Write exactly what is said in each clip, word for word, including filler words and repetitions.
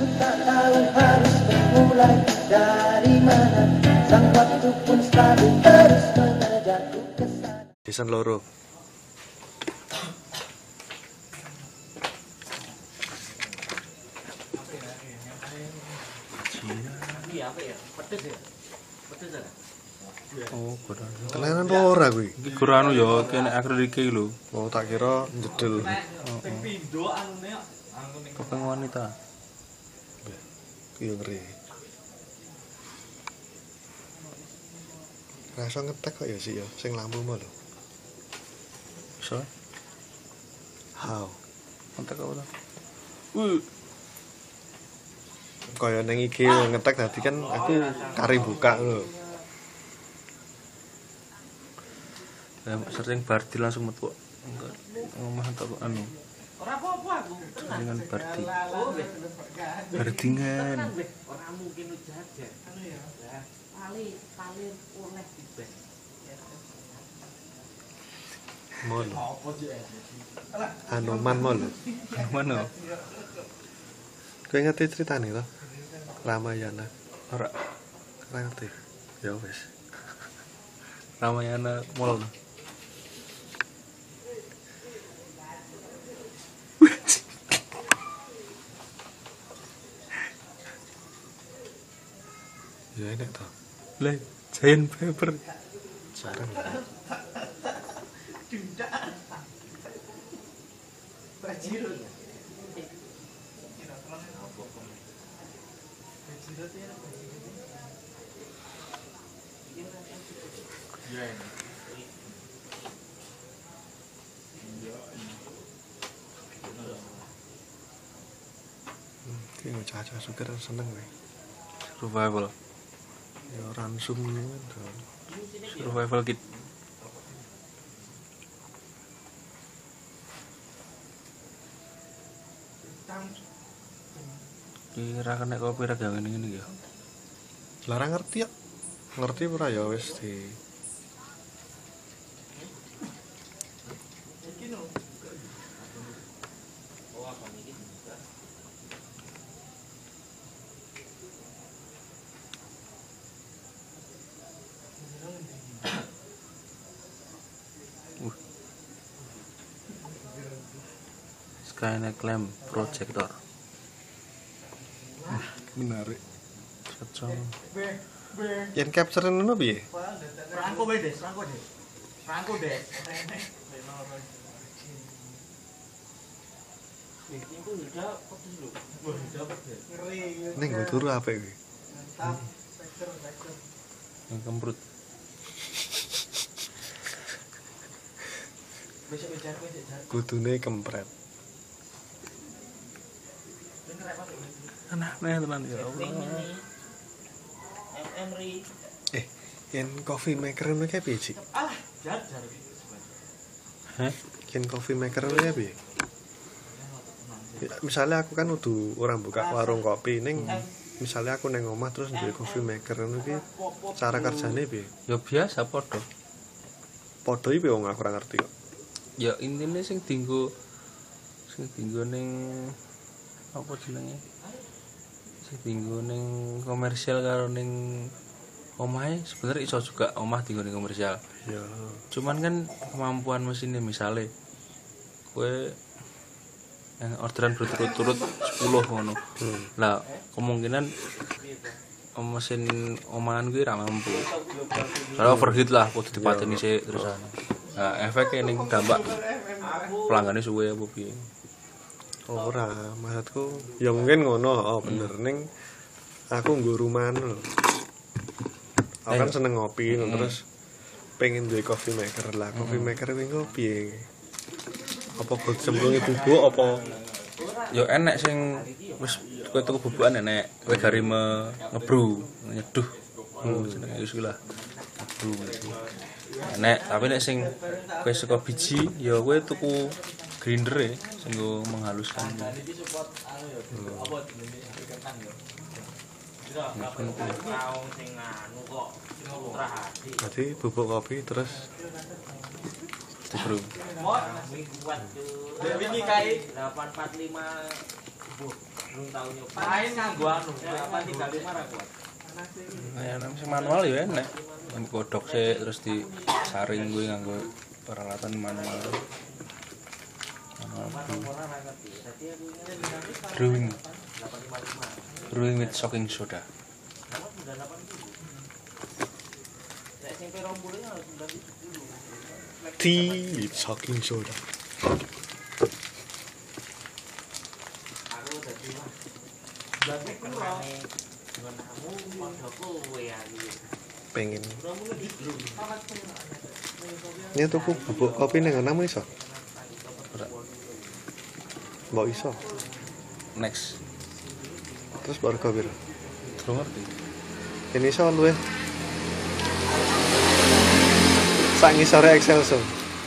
Tak tahu harus memulai dari mana, sang waktu pun selalu terus mengejarku ke sana. Desain loro. Iya apa ya? Pedes ya? Pedes ya? Oh, kurang. Tenanan ora kuwi. Iki kurang ya kene akrilik iki lho. Oh, tak kira jedel. Ping pindho anune angune Kepeng wanita. Iya ngeri. Rasa ngetek kok ya sih ya, sing lampu mau lho. So, How? kontak apa to? Uh, Kaya nang I G ngetek tadi kan aku kari buka lho. ya sering Bardi langsung metu. Enggak ngomong tak anu. ora apa-apa aku. Dengan Bardi. Oh, wis. Bardingan. Ora mungkin jajan. Anu ya. Pali paling oleh dibek. Mau lho. Anoman mau lho. Mana? Kowe ngerti ceritane to? Ramayana. Ora Ora ngerti. Ya wis. Ramayana Mall. Ya enak to. Lah, Giant Paper. Jarang. Bajiro. Ki ngocah-ocah suker seneng kowe. Survival. Ya ransum ngono to. Survival kit. Kira kena kopi ra gawe ngene ya. Larang ngerti ya. Ngerti ora ya wis di Skynet lamp projector. menarik. Cocok. Yen capture ngono piye? Rangko wae, Des, rangko, Des. Rangko, Des. Iki ku udah pedes lho. Wah, udah pedes. Ngeri. Ning nggo turu apik kuwi. Mantap. Vektor, vektor. Yang kemprut. Besok ujar kowe sik jar. Kudune kempret. Bener apa kok? Aneh tenan ya Allah. M M ri. Eh, yen coffee maker ngono kae piye, Cik? Alah, jar jar. Hah? Yen coffee maker ngono kae piye? Ya, misalnya aku kan udah orang buka warung kopi ning misalnya aku neng omah terus duwe coffee maker ngono ki cara kerjane piye? Ya biasa padha. Padha iki wong aku ora ngerti kok. Ya intine sing dienggo sing dienggo ning apa jenenge? Sing dienggo ning komersial karo ning omahe sebenarnya iso juga omah dienggo ning komersial. Ya, Cuman kan kemampuan mesinnya misalnya kowe yang orderan berturut-turut sepuluh ngono. Hmm. Lah kemungkinan mesin omahan gue ra mampu. Soalnya overheat lah kudu dipateni sik terusan. Nah, efeknya ning dampak pelanggannya suwe apa piye. ora, maksudku ya mungkin ngono, oh bener ning aku nggo rumahan lho. Aku kan seneng ngopi Hmm. terus pengen duwe coffee maker lah. Coffee maker kuwi engko piye? Apa kok cemplungi bubuk apa Yo enek sing wis kowe tuku bubukan enek, kowe gari me ngebru, nyeduh. Oh, jenenge wis lah. Ngebru. Enek, tapi nek sing kowe saka biji ya kowe tuku grinder e sing nggo menghaluskan. Berarti bubuk kopi terus Bro. Wingi kae delapan empat lima. belum tahu nyoba. Main nganggo anu, apa tiga puluh lima ra kuat. Kayak nang sing manual ya enak. Yang godhok sik terus disaring kuwi nganggo peralatan manual. Brewing. Brewing with soaking soda. Tea with soaking soda. Pengen. Ini tuku bubuk kopi ning ana iso. Mbok iso. Next. Terus baru kopi. Terus ngerti. Ini iso luwih. Sak ngisore Excel so.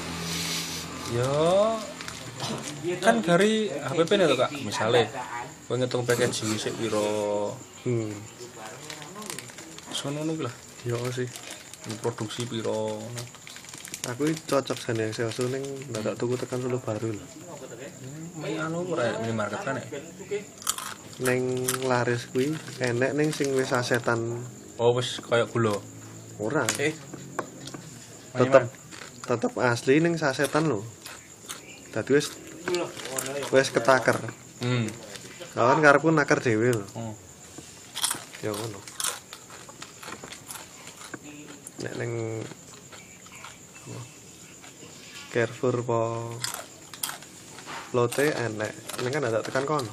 Yo kan dari H P P nih tuh Kak, misalnya kowe ngitung packaging sik piro. Hmm. Sono ngono lah. Yo sih. Produksi piro. Aku cocok jane Excel so ning dadak tuku tekan Solo baru lho. Ini anu ora minimarket kan ya? Ning laris kuwi enek ning sing wis sasetan. Oh wis kaya gula. Ora. Eh. Tetep tetep asli ning sasetan lho. Dadi wis wis ketaker. Hmm. Kawan karepku naker dhewe lho. Oh. Ya ngono. Nek ning Carrefour po Lotte enek, ini kan ada tekan kono.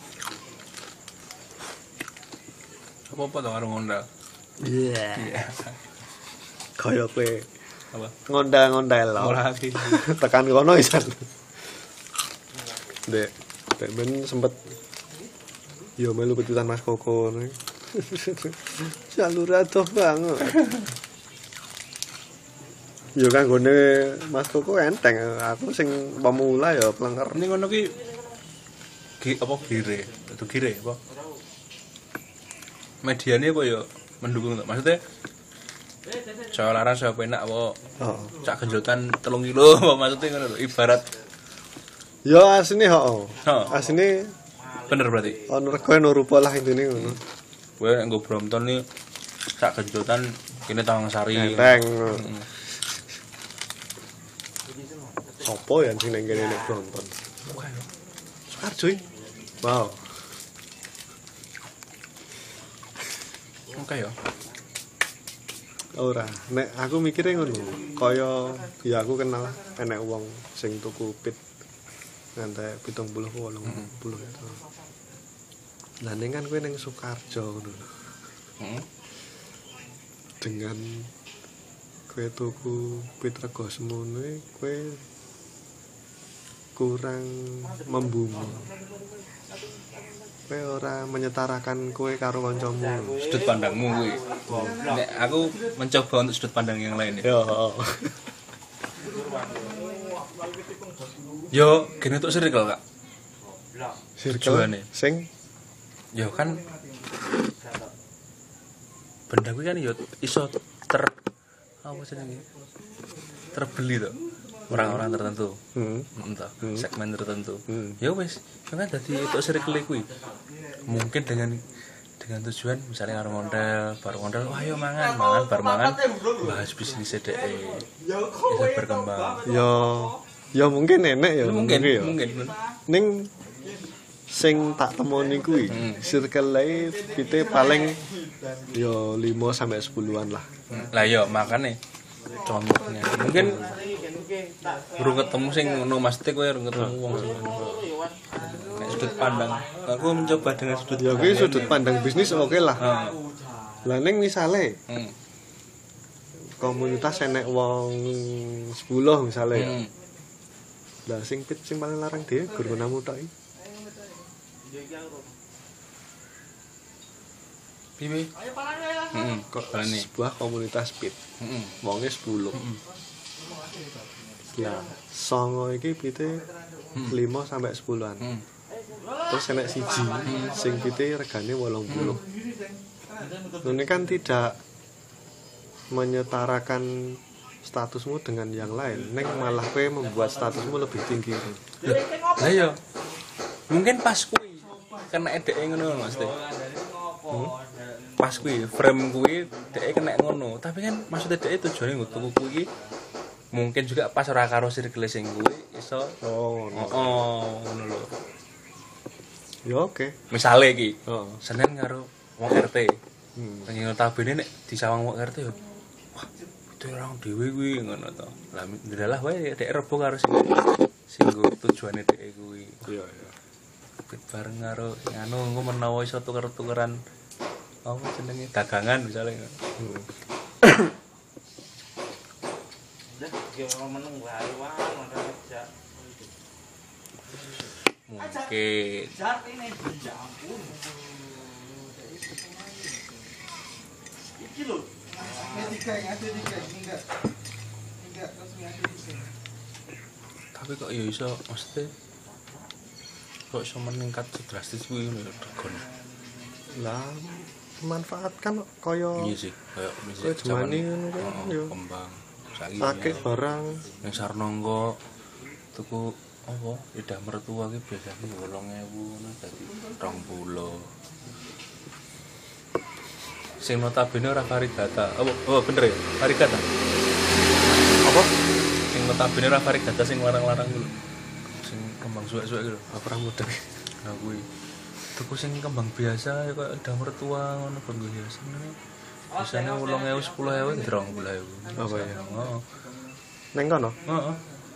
Apa-apa to karo ngondal. Iya. Yeah. Kaya kowe Apa? ngondal-ngondal lho. Ora iki. Tekan kono isan. Dek, dek ben sempet yo melu petutan Mas Koko nih. Jalur atuh banget. Yo kan gone Mas Koko enteng, aku sing pemula ya plenger. Ini ngono ki ki apa gire? Itu gire apa? Mediane apa ya mendukung to? Maksudnya saya larang saya penak apa? Oh. Cak genjotan telung kilo apa maksudnya ngono lho, ibarat. Yo asine ho. Oh. Asine Bener berarti. ono rego ono rupa lah intine ngono. Kowe nek nggo Brompton ni cak genjotan kene Tawang Sari. Enteng. Heeh. Sopo ya sing nang kene nek Brompton? Sukarjo. Wow. Oke ya. Ora, nek aku mikire ngono, kaya ya aku kenal enek wong sing tuku pit ngantek pitung puluh wolung puluh itu. Lah ning kan kowe ning Sukarjo ngono. Heeh. Dengan kowe tuku pit rego semono kowe kurang membumi. Kowe ora menyetarakan kowe karo kancamu. Sudut pandangmu kuwi. Nek aku mencoba untuk sudut pandang yang lain ya. Yo. Yo, gini untuk circle Kak. Circle Tujuane. sing Yo kan benda kuwi kan yo iso ter apa jenenge? Terbeli to. Orang-orang tertentu. hmm. Entah, Hmm. segmen tertentu. Hmm. Ya wis, kan dadi untuk circle kuwi. Mungkin dengan dengan tujuan misalnya karo ngondel, baru ngondel, wah ayo mangan, mangan, bar mangan, bahas bisnis dhek. Bisa berkembang. Yo yo mungkin enek ya Mungkin, ya. mungkin. Ning sing tak temoni kuwi Hmm. circle life pite paling yo lima sampai sepuluhan lah. Lah yo makane contohnya. Mungkin urung ketemu sing ngono mesti kowe urung ketemu wong sing ngono. Nek sudut pandang, aku mencoba dengan sudut Ya kuwi sudut pandang bisnis oke lah. Heeh. Lah ning misale Hmm. komunitas enek wong sepuluh misale ya. Hmm. Lah sing pit sing paling larang dhewe gur menamu tok iki. Piye? Heeh, kok balane. Sebuah komunitas pit. Heeh. Wonge sepuluh. Lah, songo iki pite lima sampai sepuluhan. Hmm. Terus enek siji sing pite regane wolong puluh. Ini kan tidak menyetarakan statusmu dengan yang lain. Neng malah kowe membuat statusmu lebih tinggi. Lah yo. Mungkin pas kuwi kena dhek ngono Mas. Hmm? Pas kuwi frame kuwi dhek kena ngono, tapi kan maksudnya dhek tujuane nggo tuku kuwi mungkin juga pas ora karo circle sing kuwi iso oh oh, oh ngono lho. Ya oke. Misale iki, Heeh. Senen karo wong R T. Hmm. Nang notabene nek disawang wong R T yo. Wah, itu orang dhewe kuwi ngono to. Lah ndalah wae dhek rebo karo sing sing tujuane dhek kuwi. Iya iya. Fit bareng karo anu engko menawa iso tuker-tukeran apa jenenge dagangan misalnya. Hmm. Lah yo meneng wae wae kerja. Mungkin Jat ini ya ampun. Iki lho. Tiga yang ada tiga enggak enggak resmi ada tiga. tapi kok ya iso mesti kok iso meningkat drastis kuwi ngono ya Dragon. Lah memanfaatkan kaya Iya sih, kayak Kayak misalnya Jemani ngono kuwi, oh, yo. kembang. Saiki akeh barang. ning Sarnongko tuku apa lidah mertua ki biasane wolong ewu ngono dadi rong puluh. Sing notabene ora varigata. Apa? Oh, bener ya? Varigata. Apa? Sing notabene ora varigata sing larang-larang ku lho. Sing kembang suwek-suwek ku lho. Apa muda? Nah kuwi. Tuku sing kembang biasa ya kaya lidah mertua ngono kanggo hiasan ngene. Biasane wolong ewu sepuluh ewu rong puluh ewu. Apa ya? Heeh. Neng kono? Heeh.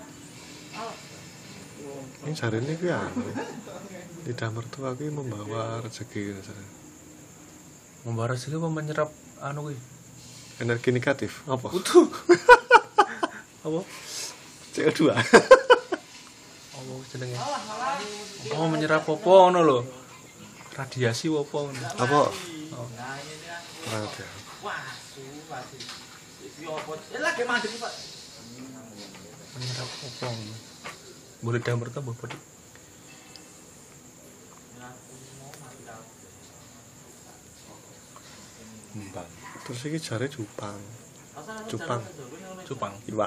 Ini jarene kuwi anu. Lidah mertua kuwi membawa rezeki rasane. Membawa rezeki apa menyerap anu kuwi? Energi negatif. Apa? Utuh. Apa? C O dua. Apa jenenge? Oh, menyerap apa ngono lho. Radiasi apa ngono. Apa? Oh. Ada. Wah, pasti. Iki opo? Eh lagi mandek Pak. Menyerap apa ngono. Boleh dah bertambah apa? Mbang. Terus iki jare cupang. Cupang. Cupang. Iwak.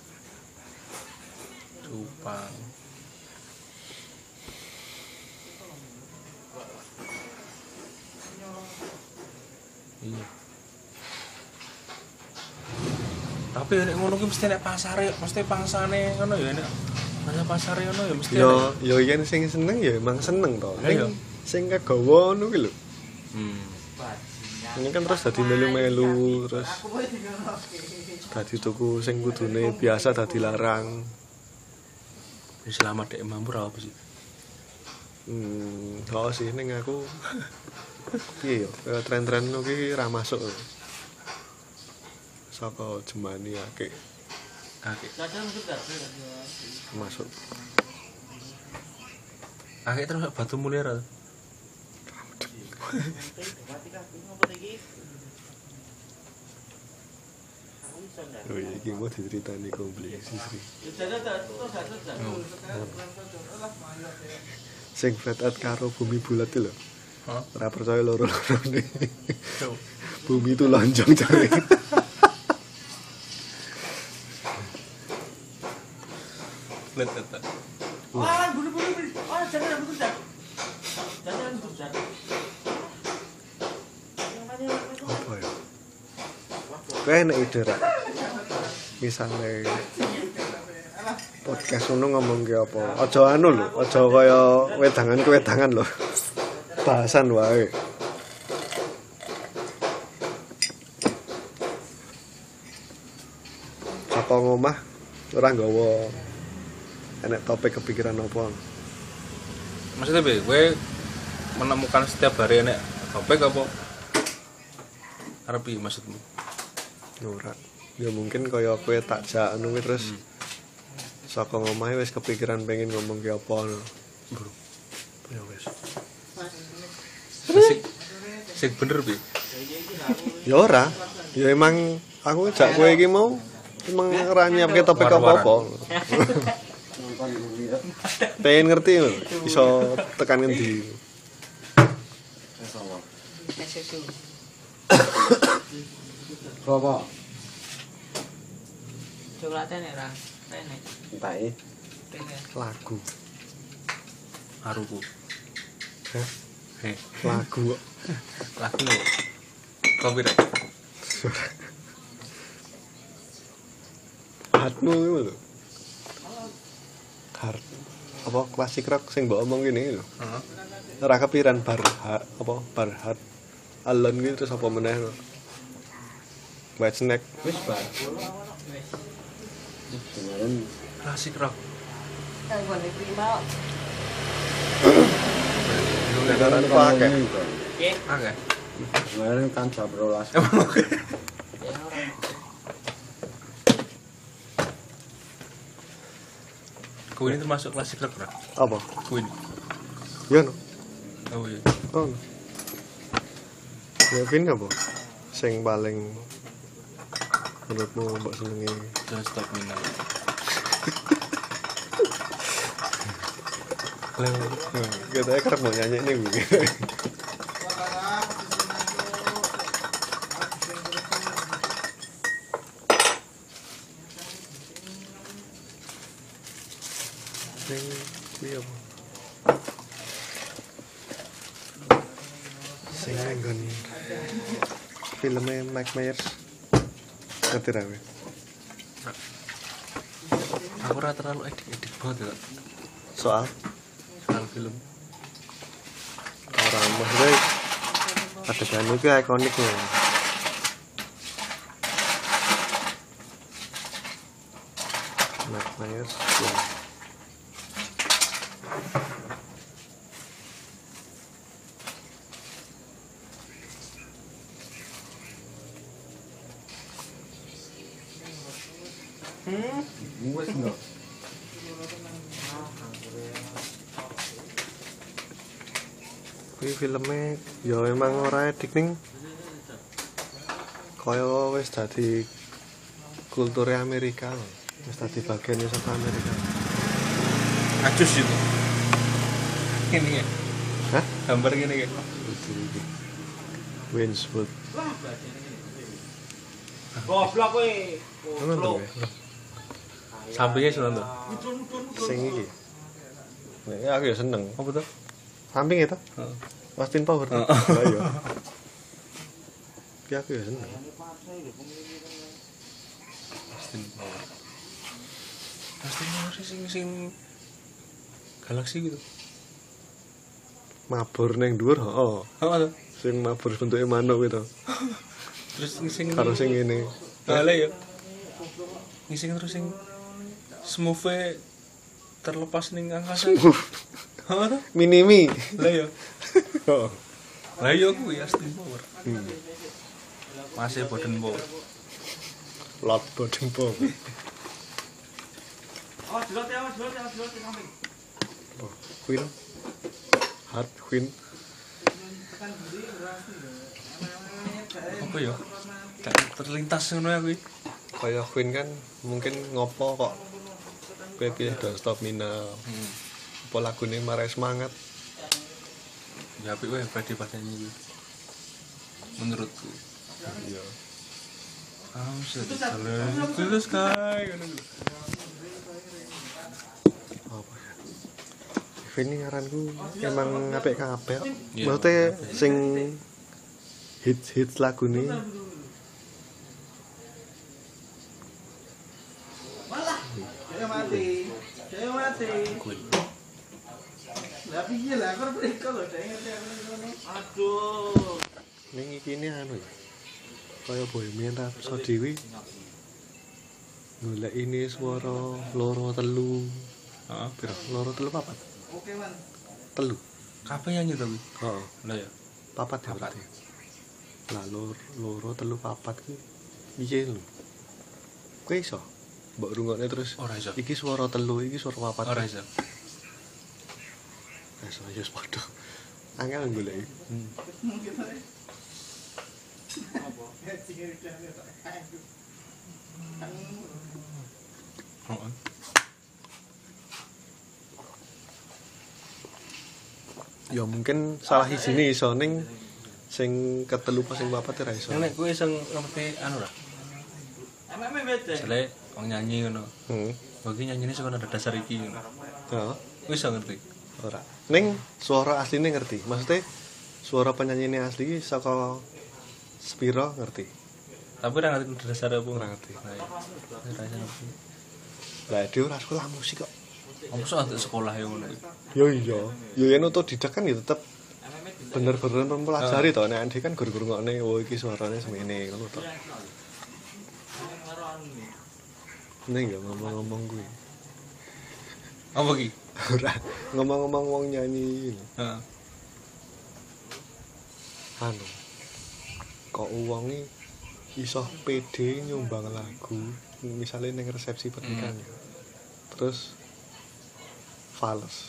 Cupang. Iya. Tapi nek ngono ki mesti nek pasare, mesti pangsane ngono ya nek. Masa pasare ngono ya mesti. Yo yo yen sing seneng ya emang seneng to. Iya. Ning sing kagawa ngono ki lho. Hmm. Ini kan terus dadi melu-melu terus dadi tuku sing kudune biasa dadi larang. Wis lama dek mampu ra apa sih? Hmm, oh sih ning aku piye yo kaya tren-tren ngono ki ra masuk. Saka Jemani akeh Akeh. Kadang juga masuk. Akeh terus batu mulia ra. mati kabeh ngopo iki? Aku iso ndak? Oh iya iki mau diceritani kompleks Sri. Jajan terus satu jam. Sing flat out karo bumi bulat itu lho. Hah? Ora percaya loro-lorone. Bumi itu lonjong jare. Let let. Wah, buru-buru. Oh, jangan buru jangan. Jangan buru jangan. Apa ya? Kowe enek ide ra? Misale podcast ngono ngomong ki apa? Aja anu lho, aja kaya wedangan ke wedangan lho. Bahasan wae. Saka ngomah ora nggawa enek topik kepikiran apa? Maksudnya be, gue menemukan setiap hari enek topik apa? Arepi maksudmu? Ora. Ya mungkin kaya kowe tak jak anu kuwi terus hmm. Saka ngomahe wis kepikiran pengen ngomong ki apa ngono. Bro. Ya wis. Sik sik bener bi. Ya ora. Ya emang aku jak kowe iki mau emang ora nyiapke topik apa-apa. Pengen ngerti lho, iso tekan ngendi. Apa? Coklatnya nek ra. Nek. Entai Pengen. lagu. Haruku. Hah? Eh, lagu kok. lagu lho. Copyright. Hardmu itu lho. Hard apa klasik rock sing mbok omong ngene lho. Heeh. Ora kepiran bar ha- apa bar hard alon gitu terus apa meneh lho. White Snake Wis bar. Klasik rock. Kanggo prima. Negara itu akeh. Oke. Kemarin kan jam rolas. Queen ini termasuk klasik rock, Bro. Apa? Queen. Ya no. Oh iya. Oh. No. Kevin apa? Sing paling menurutmu mbok senengi? Don't Stop Me Now. Lah, kita kerep mau nyanyi nih gue. Sing kuwi apa? Sing nggon filmnya Mike Myers. Ngerti ra kowe? Aku ora terlalu edik-edik banget ya. Soal Soal film. orang maksudnya adegan itu ikonik loh. Mike Myers ya. Wes enggak. Kuwi filmnya ya emang ora edik ning kaya wis dadi kulture Amerika lho. Wis dadi bagian saka Amerika. Acus itu. Ini ya. Hah? Gambar gini ya. Winswood. Goblok kowe. Ngono to. Sampingnya sunan tuh. Sing iki. Nek aku ya seneng. Apa tuh? Samping itu. Heeh. Austin Power. Heeh. Lah iya. Ki aku ya seneng. Austin Power. Austin Power sing sing galaksi gitu. Mabur ning dhuwur, heeh. Apa tuh? Sing mabur bentuke manuk gitu. Terus sing sing Karo sing ngene. Lah ya. Ngising terus sing smooth terlepas ning angkasa. Apa tuh? Minimi. Lah ya. Heeh. Lah ya kuwi Austin Power. Hmm. Masih Boden Power. Lot Boden Power. Oh, jelot ya, jelot ya, jelot ya samping. Oh, Queen. Hard Queen. Apa ya? Gak terlintas ngono ya kuwi. Kaya Queen kan mungkin ngopo kok kowe pilih Don't Stop Me Now. Hmm. Apa lagune marai semangat. Ya apik wae Freddy pas nyanyi kuwi. Menurutku. Iya. I'm set to the sky. Ngono kuwi. Apa ya? Queen ini ngaranku emang apik kabeh. Iya. Maksudnya sing hits-hits lagune Malah. Saya mati. Saya mati. Queen. Lah piye lah kok mereka lho saya ngerti aku ngono. Aduh. ning iki ini anu ya. Kaya Bohemian Rhapsody kuwi golek ini suara loro telu. Heeh. Piro? Loro telu papat. Oke, Man. Telu. Kabeh nyanyi to kuwi. Heeh. Lah ya. Papat ya Papat. berarti. Lah loro loro telu papat kuwi piye lho? Kowe iso mbok rungokne terus. Ora iso. Iki suara telu, iki suara papat. Ora iso. Iso ya padha. Angel golek. Hmm. Mungkin ae. Apa? Ya sing iki aku. Heeh. Ya mungkin salah isine iso ning sing ketelu pas sing papat ora iso. Nek kowe sing ngerti anu ra. Emang beda. Jale wong nyanyi ngono. Heeh. Bagi nyanyine saka nada dasar iki ngono. Heeh. Kowe iso ngerti. Ora. Ning suara asline ngerti. Maksudnya suara penyanyi ini asli saka Spiro ngerti. Tapi ora ngerti dasar apa. Ora ngerti. Nah, iya. Ora ngerti. Lah dia ora sekolah musik kok. Apa sok untuk sekolah yang ngono. Yo iya. Yo yen otodidak kan ya tetep bener-bener mempelajari to. Nek Andi kan guru-guru ngene, oh iki suarane semene ngono to. Ning ya ngomong-ngomong kuwi. Apa ki? Ora ngomong-ngomong wong nyanyi. Heeh. Anu. Kok wonge iso pede nyumbang lagu misalnya ning resepsi pernikahan. Hmm. Terus fals.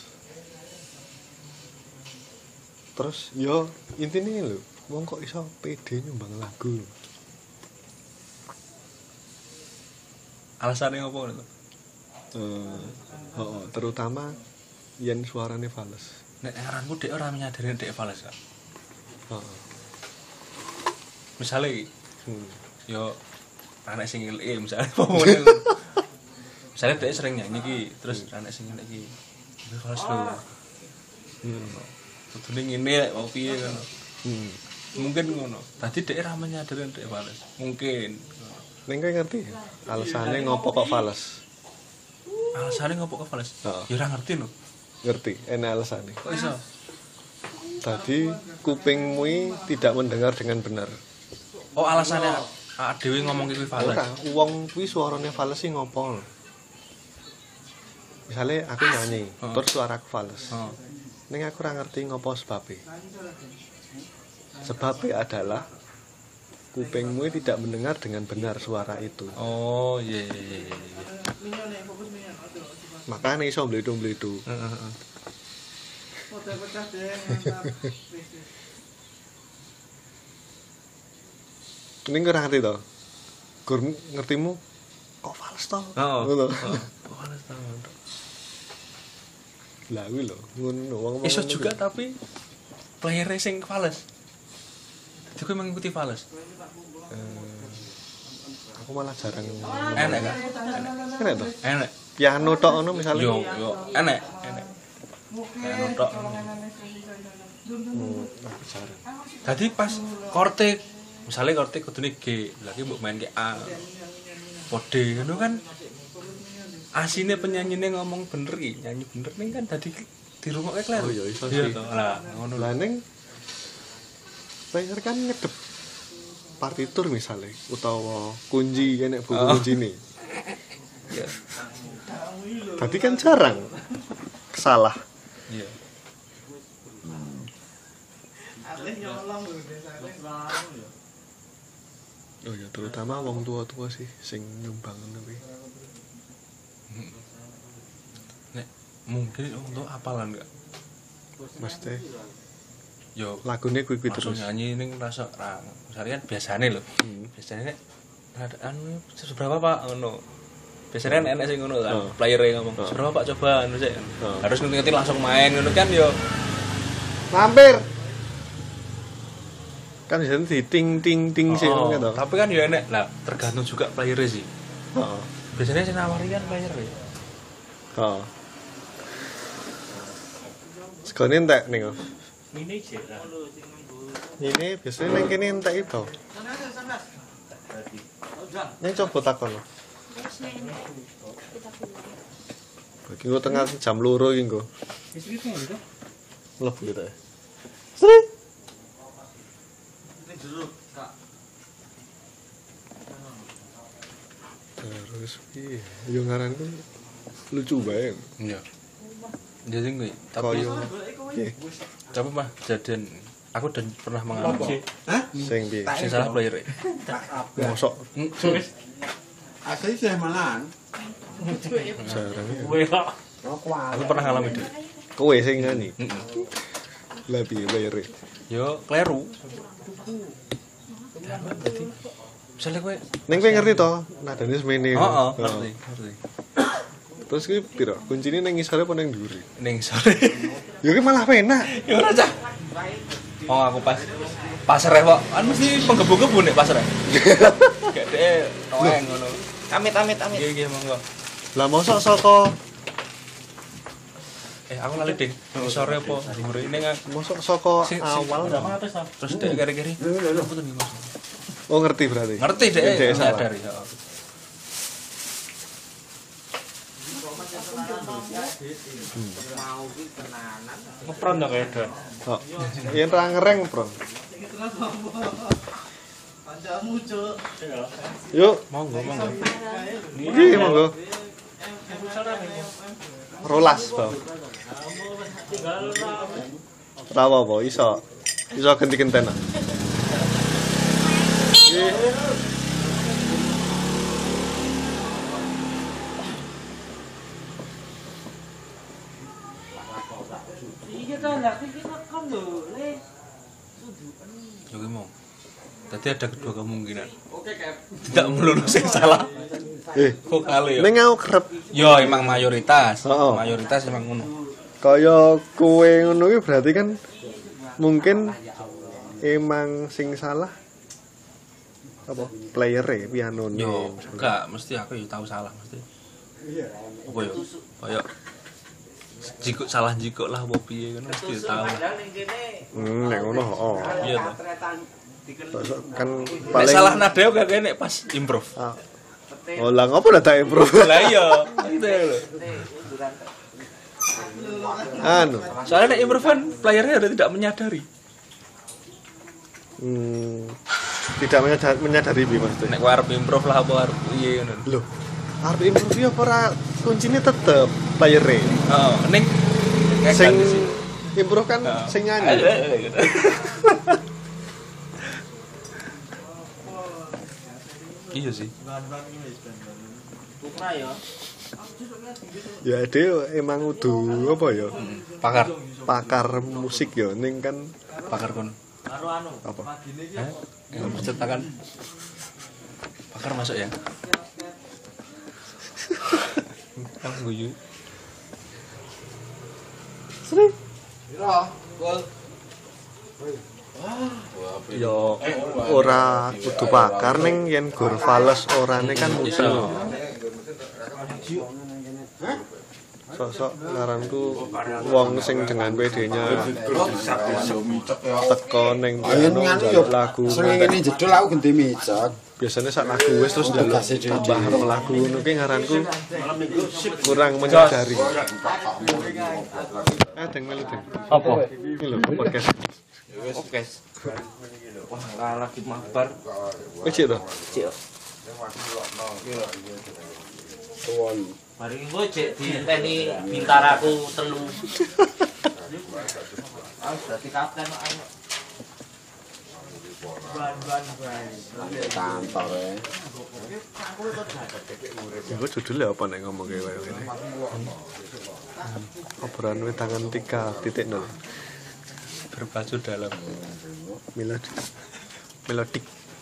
Terus yo intine lho, wong kok iso pede nyumbang lagu. Alasane ngopo ngono? Eh, heeh, terutama yen suarane fals. Nek aranku dhek ora menyadari dhek fals kok. Heeh. Misale iki, Hmm. yo anak sing ngelik misale apa ngono. Misale dhek sering nyanyi iki, terus anak sing ngelik iki. Iki fals lho. Hmm. Kudune ngene kok piye ngono. Hmm. Mungkin ngono. Dadi dhek ora menyadari dhek fals. Mungkin. Ning kowe ngerti alasane ngopo kok fals? Alasane ngopo kok fals? Heeh. Ya ora ngerti lho. Ngerti, enak alasane. Kok iso? Tadi kupingmu tidak mendengar dengan benar. Oh, alasannya awak dhewe ngomong kuwi fals. Ora, wong kuwi suarane fals sih ngopo? Misale aku nyanyi, Oh. terus suaraku fals. Oh. Ning aku ora ngerti ngopo sebabe. Sebabe adalah kupingmu tidak mendengar dengan benar suara itu. Oh, iya iya iya iya. Minyak nih, fokus minyak. Aduh, coba. Makanya iso mbledu-mbledu. Heeh heeh. Foto pecah deh, mantap. Wis, wis. Ning ora ngerti to. Gur ngertimu kok fals to? Oh. Ngono. Oh, fals ta. Lah kuwi lho, ngono wong ngomong. Iso ngono juga kuwi. tapi player sing fals. Jadi kowe mengikuti fals. Eh, aku malah jarang. Enak kan? Enak to. Enak. Piano tok ngono misalnya. Yo yo enak, enak. Enak tok. Hmm, aku jarang. Dadi pas korte, misale korte kudune G, lagi mbok main ke A. Kode ngono kan asine penyanyine ngomong bener iki, nyanyi bener ning kan dadi dirungokke kleru. Oh, iya, iso Iya sih. to. Lah, ngono Lah lho. ning player kan ngedep partitur misalnya utawa kunci enek buku Oh. kuncine. Iya. Tadi kan jarang salah. Iya. Alih nyolong lho, desa alih. Oh ya terutama wong tua-tua sih sing nyumbang ngono kuwi. Nek mungkin untuk apalan enggak? Mesti Yo lagune kuwi-kuwi langsung terus. nyanyi ning rasa ra. Misalnya kan biasane lho. Hmm. Biasane nek ada anu seberapa Pak ngono. Biasanya kan enak sing ngono kan. Oh. Player-e ngomong, Oh. "Seberapa Pak coba anu sik." Oh. Harus ngerti-ngerti langsung main ngono kan yo. Mampir. Kan bisa di ting ting ting sih Oh, ngono to. tapi kan ya enak lah, tergantung juga player sih. Heeh. Biasanya sing nawari kan player ya. Heeh. Sekone entek ning. Ini jera. Ini biasanya ning kene entek itu. Sana aja, sana. Ning coba takon. Bagi gue tengah jam loro iki nggo. Mlebu gitu ya. Sri. Ini jeruk, Kak. Terus piye? Yo ngaranku lucu bae. Iya. Jadi gue, tapi Koyo piye? tapi mah jadian aku dan pernah mengalami Sing piye? sing salah player. Mosok Asli sih malan. jarang ya. Kowe kok Aku pernah ngalami deh. Kowe sing nyanyi. Lah piye bayare? Yo kleru. Jadi misalnya gue, Ning kowe ngerti to, nadane semene. oh, oh, Heeh. ngerti, ngerti. Terus ki piro? Kuncine ning ngisore apa ning dhuwure? Ning sore. Ya ki malah penak. Ya ora cah. Oh aku pas pasar kok. Kan mesti penggebu-gebu nek pasar. Gak deh, noeng ngono. amit amit amit. Iya iya monggo. Lah mosok saka eh aku lali ding sore apa dhuwure ini kan Mosok saka sing awal terus dek keri-keri apa tuh nih Mas oh ngerti berarti. ngerti dek Dek salah. sadari heeh Mau ki tenanan. ngepron dong kayak don Oh. Yen ra ngereng, Bro. Panjamu cuk. Yuk, monggo monggo iki monggo. Rolas, Bang. Ra apa iso. Iso genti-genten. Iki Iya kan lah kita kan lho, Le. yo ki mau tadi ada kedua kemungkinan tidak melulu sing salah eh vokale yo ning aku kerep yo emang mayoritas Heeh. mayoritas emang ngono kaya kowe ngono ki berarti kan mungkin emang sing salah apa player e piano yo enggak mesti aku yo tahu salah mesti apa yo kayak jikuk salah jikuk lah apa piye kan mesti tahu hmm nek ngono oh iya toh kan nek paling salah nada yo gak nek pas improve ah. Oh lah ngopo lah tak improve lah iya gitu lho anu soalnya nek improve kan playernya udah tidak menyadari hmm, tidak menyadari, menyadari bi maksudnya nek kowe arep improve lah apa arep piye ngono lho arep improve apa ora kuncine tetep player e oh ning sing improve kan sing nyanyi iya sih Bukra ya. ya dia emang udah apa ya pakar pakar musik ya ning kan pakar kon Karo anu. apa eh yang menciptakan pakar masuk ya kan guyu yo ora kudu pakar ning yen gur fales orane kan musuh sosok ngaranku wong sing dengan P D-nya teko ning piano njaluk lagu Sing ngene jedul aku ganti micet. biasanya sak lagu wis terus njaluk tambah rong lagu ngono ki ngaranku kurang menyadari eh deng melu deng apa iki lho podcast oke wah lagi mabar wis cik to Cik. Mari engko cek diteni bintaraku telu. Ah, berarti kapten kok ayo. Ban-ban ban. Kantor e. iku judulnya apa nek ngomong kayak ngene obrolan wetangan tiga titik nol berpacu dalam melodi melodik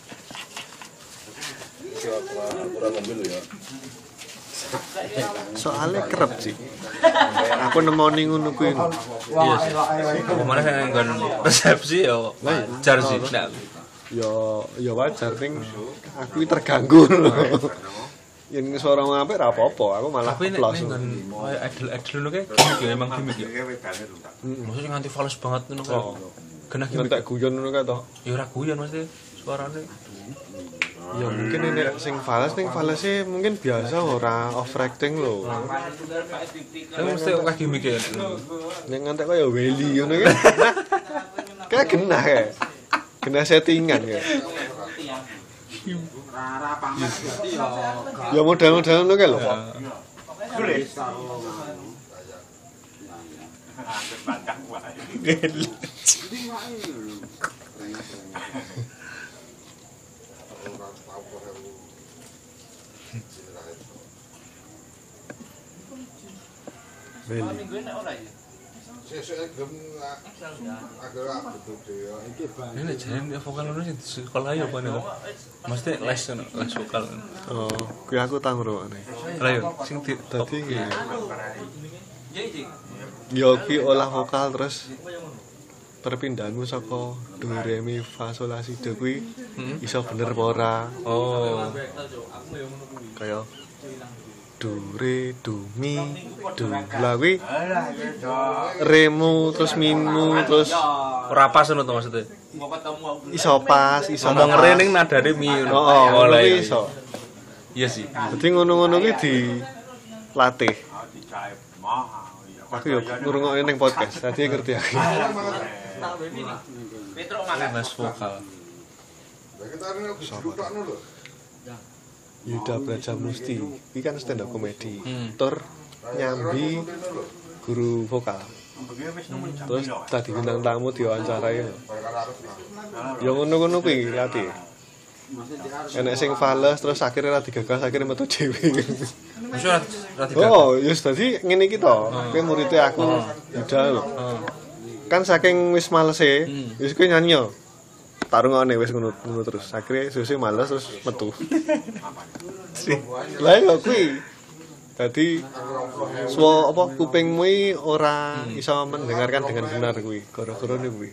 soalnya kerep sih aku nemoni ngono kuwi iya sih kemana saya nggon resepsi ya wajar sih ndak ya ya wajar ning aku iki terganggu lho yen suara ngapik ra apa-apa aku malah tapi nek plus nggon koyo idol-idol ngono kae gimmick ya emang gimmick ya maksudnya nganti fals banget ngono kae oh kena gimmick ngetek guyon ngono kae to ya ora guyon mesti suarane ya mungkin ini sing fals ning false mungkin biasa ora overacting lho kan mesti kok gimmick ya ning ngantek kaya Welly ngono kae kayak genah kae genah settingan ya Rara pamer berarti ya ya modal-modal ngono kae lho Welly Minggu nek ora ya. ini nek jane vokal ngono sing di sekolah ya apa nek mesti les ngono les vokal oh kuwi aku tau ngrungokne lah yo sing di dadi ngene Ya iki. yo ki olah vokal terus perpindahanmu saka do re mi fa sol la si do kuwi iso bener apa ora oh kaya do re do mi do. Lah kuwi remu terus mimu terus Ora pas ngono to maksudnya. iso pas, iso Ngomong re ning nadane mi ngono. Oh, lah kuwi iya. iso. Iya sih. Dadi ngono-ngono kuwi dilatih. Aku yo ngrungokne ning podcast, dadi ngerti aku. Les vokal. Yuda Braja Musti, iki kan stand up comedy. Hmm. Tur nyambi guru vokal. Terus tadi bintang tamu diwawancarai. Ya ngono-ngono kuwi latih. Enek sing fales terus akhirnya ra digagas akhirnya metu dhewe. Wis ora ora digagas. Oh, ya dadi ngene iki to. Kowe muridé aku Yuda lho. Kan saking wis malese, wis kowe nyanyi yo. Tarungane wis ngono ngono terus. Akhire sesuk males terus metu. Lah yo kuwi. Dadi suwa apa kupingmu iki ora iso mendengarkan dengan benar kuwi. Gara-garane kuwi.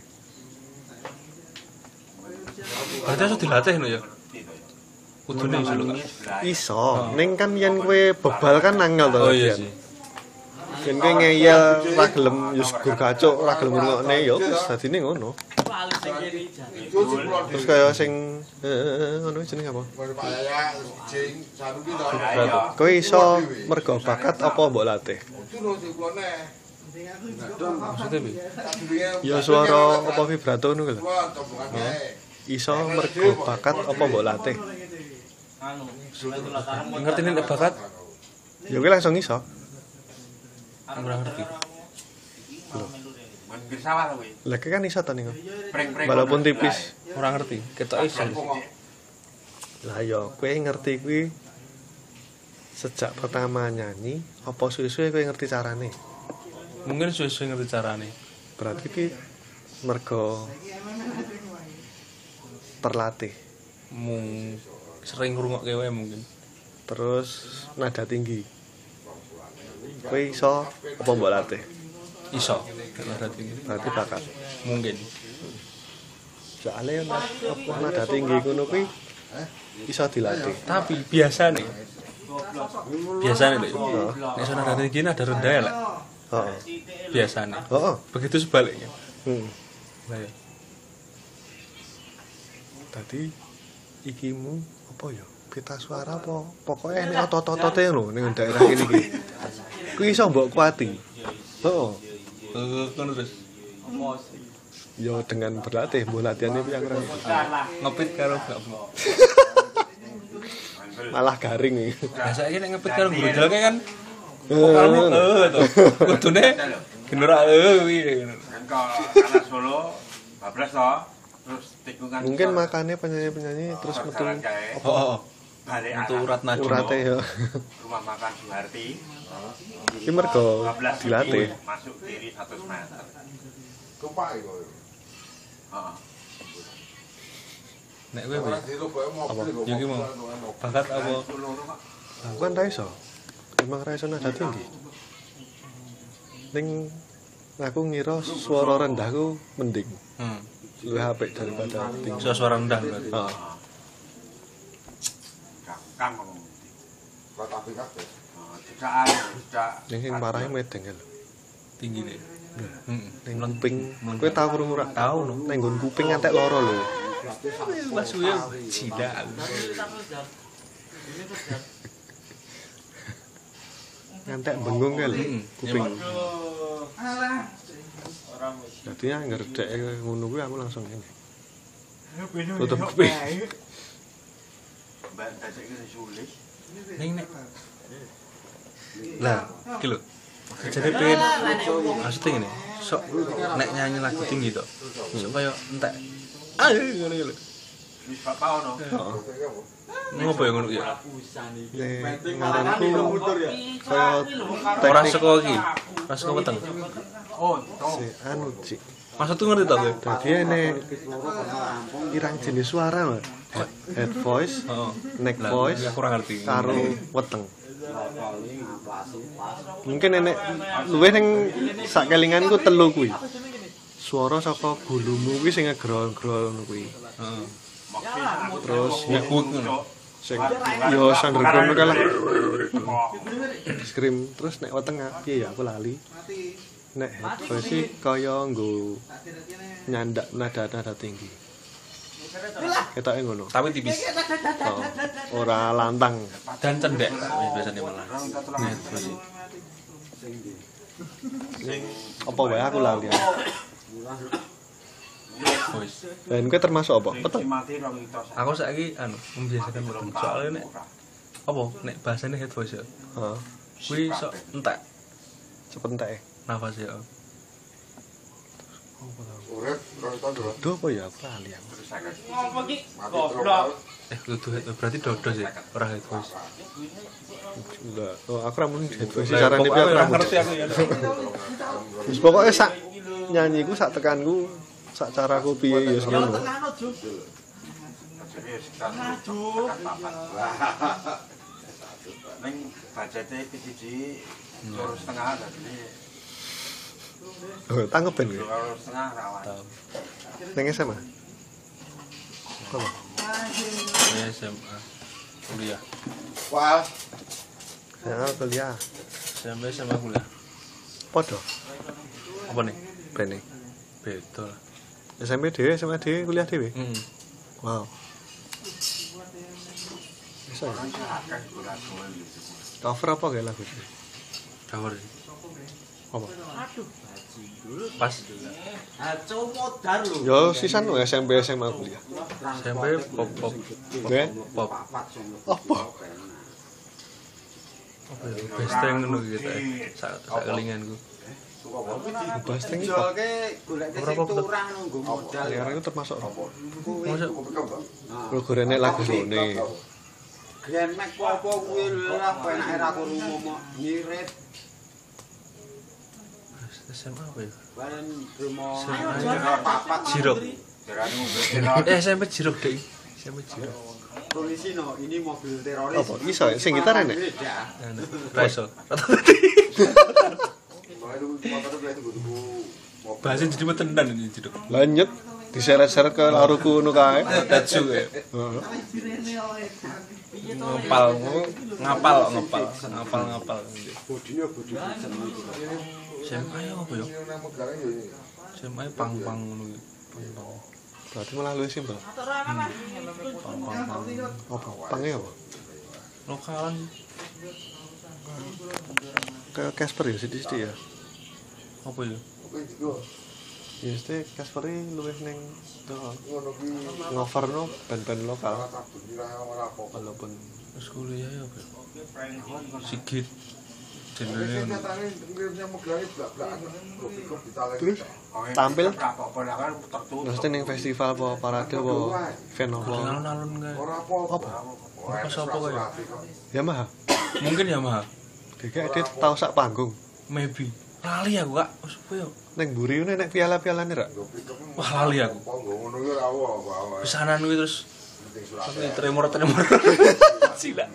Berarti harus dilatih no ya. Kudune iso lho, Kak. Iso, ning kan yen kowe bebal kan angel to. Oh iya sih. Yen kowe ngeyel ra gelem yo gur gacuk, ra gelem ngrungokne ya wis dadine ngono. Terus kaya sing heeh ngono jenenge apa? Kowe iso mergo bakat apa mbok latih? Maksudnya piye? Ya swara apa vibrato ngono lho. Iso mergo bakat apa mbok latih? Ngerti nek bakat? Ya kowe langsung iso. Ora ngerti. Lah kowe kan iso to ning. Walaupun tipis. Ora ngerti. Ketok iso. Lah ya kowe ngerti kuwi sejak pertama nyanyi apa suwe-suwe kowe ngerti carane? Mungkin suwe-suwe ngerti carane. Berarti ki mergo terlatih. Mung sering ngrungokke wae mungkin. Terus nada tinggi. Kowe iso apa mbok latih? Iso. Nada tinggi. Berarti bakat. Mungkin. Soale apa nada tinggi ngono kuwi iso dilatih. Tapi biasane biasane lho. Nek sono nada tinggi nada rendah ya lek. Heeh. Biasane. Heeh. Begitu sebaliknya. Hmm. Lah ya. Tadi ikimu apa ya? Pita suara apa? Pokoknya ini otot-otote lho ning daerah kene iki. Kuwi iso mbok kuati. Heeh. Eh kono terus. Ya dengan berlatih, mbok latihannya piye ora. Ngepit karo gak. Malah garing iki. Lah saiki nek ngepit karo guru jalan kan vokalmu eh to. Kudune genera eh kuwi ngono. Karena Solo bablas to. Terus tikungan. Mungkin makanya penyanyi-penyanyi terus metu Oh, oh. balik Untuk urat nadi. urate ya. rumah makan Suharti. Iki mergo bablas dilatih. masuk diri seratus meter. Kepak iku. Heeh. Nek kowe piye? Ya ki mau bakat apa? Aku kan ra iso. Emang ra iso nada tinggi. Ning aku ngira suara rendahku mending. Hmm. Luwih apik daripada tinggi. Suara suara rendah berarti. Heeh. Kang ngomong. Kota Afrika. Jedakan, jedak. Ning sing parahe medeng lho. Tinggi nih. Heeh. Ning kuping. Kowe tau krungu ora? Tahu no. Ning nggon kuping ngantek loro lho. Mas Uyo cida. Ngantek bengung kae lho kuping. Alah. Dadi anggar dek ngono kuwi aku langsung ngene. Tutup kuping. Mbak dadi iki sulit. Ning nek. Lah, iki lho. Jadi pengen maksudnya gini, sok nek nyanyi lagu tinggi to. Sok kaya entek. Ayo ngono iki lho. Wis bapak ono. Heeh. Ngopo ya ngono ya? Nek ngaranku kaya Ora teknik saka iki. Ora saka weteng. Oh, to. si anu Cik. Maksudku ngerti to kowe? Dadi ene irang jenis suara lho. Head, head voice, Heeh. neck Lah, voice, aku ora ngerti. karo weteng. Mungkin enek luwih ning sak kelinganku telu kuwi. Suara saka gulumu kuwi sing ngegrol-grol ngono kuwi. Heeh. Terus Ya kuwi ngono. Sing yo underground kalah. Scream terus nek weteng piye ya aku lali. Nek headphone sih kaya nggo nyandak nada-nada tinggi. Ketoke ngono. Tapi tipis. Oh, ora lantang. Dan cendek biasanya malah. Nah, terus Apa wae aku lali. voice. Dan kowe termasuk apa? Betul. Aku saiki anu membiasakan mudeng. Soalnya nek apa nek bahasane head voice ya. Heeh. Kuwi sok entek Sepentek. nafas ya. Urip rong tahun lho. Dodo apa ya aku lali. Ngopo ki? Mati terus. Eh kudu head berarti dodo sih, ora head voice. Enggak. Oh, aku ra muni headphone sih Lah, sarane pokoknya piye ora aku. ngerti aku ya. Wis pokoke sak nyanyiku sak tekanku sak caraku piye ya ngono. Neng budgete siji loro setengah dadi Oh, tangkep ben kowe. loro setengah rawan. Ning S M A. Apa? Ya S M A. Kuliah. Wah, Ya, kuliah. Sampai S M A kuliah. Podo. Apa nih? Bene. Beda lah. S M P dhewe, S M A dhewe, kuliah dhewe. Heeh. Wow. Bisa ya? Cover apa kayak lagu ini? Cover sih. Apa? Pas Aco modar lho. Yo sisan wae S M P S M A kuliah. sampai pop pop Oke. pop. Apa? Apa ya? Besteng ngono gitu. Sak sak kelinganku. Bahas tinggi kok. Jolke goleke sing turah nunggu modal. Liar itu termasuk Masa Rogorene lagu rone. Grand Mac apa kuwi lah penake ra krungu mok ngirit S M A apa ya? bareng demo S M A papat Jirok. Jarane ngombe Eh S M P Jirok deh. S M P Jirok. polisi no ini mobil teroris. Apa? Iso ya? Sing gitar enek? Anu, Raiso. Bahasa jadi tenan ini Jirok. Lanjut diseret-seret ke laruku ngono kae. Tatsu ya. Heeh. Ngepal, ngapal, ngepal, ngapal, ngapal. Bodine bodine seneng. S M A ya apa ya? S M A pang-pang ngono iki. Pang-pang. Berarti malah luwih simpel. Pang-pang. Apa? Pange apa? Lokalan Kayak Casper ya sithik-sithik ya. apa ya? Ya mesti Casper iki luwih ning ngoverno band-band lokal walaupun Terus kuliah ya apa? Sigit. Jenenge ngono. terus tampil apa-apa lah kan tertutup. mesti ning festival apa parade apa event apa. Alun-alun kae. Apa? Apa sapa kae? Yamaha. Mungkin Yamaha. Dek dia tau sak panggung. Maybe. Lali aku, Kak. Wes apa ya? Ning mburi ngene nek piala-pialane ra. Wah, lali aku. Pesanan kuwi terus tapi tremor-tremor. Sila.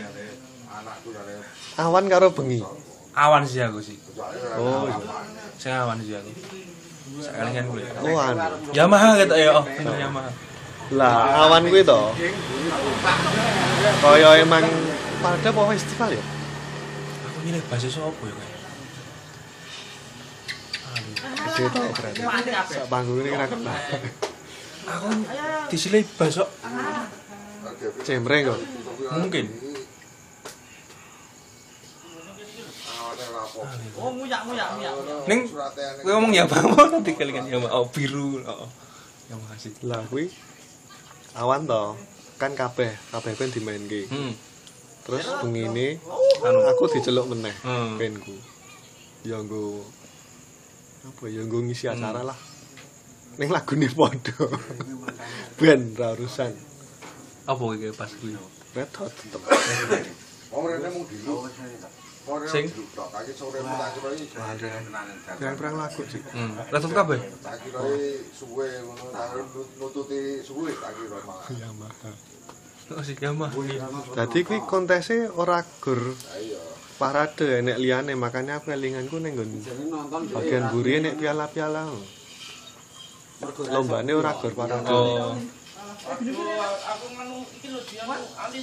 Awan karo bengi. Awan sih aku sih. Oh, iya. Sing awan sih aku. Sakalingan kuwi. Oh, anu. Yamaha kata ya, oh, bener Yamaha. Lah, awan kuwi to. Kaya emang pada apa festival ya? Aku milih bahasa sapa ya, Kak? Gede to berarti. Sak panggung ini kira kena. Aku disilih bahasa Cemreng kok. mungkin. Oh, muyak-muyak muyak. Ning kowe ngomong Yamaha nanti kelingan Yamaha oh, biru. Oh. Yamaha sih. Lah kuwi awan to. Kan kabeh, kabeh ben dimainke. Hmm. Terus bengine Anu. aku diceluk meneh Hmm. penku. Ya nggo apa ya nggo ngisi acara lah. Ning lagune padha. Ben ra urusan. Apa iki pas kuwi? Red Hot tetep. Sing Perang-perang lagu sih. hmm. Letut kabeh. Yamaha. Oh sih Yamaha. Dadi kuwi kontese ora gur parade enek liyane makanya aku elinganku ning nggon bagian mburi enek piala-piala. Lombane ora gur parade. Oh. aku nganu iki lho dia alis.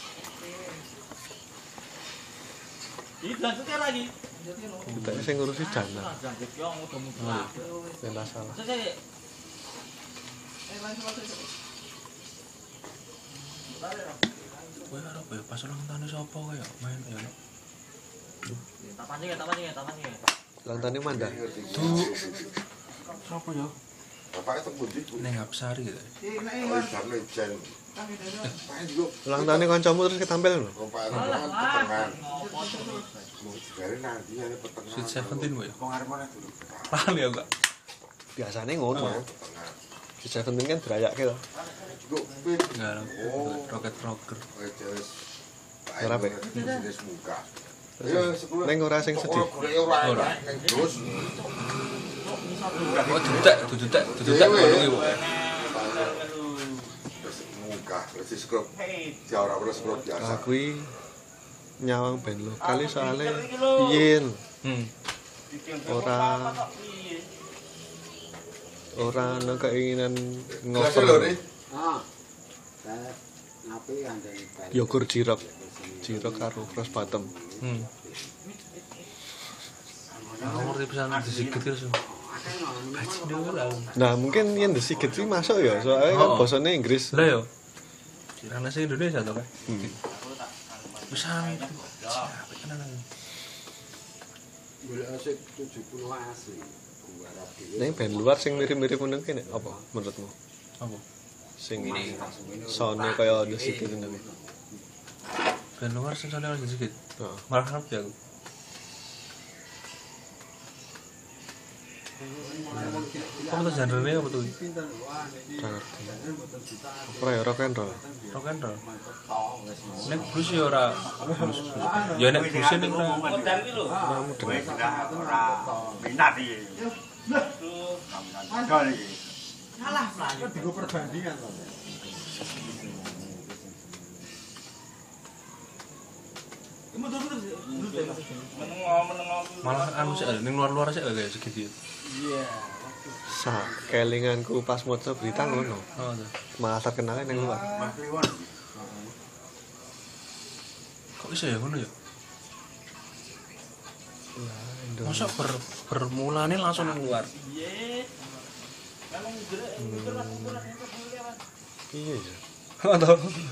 Iki lanjutnya lagi. Kita sing ngurusi jana. Lanjut yo mudah-mudahan. Enggak salah. Selesai. Eh lanjut lanjut. Kowe arep ya pas ulang tahun sapa kowe ya main ya. Tak pancing ya, tak pancing ya, tak pancing ya. Ulang tahun Manda. Tuh. Sapa ya? Bapaknya terbunyi tuh. Ning Hapsari gitu. Eh nek Oh, Mas. jam jen. Kami dulu. Bapaknya juga. Ulang tahun kancamu terus ketampil lho. Bapaknya kan petengan. Ngopo terus. Mau digarin nanti ada petengan. Sweet Seventeen kowe ya. Pengarepane dulu. Lali ya, Kak. Biasanya ngono. Petengan. Di Seventeen kan dirayakke to. Juga pin. Enggak, Oh. roket rocker. Oh, jelas. Ora, Pak. Jelas muka. Ayo, sepuluh. Neng ora sing sedih. Ora, ora. Neng terus. Oh, dutek, dutek, dutek ngono ki, Bu. Muka, terus scrub. Ya ora perlu scrub biasa. Aku iki nyawang band lokal soalnya yen Hmm. ora ora ana keinginan Gelasnya lho, ngoper Ri. Ah. Saya ngapi andani bal. yogur jirok jirok karo cross bottom. Hmm. Aku ngerti pisan disikit terus. Bajingan lah. Nah mungkin yang desigit sih masuk ya soalnya kan Oh. bahasanya Inggris. Lah yo. Kirane sing Indonesia to, Kak. Hmm. Pisan. Siapa tenan. Boleh asik tujuh puluh asli. Gua rapi. Neng band luar sing mirip-mirip ngono ki nek apa menurutmu? Apa? Sing soundnya kaya desigit ngono ki. Ben luar sing soalnya harus sedikit. Heeh. Malah ngerti aku. Apa tuh genre-nya apa tuh? Ora ngerti. Ora ya rock and roll. Rock and roll. Nek blues ya ora blues. Ya nek blues ning ora. Modal iki lho. Kamu Kowe dengar. sudah ora minat iki. Dol iki. Kalah Pak. Digo perbandingan to. Mundur-mundur. Menengok menengok. Malah anu sih ning luar-luar sih kayak segitu. Iya. Sa kelinganku pas maca berita ngono. Oh, tuh. Malah terkenalnya nang luar. Mas Kliwon. Kok bisa ya ngono ya? Lah, Indo. Masa ber bermulane langsung nang luar. Iya. Memang gerak, gerak, gerak, gerak. Iya ya. Atau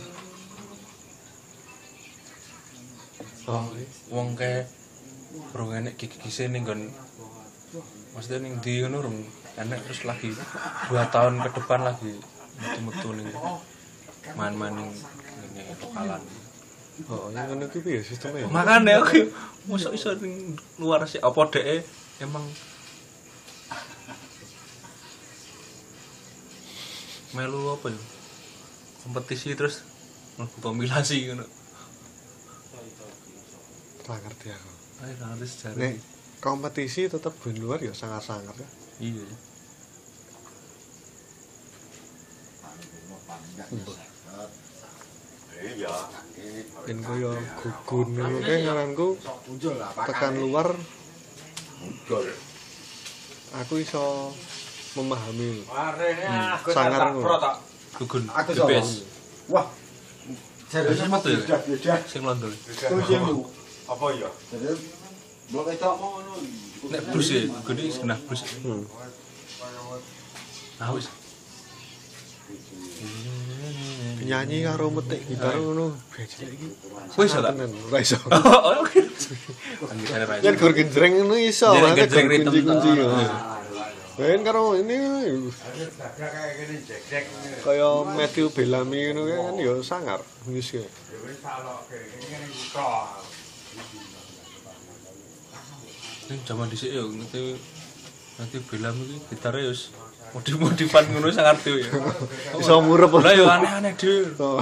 Oh, wong kayak bro enek gigi-gigi ning nggon maksudnya ning ndi ngono rung enek terus lagi dua tahun ke depan lagi metu-metu ning main-main ning ngene lokalan. oh, yang ngono ki piye sistemnya ya? Makane aku mosok iso ning luar sih apa dhek emang melu apa ya? Kompetisi terus mlebu kompilasi ngono. Ora ngerti aku. Ayo ngerti sejarah. Nek kompetisi tetap band luar ya sangat-sangat ya. Iya. Iya. Ben koyo gugun ngono kae ngaranku tekan luar Dol. aku iso memahami. Arene aku sangar tak pro tak. Gugun. Aku The best. Wah. Serius apa tuh ya? Sudah beda. Sing londol. Apa ya? Jadi blok itu mau ngono. Nek blues ya, gede genah blues. Hmm. Nah wis. Nyanyi karo metik gitar ngono. Wis ora. Tenan, ora iso. Oh, oke. Anjir ra. Yen gur genjreng ngono iso, Jadi makanya genjreng gur ritem kunci-kunci. toh. Ben karo ini kayak gini jek-jek. kaya Matthew Bellamy ngono kae kan ya sangar wis kae. Ya wis salok kayak gini kok. Ning jaman dhisik ya ngerti nanti Belam iki gitare ya wis modif-modifan ngono sak ngerti ya. Iso murep. Lah ya aneh-aneh dhewe. Oh.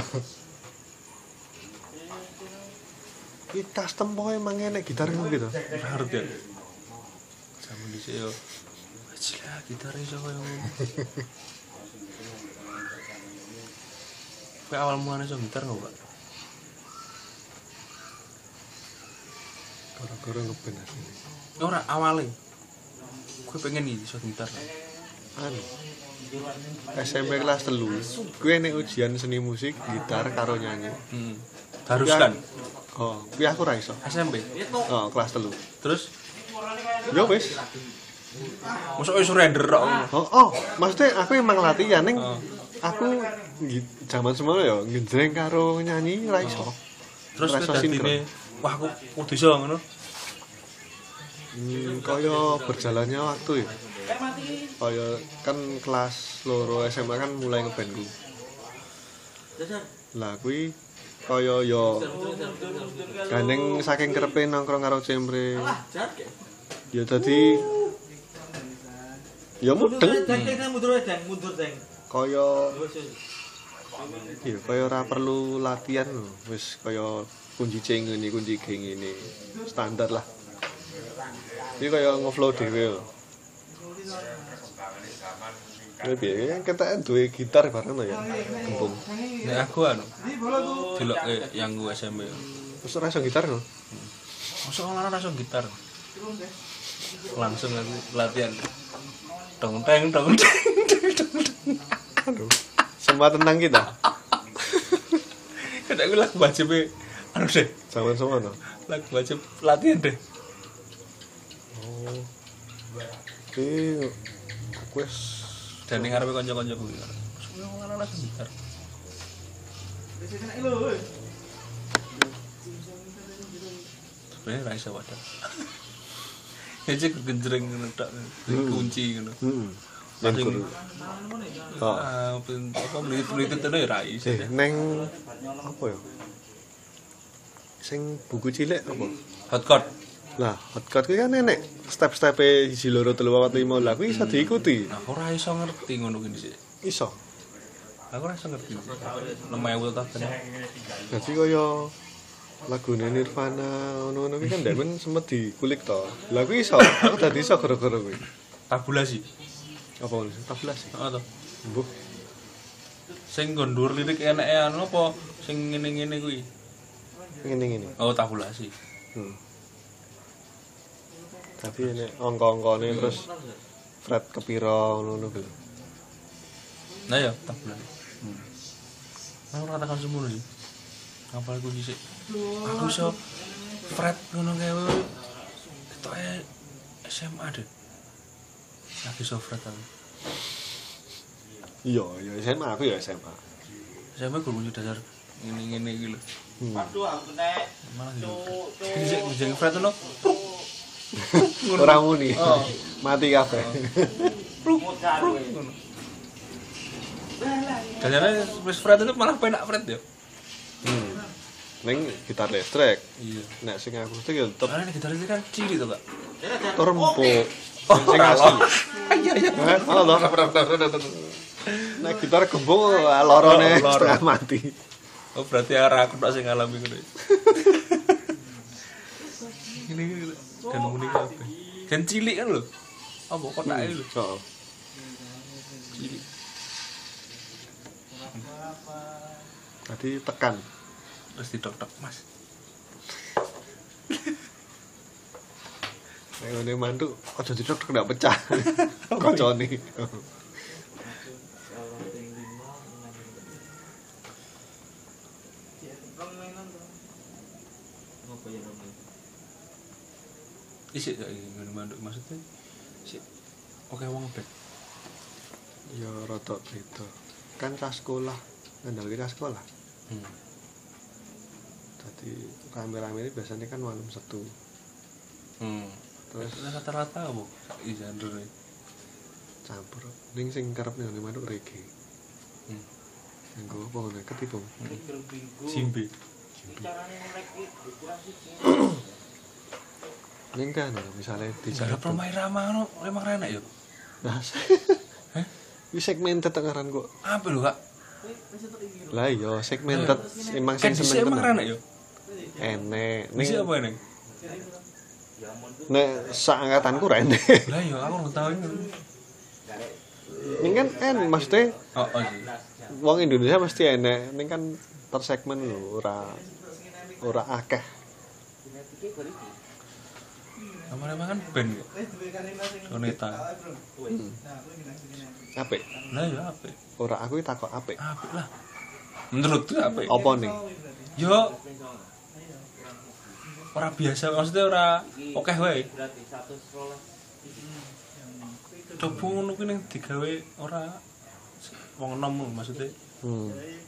Iki custom pokoke emang enek gitar ngono gitu. Ora ngerti ya. Jaman dhisik ya gila gitare iso koyo ngono. Kowe awal mulane iso gitar ngono, Pak? Gara-gara ngeband asli. Ora awale. Kowe pengen iki iso gitar. anu S M P kelas telu kuwi nek ujian seni musik gitar karo nyanyi. Hmm. Haruskan. Oh, kuwi aku ra iso. S M P. Oh, kelas telu. Terus Yo wis. mosok wis surrender tok. Oh, oh, maksudnya aku emang latihan ning Oh. aku gi- zaman semono ya ngendreng karo nyanyi ra iso. Terus Ra iso dadine wah aku kudu iso ngono. Hmm, kaya berjalannya waktu ya. Kaya kan kelas loro S M A kan mulai ngeband ku. Lah kuwi kaya yo gandeng saking kerepe nongkrong karo cemre. Ya dadi ya mudeng mundur deng, mundur deng. kaya ya kaya ora perlu latihan lho. Wis kaya kunci C ngene, kunci G ngene. Standar lah. Iki kaya ngeflow dhewe lho. Kuwi piye? Ketek duwe gitar bareng to ya. Gembung. Nek aku anu delok yang gue S M P. Wis ora iso gitar lho. Mosok ora langsung gitar. Langsung aku latihan. Dong teng dong teng. Aduh. Semua tentang kita. Kadang gue lagu wajib anu deh. Zaman semono. Lagu wajib latihan deh. Oh. Iki aku wis Dan ning ngarepe kanca-kanca kuwi. Semua ora langsung gitar. Sebenarnya ra iso wadah. Ya cek genjreng ngono tok. Kunci ngono. heeh. Langsung Oh. ah pen- apa melilit-melilit itu ya ra iso. Eh, neng apa ya? Sing buku cilik apa? Hotcode. Lah, hotcode kuwi kan enek step-stepe siji loro telu papat lima. Lah kuwi iso diikuti. Nah, aku ora iso ngerti ngono kuwi sih. Iso. Aku ora iso ngerti. Lemah ewu ta ben. Dadi kaya lagune Nirvana ngono-ngono kuwi kan demen sempet dikulik to. Lah kuwi iso. Aku dadi iso gara-gara kuwi. Tabulasi. Apa ngono? Tablas sih. Heeh to. Mbuh. Sing gondur lirik eneke anu apa sing ngene-ngene kuwi. Ngene-ngene. Oh, tabulasi. Hmm. Tapi nek angka-angkane terus fret kepira ngono kuwi. Nah ya, tabulasi. Hmm. Aku ora tekan semono iki. Ngapal kunci sik. Aku iso fret ngono kae. Ketoke S M A deh. Lagi iso fret aku. Iya, ya S M A aku ya S M A. S M A guru kunci dasar ngene-ngene iki lho. Hmm. Waduh, aku nek Malah yo. Iki jeneng fret ono. Ora muni. Oh. Mati kabeh. modal kowe. Ngono. Kayaknya wis fret itu malah penak fret ya. Hmm. Ning gitar listrik. Iya. Nek sing akustik ya tetep Karena gitar ini kan cilik to, Kak. terempuk. Sing asli. Iya iya. Halo. Nek gitar gembung lorone Loro. setengah mati. Oh, berarti arah aku tok sing ngalami ngono. Ini kan muni kabeh. Kan cilik kan lho. Apa kotake lho. Heeh. Cilik. Tadi tekan. Terus didok-dok, Mas. Nek ngene mantuk aja didok ndak pecah. Kocone. Isik gak iki ngene manduk maksudnya. Sik. Oke wong bet. Ya rada beda. Kan cah sekolah, ngandalke cah sekolah. Hmm. Dadi rame-rame ini biasanya kan malam Sabtu. Hmm. Terus Rata-rata apa? Iki genre. campur. Ning sing kerep ngene manuk reggae. Hmm. Nggo apa ngono ketipung. Simbe. Carane ngelek iki kurang siji. Ning kan misalnya di Cara pemain ramah ngono emang enak ya. Nah, Heh? ini segmented tengaran kok. Apa lho, Kak? Lah iya segmented emang Kan sing dhisik seneng emang tenan. enak ya. Enek. Ning Ning apa enek? nek sak angkatanku ra enek. Lah ya aku ora tau ini. Ning kan en maksudnya Oh, oh sih. wong Indonesia mesti enek. Ning kan per segmen lho ora ora akeh. Kamare mangan ben kok. Soneta. Apik. Lah ya apik. Ora aku iki takok apik. Apik lah. Menurutku apik. Apa nih? Yo ora biasa maksudnya ora akeh wae. Coba ngono kuwi ning digawe ora wong enom maksudnya. Hmm.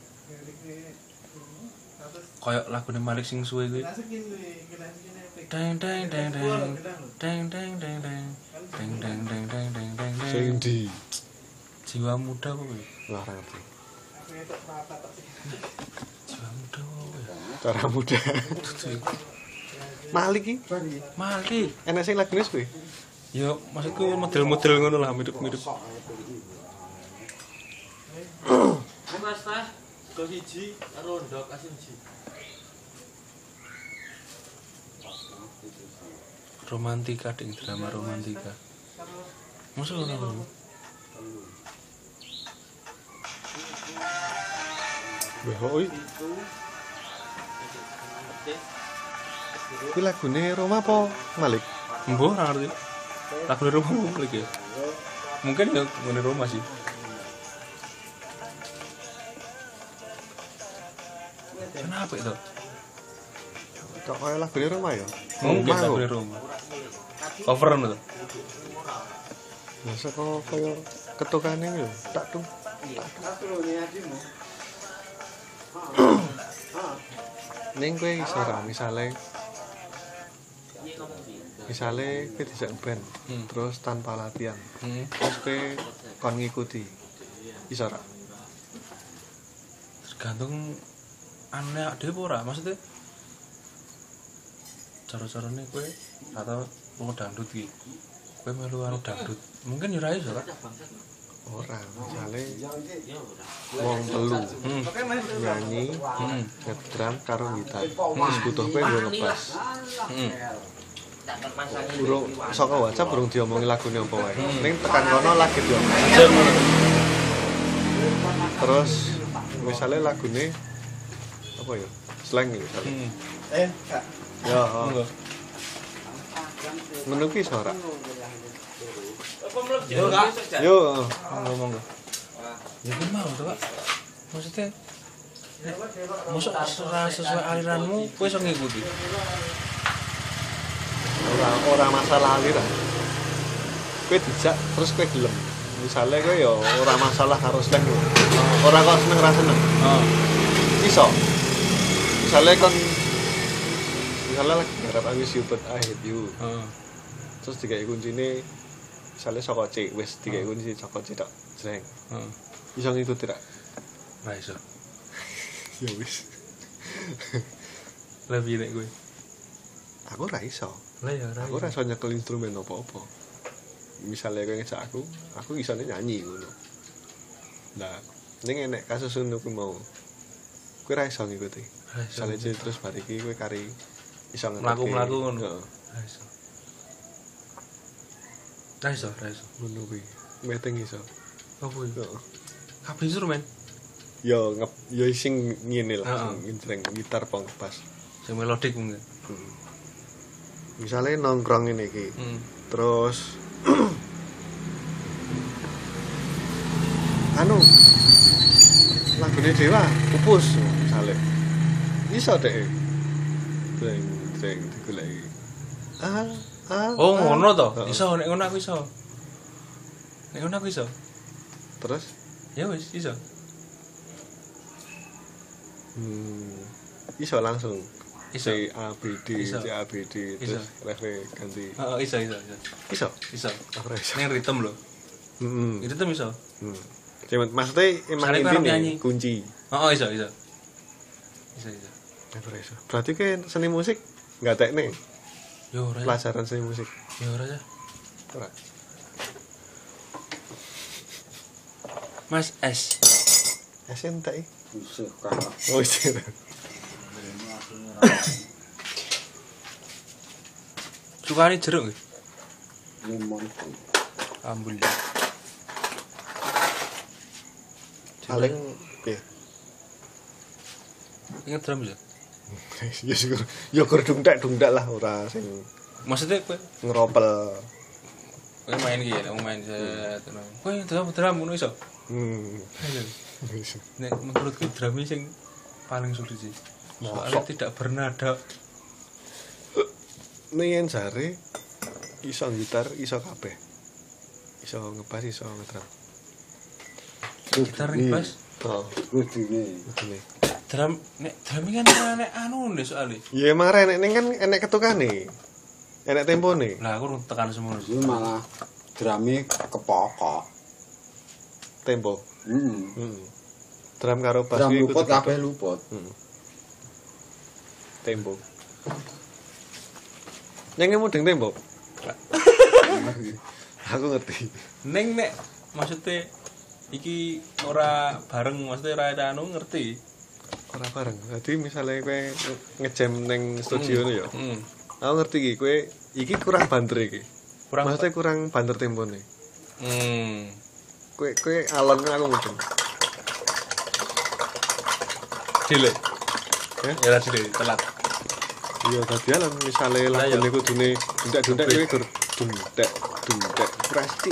Kayak lagune Malik sing suwe kuwi. Deng deng deng deng. Deng deng deng deng. Deng deng deng deng deng deng. Sing ndi? Jiwa muda kuwi. Wah, ora ngerti. Jiwa muda kuwi. Cara muda. Malik iki? Malik. Enak sing lagune kuwi. Yo maksudku model-model ngono lah mirip-mirip. Mas Tas, go siji karo ndok asin siji. Romantika ding drama romantika. Masa ngono. Wah, oi. Kuwi lagune Roma apa Malik? Mbah ora ngerti. Lagune Roma Malik ya. Mungkin ya ngene Roma sih. Kenapa itu? Kok kaya lagune Roma ya? Mungkin lagune Roma. Cover ngono. Masa kok kaya ketukane lho, tak tuh. Ning kowe iso ra misale misale kowe dijak band Hmm. terus tanpa latihan. Hmm. Terus kowe kon ngikuti. Iso ra? Tergantung aneh dhewe ora maksudnya. Cara-carane kowe atau mau dangdut iki. Kowe melu karo dangdut. Mungkin ya ora iso ra. Ora, misale wong telu Hmm. nyanyi, Hmm. ngedrum karo gitar. Terus butuh kowe nggo ngebas. Hmm. Burung saka WhatsApp burung diomongi lagune apa wae. Ning tekan kono lagi diomong. Jam ngono. Terus misale lagune apa ya? Slang ya misale. Hmm. Eh, Kak. Ya, oh. Monggo. Menu ki iso ora? Yo, Kak. Yo, Monggo monggo. Ya kan mau to, Pak. Maksudnya masuk sesuai, sesuai aliranmu kowe iso ngikuti. ora ora masalah aliran. Kowe dijak terus kowe gelem. Misale kowe ya ora masalah karo slang. Ora kok seneng ra seneng. Oh. Iso. Misale kon misale lagi garap Agus Yubet I Hate You. Heeh. Terus digawe kuncine misale saka C, wis digawe kunci saka C tok. Jreng. Heeh. Iso ngikuti ra? Ra iso. Ya wis. Lebih nek kowe. Aku ra iso. Lah ya ra. Aku ora iso nyekel instrumen apa-apa. Misale kowe ngejak aku, aku isone nyanyi ngono. Lah, ning enek kasus ngono kuwi mau. Kowe ra iso ngikuti. Ra iso. Misale C terus bar iki kowe kari iso ngerti. Mlaku-mlaku ngono. Heeh. Ra iso. Ra iso, ra iso. Ngono kuwi. Meteng iso. Apa iki? Heeh. Kabeh instrumen. Yo ngep yo sing ngene lah, Heeh. sing intreng gitar pong pas. Sing melodik mungkin. Hmm. Misale nongkrong ngene iki. Hmm. Terus anu lagune Dewa pupus misale iso deh dreng dreng digoleki ah ah Oh, ah. ngono to. Heeh. Iso nek ngono aku iso. Nek ngono aku iso. Terus Ya wis iso. hmm, iso langsung Iso. C A B D Iso. C A B D Iso. terus refre ganti Heeh, iso iso iso. iso Iso. aku ora iso Ning ritme lho. heeh Ritme iso. hmm. Cuman maksudnya emang Misalnya karo intine nyanyi. kunci Heeh, iso iso. Iso iso. aku ora iso berarti kan seni musik nggak teknik Yo ora. pelajaran seni musik Yo ora ya. ora Mas S. S N T I Usah kakak. oh iya Sukane jeruk nggih. Limon. Alhamdulillah. paling ya Ingat drum ya? ya syukur ya kur dungdak dungdak lah ora sing Maksudnya kowe ngeropel. kowe main iki ya, main set. Kowe drum drum ngono iso. Hmm. Nek menurutku drum sing paling sulit sih. Soalnya tidak bernada. Nih jare iso gitar, iso kabeh. Iso ngebas, iso ngedrum. Gitar ngebas. Oh, Kudune. ngene. Drum nek drum kan nek anu nih soalnya. Ya emang enek ning kan enek ketukane. Enek tempone. Lah aku tekan semono. Itu malah drame kepokok. Tempo. Heeh. Heeh. Drum karo bass Drum kuwi luput kudu kabeh luput. Heeh. Tempo. Neng mudeng tempo. Aku ngerti. Neng nek maksudnya iki ora bareng maksudnya ora ada anu ngerti. Ora bareng. Dadi misale kowe ngejam ning studio ya. Heeh. Aku ngerti iki kowe iki kurang banter iki. Kurang Maksudnya kurang banter tempone. Hmm. Kowe kowe alon kan aku mudeng. Dile. Ya? Ya lah dile telat. Iya dadi alon misale Lah, ya. lagune kudune dundak-dundak kowe gur dundak dundak presti.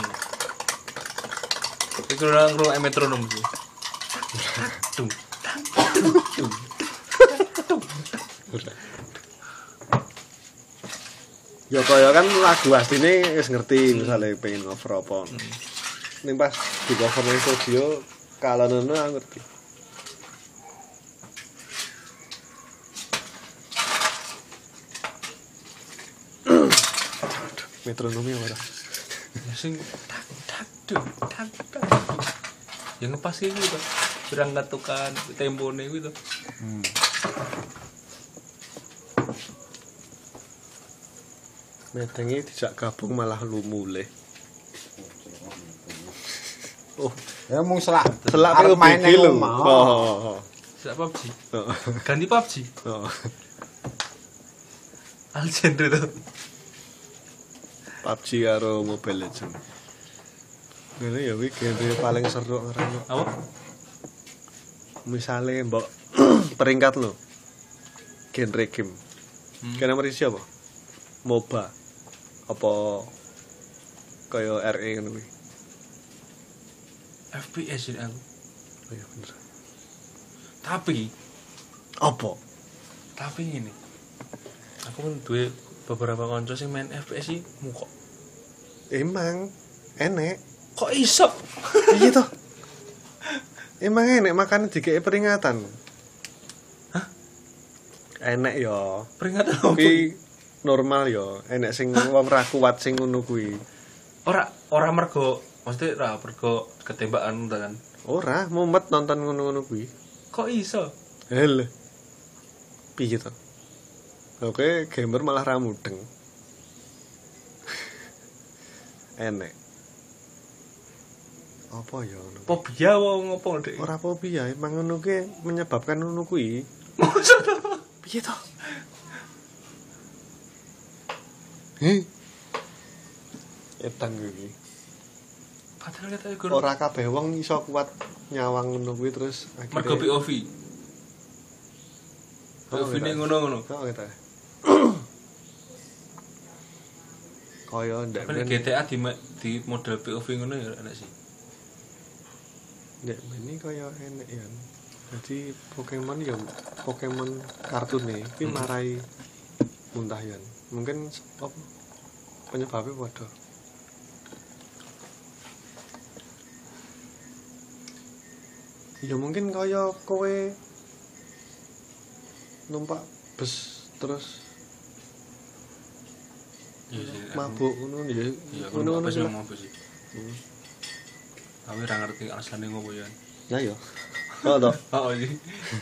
Iku ora ngro metronom sih. Tung. Ya kaya kan lagu asline wis ngerti misale pengen cover apa. Ning pas di cover ning studio kalanono aku ngerti. Metronomi ora. Sing tak tak duk tak tak. Yang ngepas iki to. Berang katukan tempone kuwi to. Hmm. Metengi dijak gabung malah lu mulih. Oh, Ya mung selak. selak arep pe main main nang lho. omah. Oh. Sak P U B G. Oh. Ganti P U B G. Oh. Al genre to. P U B G karo Mobile Legends. Ngene ya kuwi genre paling seru ngarane. Apa? Misale mbok peringkat lho. Genre game. Hmm. Kene nomor siapa? MOBA. Apa kaya R E ngono kuwi. F P S ini aku. Oh iya bener. Tapi Apa? tapi ini aku pun duwe beberapa kanca sing main F P S iki mukok. Emang enek. Kok iso? Iya toh. Emang enek makane dikeki peringatan. Hah? Enek ya. Peringatan apa? Kuwi normal ya. Enek sing wong ra kuat sing ngono kuwi. Ora ora mergo maksudnya ora mergo ketembakan kan. Ora, mumet nonton ngono-ngono kuwi. Kok iso? Hel. Piye to? Oke, gamer malah ra mudeng. Enek. Apa ya ngono? Fobia wong ngopo Dek? Ora fobia, emang ngono kuwi menyebabkan ngono kuwi. Piye to? Heh. Edan kuwi. Padahal kata iku Ora kabeh wong iso kuat nyawang ngono kuwi terus mergo P O V. P O V ini ngono-ngono. Kok kita. Kaya ndak Tapi G T A di di model P O V ngono ya enak sih. Ndak ini kaya enek ya. Jadi Pokemon ya Pokemon kartune iki Hmm. marai muntah ya. Mungkin apa penyebabnya padha. Ya mungkin kaya kowe numpak bus terus Iya sih. aku- mabuk ngono ya. Iya, aku Ngono-ngono apa sih lah. ngomong apa sih? Hmm. Tapi ora ngerti alasane ngopo ya. Nah ya. Oh toh. Oh iya.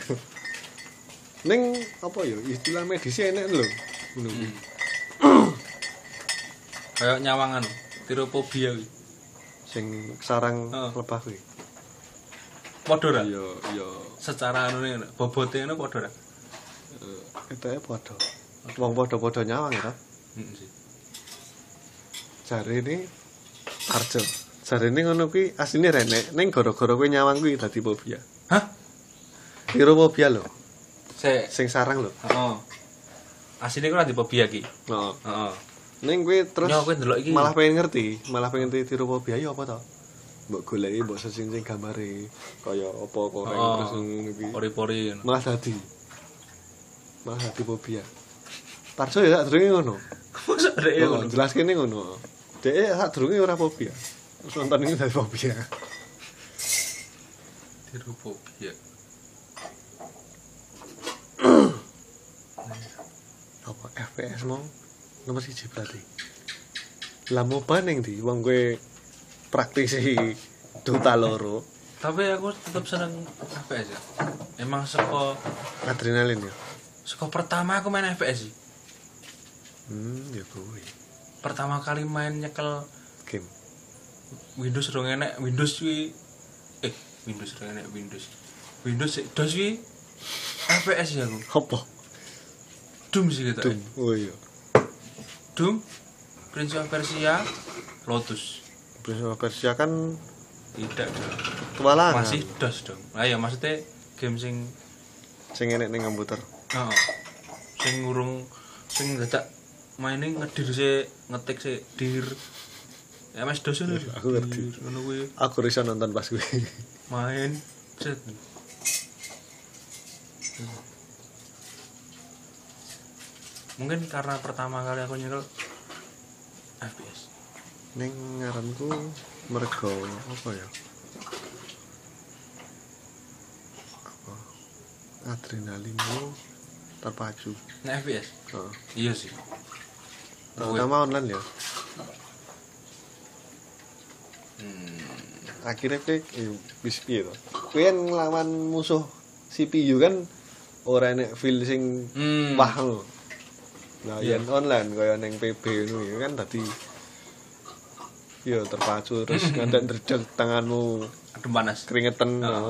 Ning apa ya istilah medis enek lho. Ngono kuwi. Kayak nyawangan, tirophobia kuwi. Sing sarang Heeh. lebah kuwi. Padha ora? Iya, iya. Secara anu ngono, bobote ngono padha ora? Ketoke padha. Wong padha-padha nyawang ya. Heeh sih. Jarene Arjo. Jarene ngono kuwi asline renek ning gara-gara kowe nyawang kuwi dadi fobia. Hah? Tirophobia lho. Sik. Sing sarang lho. Heeh. asine ku ora fobia ki. Heeh. Heeh. Ning kuwi terus Yo, kowe ndelok iki. malah pengen ngerti, malah pengen ngerti tirofobia ya apa to? Mbok goleki, mbok sing-sing gambare kaya apa koreng Oh. terus ngono iki. Pori-pori ngono. Malah dadi. Malah dadi fobia. Tarso ya sadurunge ngono. Mosok rek Oh, ngono. jelas kene ngono. Dek sadurunge ora fobia. Terus nonton ini dadi fobia. Tirofobia. Apa F P S mau nomor siji berarti. Lah mau paning di wong kowe praktisi Dota loro, Tapi aku tetap seneng F P S ya. Emang saka adrenalin ya. saka pertama aku main F P S sih. Hmm, ya kuwi. Pertama kali main nyekel Game. Windows rong enek, Windows kuwi eh Windows rong enek Windows. Windows sik dos kuwi F P S ya aku. Apa? Doom sih gitu. Doom. Oh iya. Doom, Prince of Persia, Lotus. Prince of Persia kan Tidak dong. petualangan. Masih dos dong. Lah ya maksudnya game sing Sing enek ning komputer. heeh. Sing ngurung sing dadak maine ngedir sik, ngetik sik dir. Ya Mas dos lho. Aku ngerti. Ngono kuwi Aku risa nonton pas kuwi. main set. Mungkin karena pertama kali aku nyekel F P S. Ning ngaranku mergo apa ya? Apa? Adrenalinmu terpacu. Nah F P S. Heeh. Iya sih. Terutama online ya. Hmm. Akhirnya kowe eh, wis piye to? Kowe kan nglawan musuh C P U kan ora enek feel sing Hmm. wah lho. Nah, Iya. yen online kaya ning P B ngono ya kan dadi yo terpacu terus ngantek ndredeg tanganmu Adem panas. keringetan. Oh. Oh.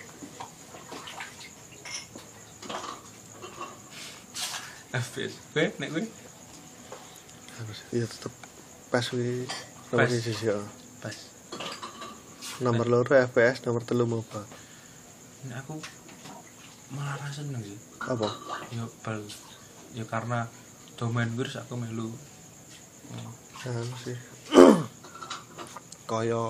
F P S. Kowe nek kowe Harus iya tetep pas kuwi nomor Pas. siji ya. pas. Nomor loro F P S, nomor telu MOBA. Nek aku malah ra seneng sih. Apa? Ya bal ya karena domain virus aku melu. Hmm. Anu sih. Kaya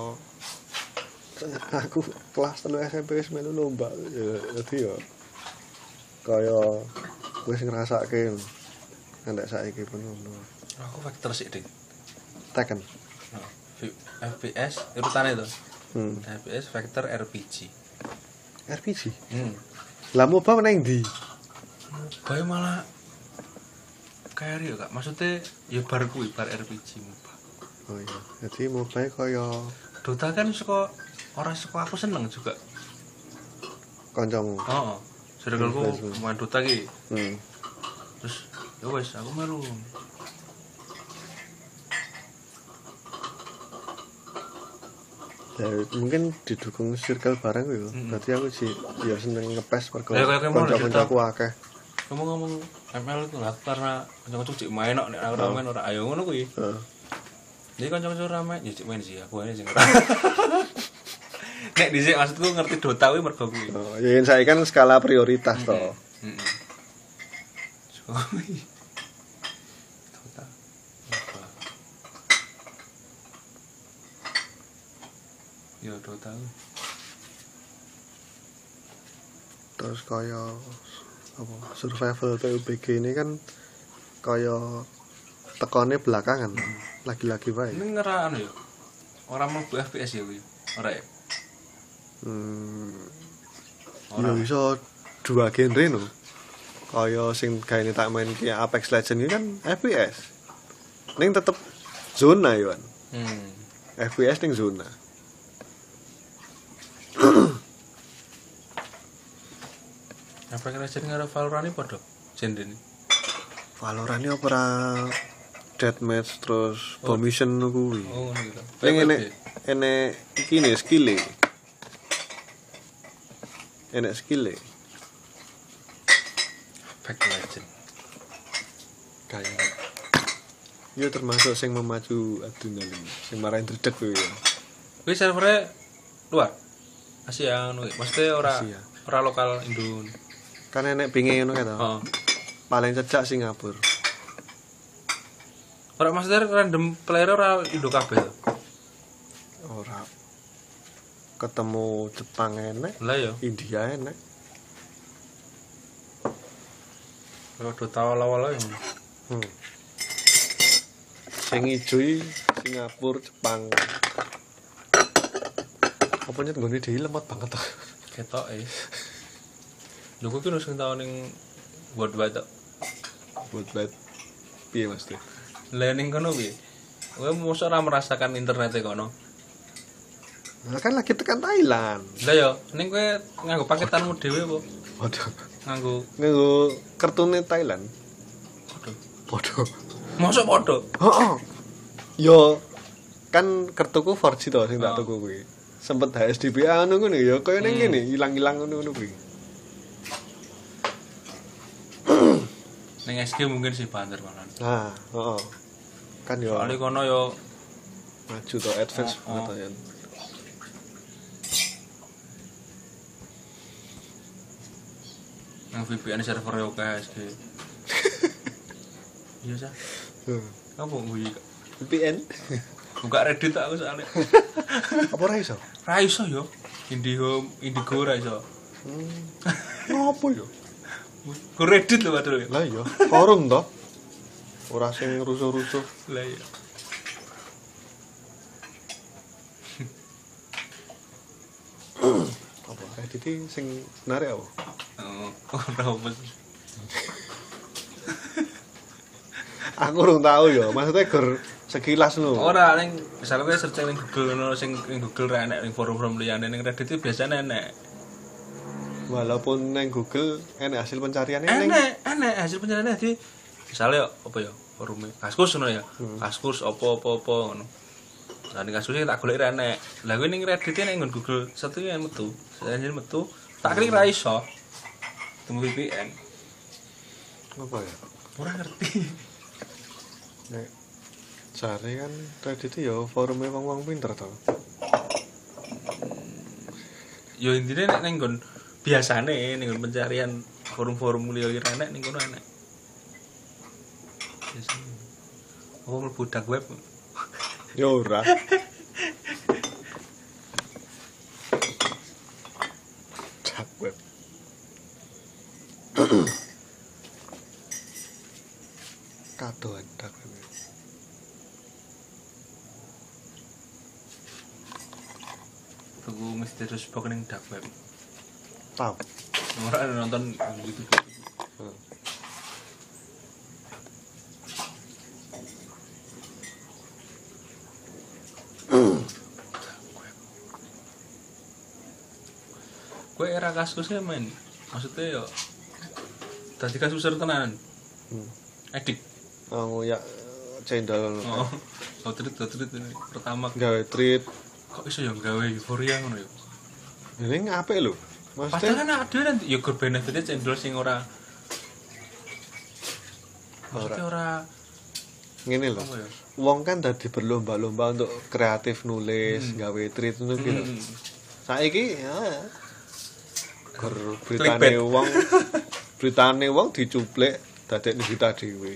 aku kelas telu S M P wis melu lomba ya dadi ya kaya wis ngrasake ngantek saiki pun ngono. Aku faktor sik ding. Tekken. Nah, F P S urutane to. Hmm. F P S vector R P G. R P G. Hmm. Lah MOBA nang ndi? Bae malah kayak ya Kak. Maksudnya ya bar kuwi bar R P G MOBA. Oh iya. Jadi MOBA kaya Dota kan suka orang suka aku seneng juga. kancamu. Heeh. Circleku Hmm. main Dota ki. Hmm. Terus ya wes aku melu. Ya, mungkin didukung circle bareng ya. Mm-mm. Berarti aku sih ya seneng ngepes mergo Ya, kayak kayak mau kanca-kancaku akeh. Kamu ngomong M L itu lah karena kanca-kanca cek main kok nek ora main ora ayo ngono kuwi. Heeh. Jadi kanca-kanca ora main ya cek main sih aku ae sing ora. Nek dhisik maksudku ngerti Dota kuwi mergo kuwi. Oh, ya yen saiki kan skala prioritas to. Heeh. So kuwi. Dota. Apa? Yo Dota. kuwi. Terus kaya apa survival P U B G ini kan kaya tekone belakangan. Lagi-lagi wae. Ini ngera anu ya. Ora mlebu F P S ya kuwi. Ora ya. Hmm. Ora. Ya iso dua genre no. Kaya sing gaene tak main ki Apex Legends ini kan F P S. Ning tetep zona yo kan. Hmm. F P S ning zona. Apa kira-kira karo Valorant iki padha genre ini? Valorant ini opera deathmatch terus bomb mission kuwi. Oh ngono gitu. Ning enek enek iki ne skill e. Enek skill e. Apex Legend. Kayak ya termasuk sing memacu adrenalin, sing marahin dredeg kuwi ya. Kuwi servernya luar. Asia ngono kuwi. Maksudnya ora Asia. ora lokal Indo. Kan enek pinge ngono kae to. Heeh. paling cecak Singapura. Ora maksudnya random player ora Indo kabeh to. Ora ketemu Jepang enek, Lah ya, India enek. ora do tau awal-awal ya. Hmm. Sing ijo iki Singapura, Jepang. Apa nyet nggone dhewe lemot banget to. Ketoke. Lho kuwi kan sing tau ning worldwide to. Buat banget. Piye Mas Teh? Lah ning kono piye? Kowe mosok ora merasakan internet e kono. Nah, kan lagi tekan Thailand. Lah ya, ning kowe nganggo paketanmu dhewe apa? Waduh. Nganggo Nganggo kartune Thailand. Waduh. Waduh. Mosok padha. Heeh. Yo kan kartuku four G to sing tak Oh. tuku kuwi. Sempet H S D P A ngono ngono ya kaya ning Hmm. kene ilang-ilang ngono-ngono kuwi. Ning S G mungkin sih banter malah. Nah, heeh. Kan yo Soale kono yo maju to advance Oh, banget oh. to ya. nang V P N server yo kae S G. Iya sah. Hmm. Apa kuwi? V P N. Buka Reddit aku soalnya. Apa ora iso? Ra iso yo. Indihome, Indigo ra iso. Ngopo yo? Ku Reddit lho padahal. Lah iya, forum to. Ora sing rusuh-rusuh. Lah iya. Apa Reddit iki sing narik apa? Oh, ora apa. Aku urung tahu yo, maksudnya gur sekilas lho. Ora ning misalnya kowe searching ning Google ngono sing ning Google ra enek ning forum-forum liyane ning Reddit itu biasanya enek. Walaupun neng Google enek hasil pencariannya neng Enek, enek hasil pencariannya di misalnya apa ya forume Kaskus ngono ya. Kaskus apa-apa-apa ngono. Lah ning Kaskus tak golek ra enek. Lah kuwi ning Reddit ning nggon Google satu yang metu. Saya metu tak klik ra iso. Temu V P N. apa ya? Ora ngerti. Nek cari kan Reddit yo forumnya wong-wong pinter to. Yo intine nek ning nggon biasane ning nggon pencarian forum-forum liya iki enek ning kono enek. Biasane. Apa mlebu dark web? Yo ora. Dark web. Kadoan dark web. Tuku misterius box ning dark web. Tahu. Ora nonton gitu. Hmm. Kowe era kasusnya main. Maksudnya yo dadi kasus tenan. Hmm. Edik. Oh ya cendol. Oh. Outreach outreach ini pertama Gawe treat. kok iso yo gawe euforia ngono yo. Ini apik lho. Padahal Maksudnya kan ada nanti yo gur benefitnya cendol sing ora maksudnya ora ngene lho. apa ya? Wong kan dadi berlomba-lomba untuk kreatif nulis, Hmm. gawe treat ngono ki lho. Hmm. Saiki ya gur Clickbait. beritane wong beritane wong dicuplek dadekne berita dhewe.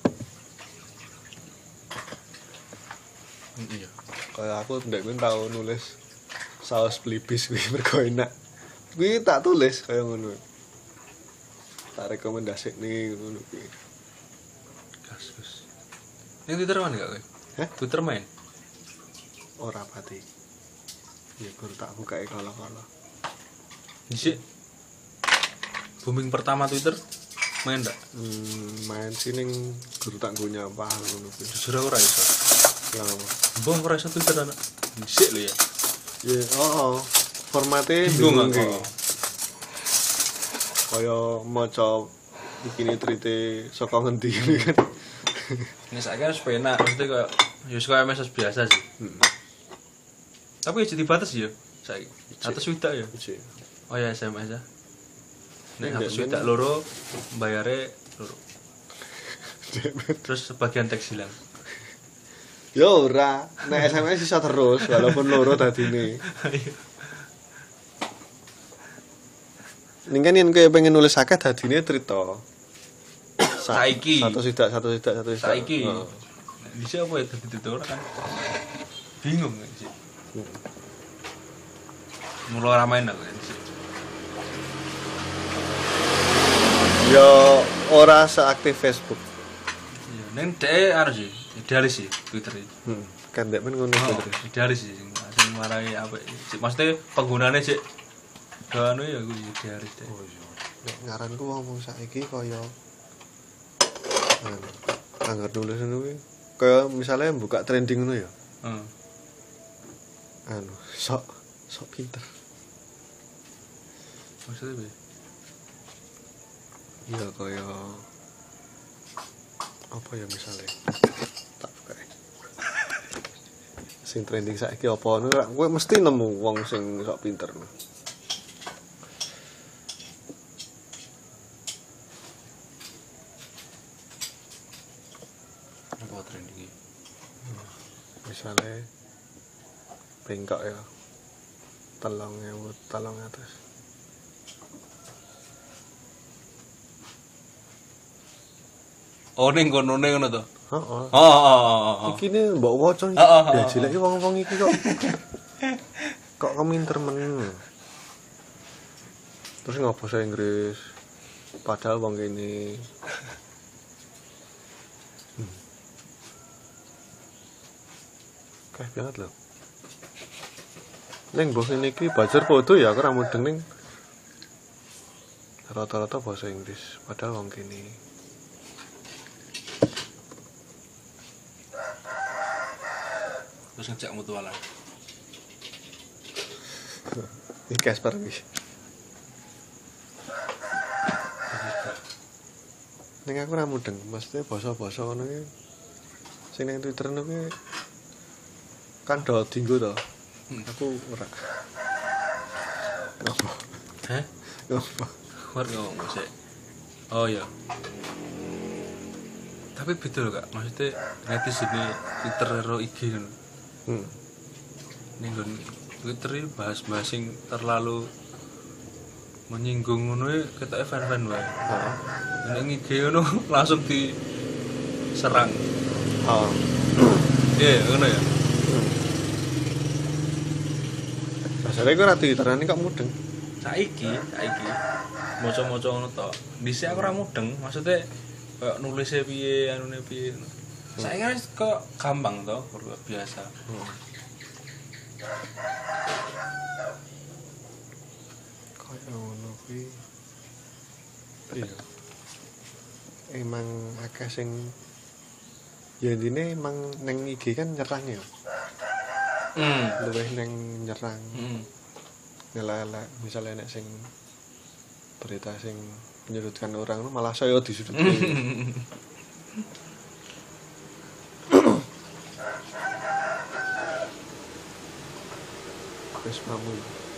Iya. Kayak aku ndek kuwi tau nulis saus pelipis kuwi mergo enak. Kuwi tak tulis kaya ngono. Tak rekomendasikne ngono kuwi. Kasus. Ning Twitter main gak kowe? Hah? Twitter main. Ora pati. Ya gur tak bukae kala-kala. Dhisik. Booming pertama Twitter main ndak? Hmm, main sih ning guru tak nggo nyampah ngono kuwi. Jujur aku ora iso. Lah apa? Mbah ora iso Twitter anak. Dhisik lho ya. Ya, oh, oh. Formatnya Bingung bingung aku. ki. Kaya maca bikini trite saka ngendi ini kan. Ini saiki kan sepena, mesti kok ya kaya message biasa sih. Hmm. Tapi ya jadi batas ya saiki. Atas widak ya. Iji. Oh ya S M S ya. Nek Ndek, atas men. widak loro bayare loro. Terus sebagian teks hilang. Ya ora, nek S M S iso terus walaupun loro dadine. Ning kan yen kowe pengen nulis akeh dadine cerita. Sa- Saiki. Satu sidak, satu sidak, satu sidak. Saiki. Heeh. Di siapa ya dadi tutor kan. Bingung sih. Mula ora main aku kan. Ya ora seaktif Facebook. Iya, ning dhek anu sih, idealis sih Twitter iki. Hmm. Kan dek men ngono Oh, terus. idealis sih sing sing marai apa sih maksudnya penggunaannya sih gak anu ya gue idealis deh. Nek ngaranku wong-wong saiki kaya anu, anggar nulis ngono kuwi kaya misalnya buka trending ngono ya. Heeh. Anu, sok sok pinter. Maksudnya piye? Iya kaya apa ya misalnya tak buka ya. Sing trending saiki apa ngono kowe mesti nemu wong sing sok pinter. Apa trending iki? Misalnya bengkok ya telung ewu telung atus. Oh ning kono ning ngono to. Heeh. Oh oh oh oh. Iki ne mbok waca iki. Heeh, heeh, Ya jeleke wong-wong iki kok. Kok keminter men. Terus ngapa bahasa Inggris? Padahal wong kene. Hmm. Kayak banget loh. Neng bos ini ki belajar foto ya, aku ora mudeng ning. Rata-rata bahasa Inggris, padahal wong kene. Terus ngejak mutualan. Iki Casper iki. Ning aku ora mudeng, mesti basa-basa ngono ki. Sing ning Twitter niku ki kan do dinggo to. Aku ora. Apa? Hah? Apa? War ngomong sih. Oh iya. Tapi beda loh Kak, maksudnya netizen ini Twitter karo I G kan. Hmm. Ning nggon Twitter iki bahas-bahas sing terlalu menyinggung ngono e ketoke fan-fan wae. Heeh. Ning I G ngono langsung diserang. Oh. Iya, ngono ya. Masalahe kok ora Twitterane kok mudeng. Saiki, saiki maca-maca ngono to. Dhisik aku ora mudeng, maksudnya kayak nulisnya piye, anune piye. Saiki kan kok gampang to, biasa. Kaya ngono kuwi. Iya. Emang akeh sing ya intine emang neng I G kan nyerang ya. Hmm. Luwih neng nyerang. Hmm. Ngelelek misalnya nek sing berita sing menyudutkan orang malah saya disudutkan. Wis mamu.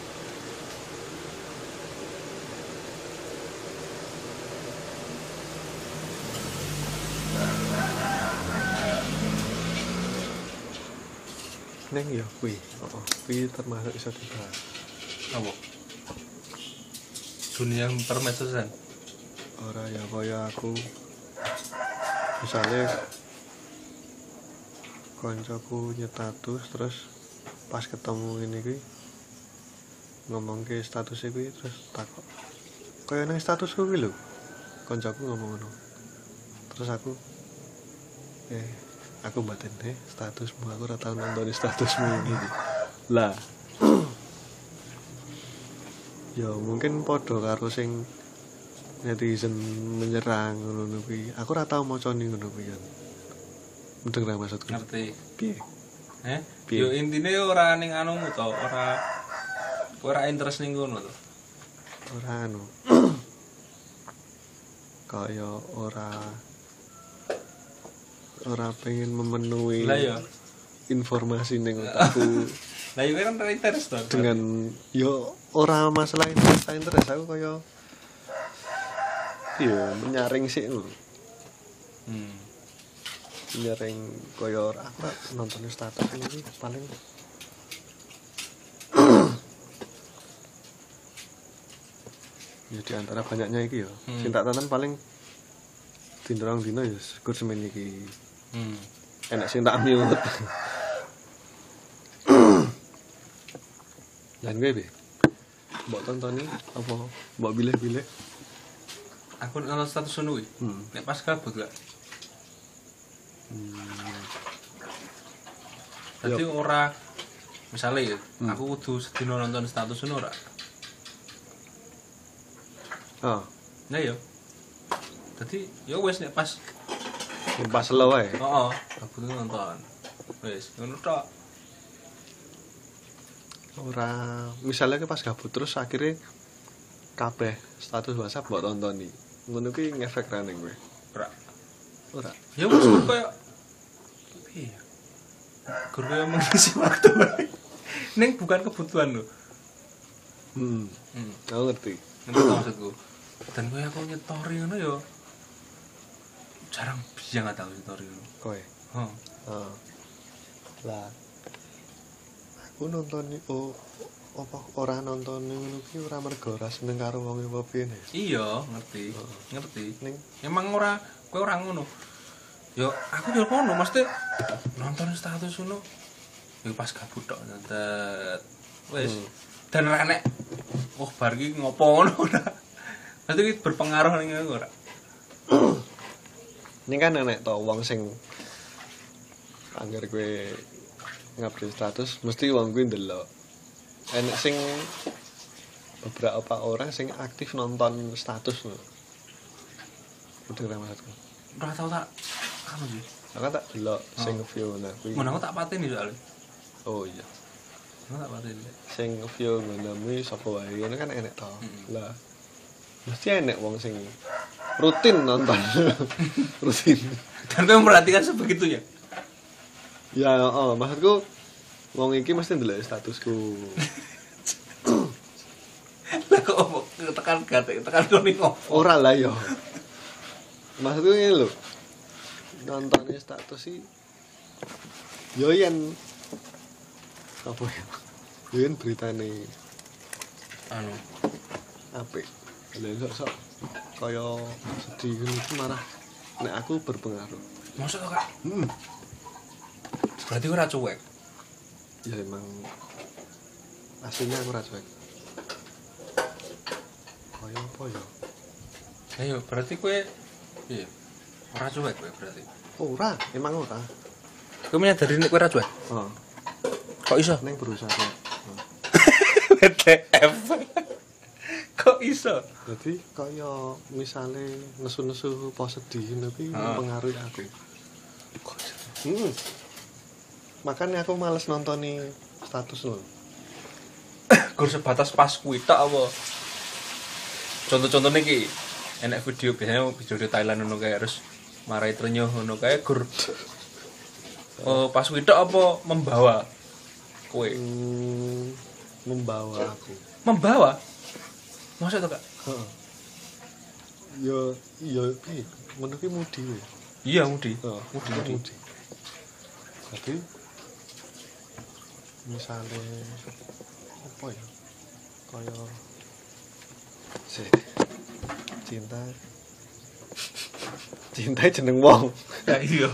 Neng ya kuwi, heeh, kuwi termasuk iso dibahas. Apa? Dunia permedsosan. Ora ya kaya aku misalnya koncoku nyetatus terus pas ketemu ini kuwi ngomong ke statusnya kuwi terus takut kaya nang statusku kuwi lho koncoku ngomong ngono terus aku eh aku batin deh statusmu aku ora tau nonton statusmu gitu lah ya mungkin podo karo sing netizen menyerang ngono kuwi aku ora tau macane ngono kuwi kan mudeng ra maksudku Ngerti. piye Eh? Piye? Yo intine ora ning anumu to, ora ora interest ning ngono to. ora anu kaya ora ora pengen memenuhi Lah ya. informasi ning otakku Lah yo kan ora interest to. dengan yo ora masalah interest interest aku kaya iya menyaring sih lho Hmm. menyaring kaya ora aku nonton status ini paling ya di antara banyaknya iki ya Hmm. sing tak tonton paling dina dina ya syukur semen iki. Hmm. Enak sing tak mute. Lan kowe be. Mbok tontoni apa mbok pilih-pilih? Aku nonton status ngono kuwi. Hmm. Nek pas kabut gak. Hmm. Dadi ora misale ya, Hmm. aku kudu sedina nonton status ngono ora. Oh, Nah ya. Dadi ya wis nek pas pas slow ae. heeh, aku tuh nonton. Wis, ngono tok. Ora misalnya ke pas gabut terus akhirnya kabeh status WhatsApp mbok tontoni. Ngono ki ngefek ra ning kowe. Ora. Ora. Ya wis koyo piye ya? Gur koyo mengisi waktu. Ning bukan kebutuhan lho. Hmm. Hmm. Aku ngerti. Ngerti tak maksudku. Dan koyo aku nyetori ngono ya jarang bisa nggak tahu nyetori ngono. Kowe. Heeh. Heeh. Lah aku nonton oh apa ora nonton ngono ki ora mergo ora seneng karo wong apa piye. Iya, ngerti. Heeh. Ngerti. Ning Emang ora kowe ora ngono. Yo aku yo ngono, mesti nonton status ngono. Yo pas gabut tok nonton. Wis. Hmm. Dan ora nek oh bar iki ngopo ngono ora. Mesti iki berpengaruh ning aku ora. ini kan enek to wong sing anggar kowe ngupdate status mesti wong kuwi ndelok. Enek sing beberapa orang sing aktif nonton status lho. Udah ra maksudku. Ora tau tak anu sih. Aku tak delok sing view nah kuwi. Ngono aku tak pateni soalnya. Oh iya. Aku tak pateni. Sing view ngono kuwi sapa wae ngono kan enek to. Mm-mm. Lah mesti enek wong sing rutin nonton. Rutin. Dan kowe memperhatikan sebegitunya. Ya, oh, maksudku wong iki mesti ndelok statusku. Lah kok opo tekan gatek tekan kono opo? Ora lah ya. Maksudku ngene lho. Nonton status sih yo yen apa ya? Yo yen beritane Anu, apik. Lha sok-sok kaya sedih ngono iki marah nek aku berpengaruh. mosok to, Kak? Hmm. Berarti ora cuek. Ya emang aslinya aku ra cuek. Kaya apa ya? Ayo, berarti kowe piye? Ora cuek kowe berarti. Ora, emang ora. Kowe menyadari nek kowe ora cuek. Oh, Kok iso? ning berusaha. Oh. W T F. Kok iso? Jadi kaya misale nesu-nesu apa sedih ngono kuwi Ah. mempengaruhi aku. Hmm. Makanya aku males nontoni status lho. Gur sebatas pas kuwi tok apa? Contoh-contohnya iki enek video biasanya video di Thailand ngono kae terus marai trenyuh ngono kae gur oh pas kuwi tok apa membawa kowe? Hmm, membawa aku. Membawa? Masa to, Kak? Heeh. Yo yo piye? Ngono ki mudi we. Iya, Mudi. Heeh, Mudi, mudi. mudi. Jadi misale apa ya? Kaya sih cinta cinta jeneng wong. Ya iya.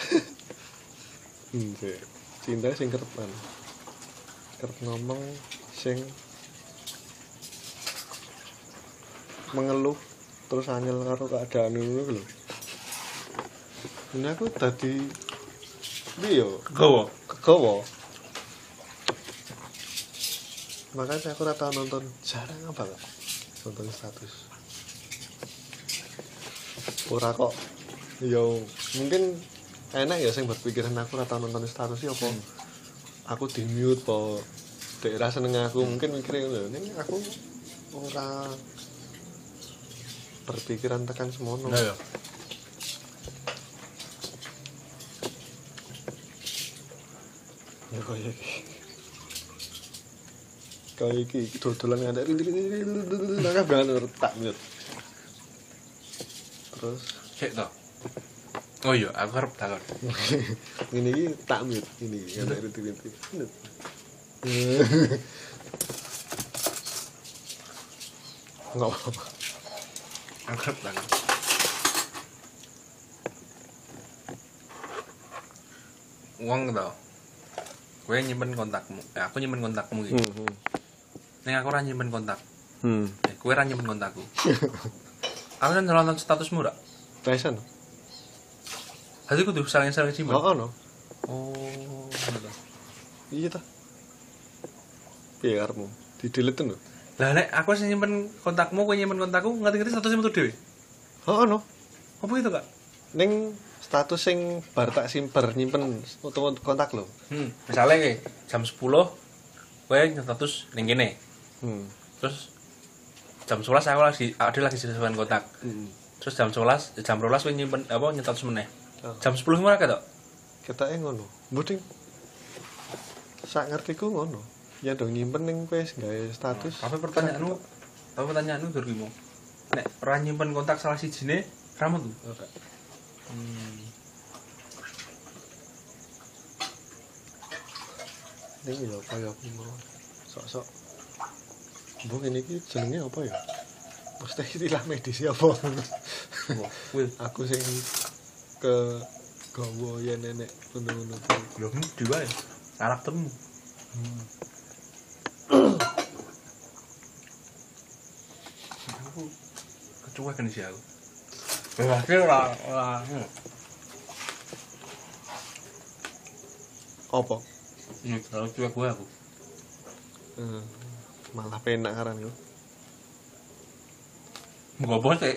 Hmm, sih. Cinta sing kerepan. Kerep ngomong sing mengeluh terus angel karo keadaan ngono lho. Ini aku tadi piye yo? Gowo. Kegawa. Makanya aku ora tau nonton, jarang banget nonton status. Ora kok. Yo mungkin enak ya sing berpikiran aku ora tau nonton status ya apa. Aku di-mute po. Daerah seneng aku mungkin mikire lho, ning aku ora berpikiran tekan semono. Nah ya. Ya kaya iki. Kaya iki dodolan ngantek rintik-rintik nang banget tak mute. Terus Cek to. Oh iya, aku arep takon. ngene iki tak mute ini ngantek rintik-rintik. Enggak apa-apa. Aku arep takon. wong to. Kowe nyimpen kontakmu. Ya aku nyimpen kontakmu iki. Hmm. Ning aku ora nyimpen kontak. Hmm. Eh, kowe ora nyimpen kontakku. Aku kan nonton statusmu ra. Tyson. Hadi kudu saling-saling simpen. Oh, no. Oh, ngono to. Iya ta. Piye karepmu? Di-delete lho. Lah nek aku sing nyimpen kontakmu, kowe nyimpen kontakku, ngerti-ngerti statusmu metu dhewe. Oh, no. Apa itu, Kak? Ning status sing bar tak simper nyimpen utawa kontak lho. Hmm, misale iki jam sepuluh kowe status ning kene. Hmm. Terus jam sebelas aku lagi ada lagi simpen kontak. Hmm. Terus jam sebelas, jam dua belas kowe nyimpen apa nyetatus meneh. Oh. Jam sepuluh ngono ketok. Ketake ngono. Mboten. Sak ngertiku ngono. Ya dong nyimpen ning kowe gawe status. Apa pertanyaanmu? Apa pertanyaanmu dur ki, nek ora nyimpen kontak salah sijine, ramu tuh. Ora. Hmm. Ning ya kaya apa sok-sok. Mbok ngene iki jenenge apa ya? Mesti istilah medis apa? Kuwi Aku sing ke gawa yen nenek ngono-ngono kuwi. lho mudi wae. Karaktermu. Aku kecuek kan sih aku. Wah, ora ora. Apa? Ini terlalu cuek gue aku. Eh, malah penak karan yo. Enggak bos sih.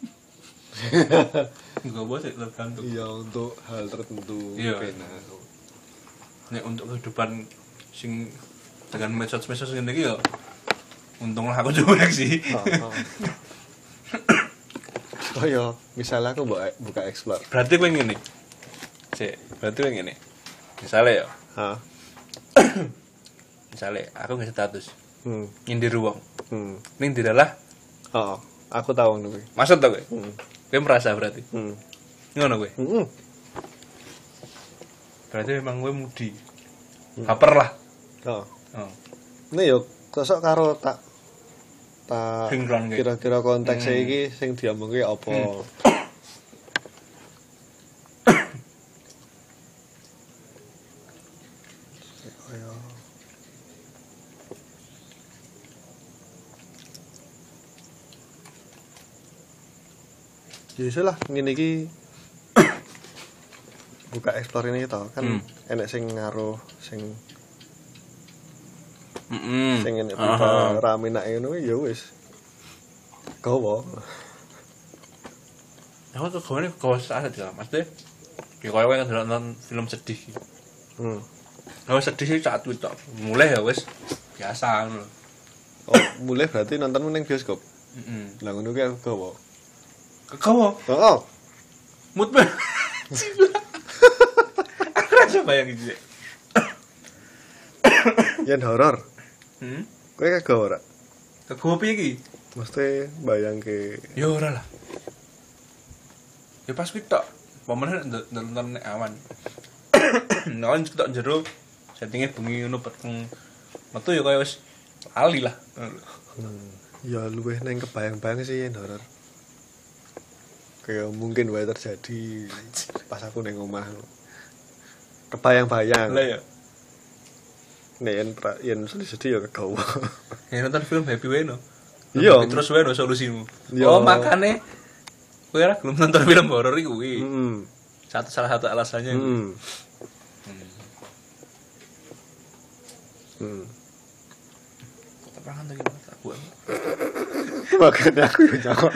Enggak bos sih tergantung. Iya untuk hal tertentu Iya. penak. Nek untuk kehidupan sing dengan medsos-medsos ngene iki ya untunglah aku cuek sih. Heeh. Oh ya, misalnya aku buka, buka explore. Berarti kowe ngene. Sik, berarti kowe ngene. Misale ya, Hah? misale aku nge status Hmm. nyindir wong. Hmm. Ning diralah Oh, aku tahu ngono kuwi. maksud to kowe? Hmm. Kowe merasa berarti. Hmm. Ngono kowe. Heeh. Berarti memang kowe mudi. Hmm. Baper lah. Oh. Oh. Ini yo kosok karo tak tak Sinkron kayak. kira-kira konteksnya Hmm. iki sing diomongke apa. Hmm. Kaya Ya iso lah ngene iki buka explore ini to kan Hmm. enek sing ngaruh sing Heeh. sing enek buka rame nak ngono ya wis. Gowo. Aku tuh gawane gawe saat ya, Mas Deh. Ya koyo kowe kan nonton film sedih. Hmm. Gawe sedih sih saat itu. Mulai ya wis biasa ngono. Oh, mulai berarti nonton ning bioskop. Heeh. Lah ngono ki aku gowo. Kegawa, Oh, mood banget. Aku rasa bayangin sih. yen horor. Hmm? Kowe kagak ora? Kegawa piye iki? Mesti bayangke Ya ora lah. Ya pas kuwi tok. Pemene nonton nek awan. Nang tok jero settinge bengi ngono peteng. Metu ya kaya wis lali lah. ya luwih neng kebayang-bayang sih yen horor. Kayak mungkin wae terjadi pas aku neng omah. Kebayang-bayang. Lah ya. Nek yen pra- yen sedih-sedih ya kegawa. Ya nonton film happy wae no. Iya. Tapi terus wae no solusimu. Iya. Oh, makane kowe ora gelem nonton film horor iki kuwi. Heeh. Satu salah satu alasannya. Heeh. Hmm. Tepangan lagi Mas aku. Makanya aku yo jawab.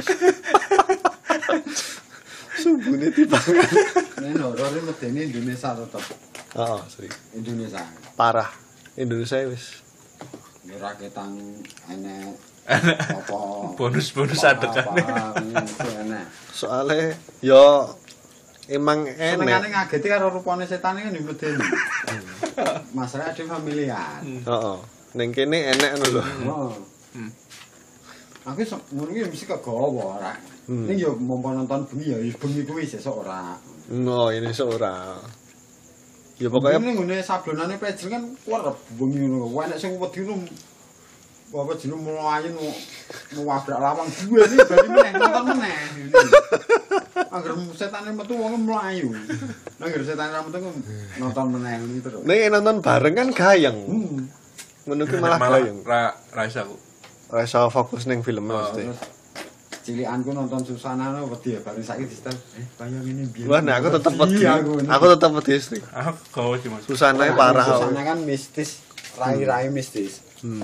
Sumbune tibangan. Ini horor ini medeni Indonesia tetap Oh, sorry. Indonesia. Parah. Indonesia wis Ora ketang enek apa Bonus-bonus apa- adekane. apa, itu enek. soalnya yo emang Senengane enek. ngageti karo rupane setan iki medeni. Masalah ada familiar. Heeh. Ning kene enek ngono lho. Oh. Hmm. Aku sok ngono iki mesti kegawa ora. Hmm. Ning yo mompo nonton bengi ya bengi kuwi sesuk ora. No, ini seorang. Ya pokoknya Ini ngene sablonane pejel kan kerep bengi ngono. Wae nek sing wedi ngono apa jeneng mlayu nu wabrak lawang duwe iki bali meneh nonton meneh. Angger setane metu wong mlayu. Angger setane ra metu nonton meneh ngono terus. Nek nonton bareng kan gayeng. Hmm. Ngono ki malah gayeng. Ra ra iso aku. Ora iso fokus ning film mesti. Cilikanku nonton Susana no wedi bareng saiki disetel. Eh, kaya ngene biyen. Wah, nek aku tetep wedi. Aku tetep wedi istri. Aku gawe sih Mas. Susana parah. Susana kan mistis, rai-rai mistis. Hmm.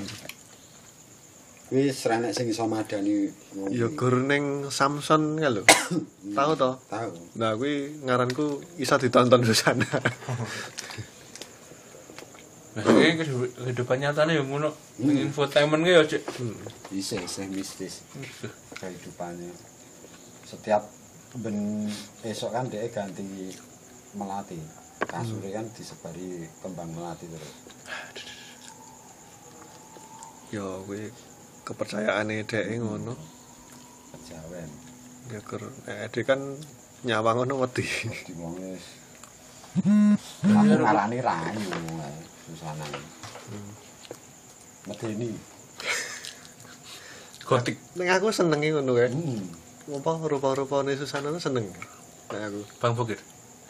Wis renek sing iso madani. Ya gur ning Samson ka lho. Tahu to? Tahu. Nah, kuwi ngaranku iso ditonton Susana. Nah, iki kehidupan nyatane ya ngono. Ning infotainment ki ya, Cik. Isih isih mistis. Kehidupannya. Setiap ben esok kan dia ganti melati. Kasure kan disebari kembang melati terus. Yo kuwi kepercayaane dhek ngono. Kejawen. Ya gur nek dhek kan nyawang ngono wedi. Di wong wis. Aku ngarani ranyu Susana. Medeni. Gotik. Ning aku senenge ngono kae. Hmm. Apa rupa-rupane Susana seneng. Nek aku. Bang Bokir.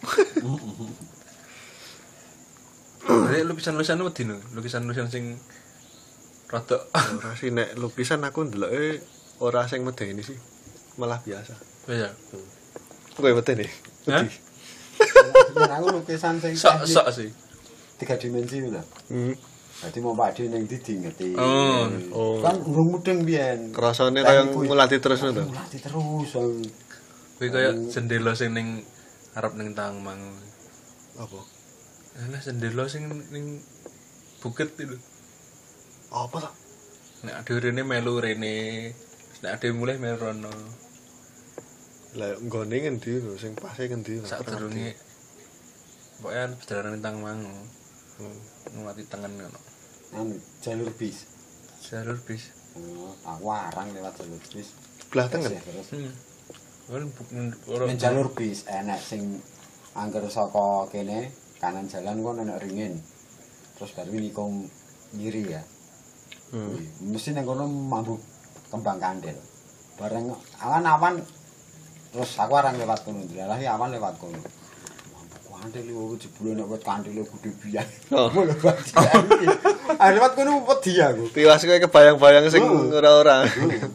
Nek lukisan-lukisan wedi no, lukisan-lukisan sing rada Ora sih nek lukisan aku ndeloke ora sing medeni sih. Malah biasa. ya. Kowe medeni. Hah? Yen aku lukisan sing Sok-sok sih. tiga dimensi lho. Hmm. Dadi mau pakde ning ndi ngerti. Oh. Oh. Kan urung mudeng biyen. Rasane kaya ngulati terus ngono to. Ngulati terus. Kuwi kaya jendela sing ning arep ning Tangmang. Apa? Alah jendela sing ning bukit itu. Apa to? Nek ade rene melu rene, nek ade mulih melu rono. Lah nggone ngendi lho sing pase ngendi? Sadurunge pokoke perjalanan ning Tangmang. Hmm. Ngati tengen ngono. Anu jalur bis. Jalur bis. Oh, aku arang lewat jalur bis. Belah tengen. Terus Hmm. Kan ora ning jalur bis enek sing angger saka kene kanan jalan kok enek ringin. Terus baru nikung ngiri ya. Hmm. Mesti ning kono mambu kembang kandel. Bareng awan-awan terus aku arang lewat kono, ndelahi awan lewat kono. Mambu kandel iki jebule nek wit kandele gede biyen. Oh. Ngono bae. Ah lewat kono wedi aku. Tiwas kowe kebayang-bayang sing Oh. ora-ora.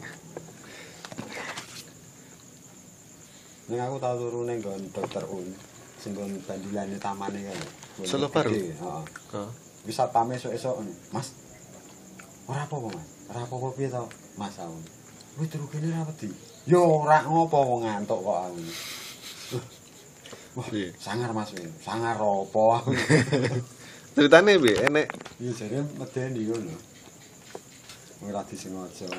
Ning aku tau turu ning nggon Dokter Un, sing nggon bandilane tamane kan. Solo Baru? Heeh. Heeh. Wis satpame esuk-esuk, Mas. Ora apa-apa, Mas. Ora apa-apa piye to, Mas aku. Wis turu kene ra wedi. Yo ora ngopo wong ngantuk kok aku. Wah, Piye? sangar Mas, wis. Sangar apa aku. Ceritane piye? Enek Iya jare medeni ngono. Ora disengaja.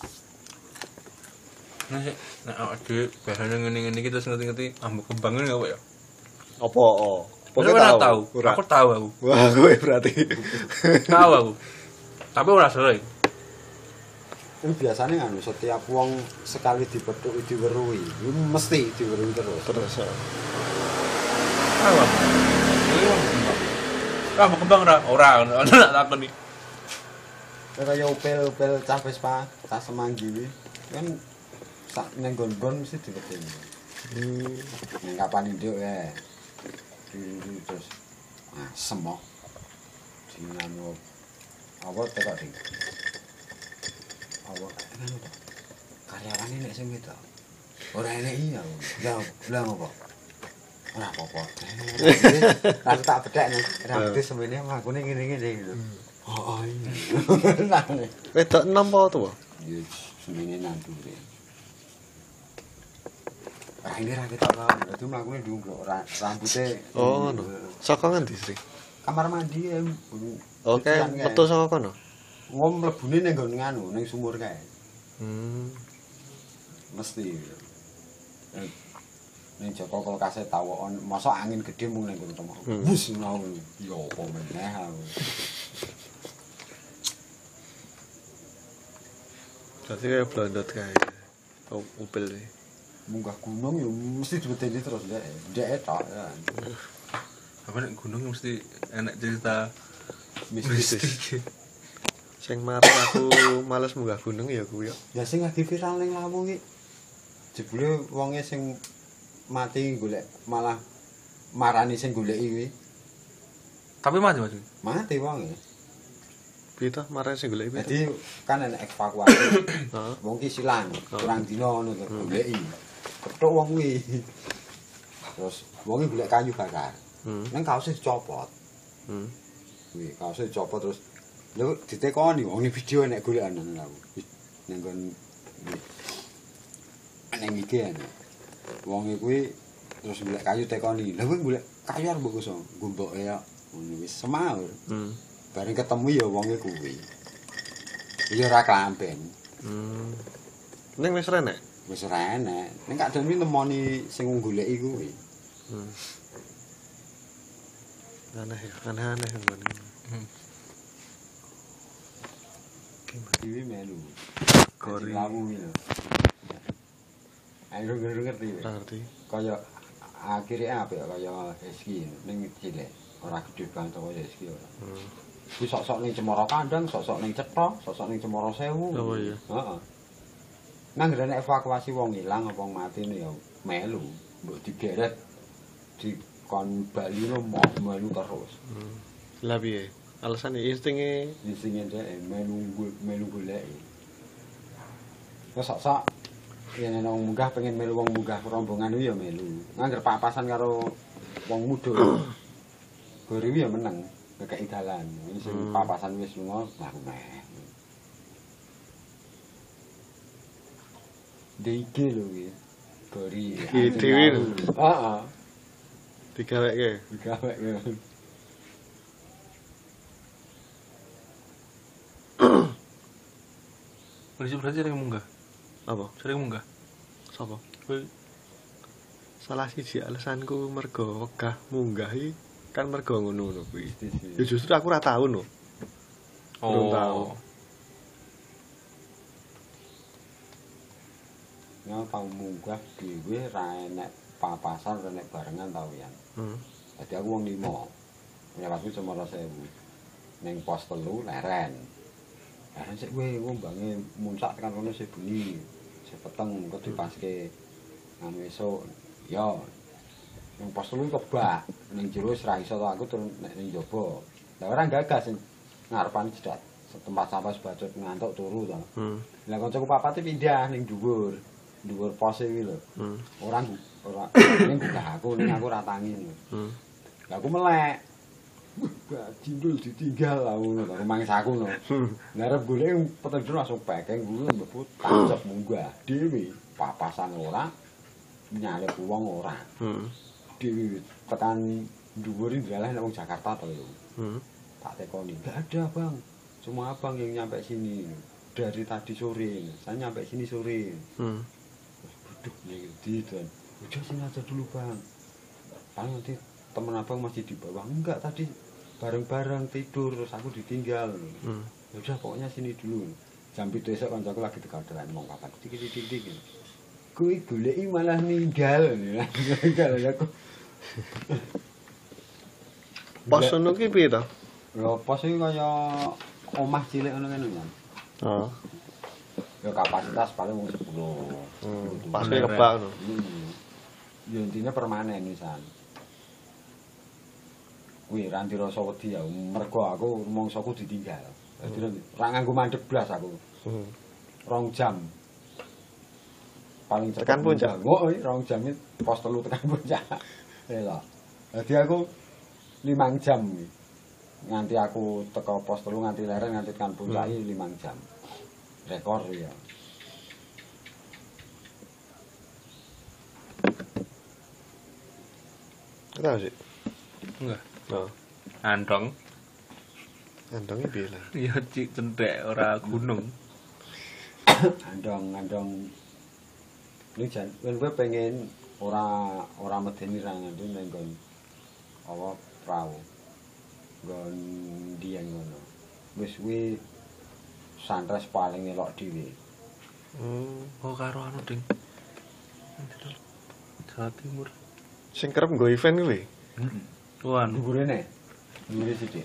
Nah, nek awak dhewe bahane ngene-ngene iki terus ngerti-ngerti ambek kembangane apa ya? apa? Oh. Pokoknya ora tahu. Ora. Aku tahu aku. Wah, kowe berarti. Tahu aku. Tapi ora sering. Ini biasanya kan setiap wong sekali dipethuk diweruhi, itu mesti diweruhi terus. Terus. ya. Tahu aku. Iya. Ah, mau kembang ora? Ora, ana tak takoni. Kaya upel-upel cah Vespa, cah Semanggi kuwi kan sak nang gon-gon mesti diwedeni. Hmm. Ning kapan induk ya. Dulu terus ah semok. Dinamo apa tekok ding. Apa ngono to. Karyawane nek sing wedok. Ora enek iya. Lah, lah apa? Ora apa-apa. Lah tak bedhek nek rambut semene makune ngene-ngene gitu. Oh, iya. Wedok enom apa tuwa? Ya semene nandure. Ah ini ra ketok kan. Dadi mlakune ndungkluk rambute. Oh, no. Saka ngendi sih? Kamar mandi ya. Oke, metu saka kono. Wong mlebune ning nggon nganu, ning sumur kae. Hmm. Mesti. Ning Joko kulkase tawon, mosok angin gedhe mung ning kono temok. Wus ngono. Ya apa meneh aku. Dadi kaya blondot kae. Oh, upil iki. Munggah gunung ya mesti diwedeni terus ndek. Ndek tok ya. Apa nek gunung mesti enak cerita Mistis. Sing marang aku males munggah gunung ya kuwi ya. Ya sing lagi viral ning Lawu iki. Jebule wonge sing mati golek malah marani sing goleki kuwi. Tapi mati Mas. Mati wonge. Piye to marane sing golek piye? Jadi kan enek evakuasi. Heeh. Wong ki silang, kurang dina ngono to goleki. Kethuk wong kuwi. Terus wonge golek kayu bakar. Hmm. Nang kaose dicopot. Hmm. Kuwi kaose dicopot terus lho ditekoni wong iki video enek golekan nang aku. Nang kon nang iki ana. Wong kuwi terus golek kayu tekoni. Lha kuwi golek kayu arep mbok koso, gomboke ya. Ngono wis semaur. Hmm. Bareng ketemu ya wonge kuwi. Ya ora klampen. Hmm. Ning wis renek. Wis ora enek. Ning kadang kuwi nemoni sing goleki kuwi. Hmm. Aneh ya, aneh-aneh ngono. Hmm. Iki melu. Gori. Lamu iki lho. Ayo ngerti. Ora ngerti. Kaya akhirnya apa ya kaya Rizky ning cilik. Ora gede banget kaya Rizky ora. Hmm. Kuwi sok-sok ning Cemara Kandang, sok-sok ning Cetha, sok-sok ning Cemara Sewu. Oh iya. Heeh. Nang ngrene evakuasi wong ilang apa mati ya melu, mbok digeret di kon Bali no mau melu terus. Hmm. Lah piye? Alasane instinge Di sini dhek melu melu golek. Wes sok-sok yen ana wong munggah pengen melu wong munggah rombongan ya melu. Ngangger papasan karo wong mudhun. Gori ya meneng. Kekei dalan. Ini sing Hmm. papasan wis lunga lah meh. Diki lho iki. Gori. Iki dhewe lho. Heeh. digaweke. Digaweke. Polisi berarti sering munggah. Apa? Sering munggah. Sapa? Kowe Salah siji alasanku mergo wegah munggah iki kan mergo ngono-ngono kuwi. Ya justru aku ora tau no. Belum tahu. Ya tau munggah dhewe ra enek papasan ra enek barengan tau ya. Hmm. Dadi aku wong lima. Lewatku Cemara Sewu. Ning pos telu leren. Leren sik kowe ngombange muncak tekan kono sik bengi. Sik peteng engko dipaske anu esuk. Ya. Ning pos telu kebak. Ning jero wis ra iso to aku turun nek ning njaba. Lah ora gagas sing ngarepan cedak. Tempat sampah sebacot ngantuk turu to. Hmm. Lah kancaku papate pindah ning dhuwur. Dhuwur pos iki lho. Hmm. Ora ora ning buka aku ning aku ora tangi. Hmm. Lah aku melek. Wah, jindul ditinggal lah ngono to, rumangsaku no. Lah arep golek petendul langsung pekeng kuwi mbebut tancep munggah dhewe. Papasan ora nyalip wong ora. Hmm. Dhewe tekan dhuwur iki dalah nek wong Jakarta to lho. Hmm. Tak tekoni, enggak ada, Bang. Cuma Abang yang nyampe sini. Dari tadi sore. Saya nyampe sini sore. Hmm. Waduh, gitu dan udah sini aja dulu Bang. Paling nanti temen Abang masih di bawah. Enggak, tadi bareng-bareng tidur terus aku ditinggal. Hmm. Ya udah pokoknya sini dulu. Jam pitu esuk kancaku lagi tekan-tekan mau kapan dik-dik-dik. Kuwi goleki malah ninggal. Ninggal aku. Pos ngono ki piye to? Lho pos iki kaya omah cilik ngono kan ya. Oh. Ya kapasitas paling mung sepuluh. Hmm. Pas kebak ngono. Hmm. Ya intinya permanen pisan. Kuwi ra ndirasa wedi ya, mergo aku mongsoku ditinggal. Dadi ora nganggo mandeg blas aku. Hmm. Rong jam. Paling cepet Tekan puncak. Oh, rong jam iki pos telu tekan puncak. Lha. Dadi aku limang jam iki. Nganti aku teko pos telu nganti leren nganti tekan puncak iki limang jam. Rekor ya. Tahu sih. Enggak. Oh. Andong. Andonge piye lah? Ya cik cendek ora gunung. Andong andong ini jan kowe pengen ora ora medeni ra nganti ning nggon apa prau. Nggon dieng ngono. Wis kuwi santres paling elok dhewe. Hmm. Oh karo anu ding. Jawa Timur. Sing kerep nggo event kuwi. Heeh. Tuan, Dhuwure ne. Dhuwure sithik.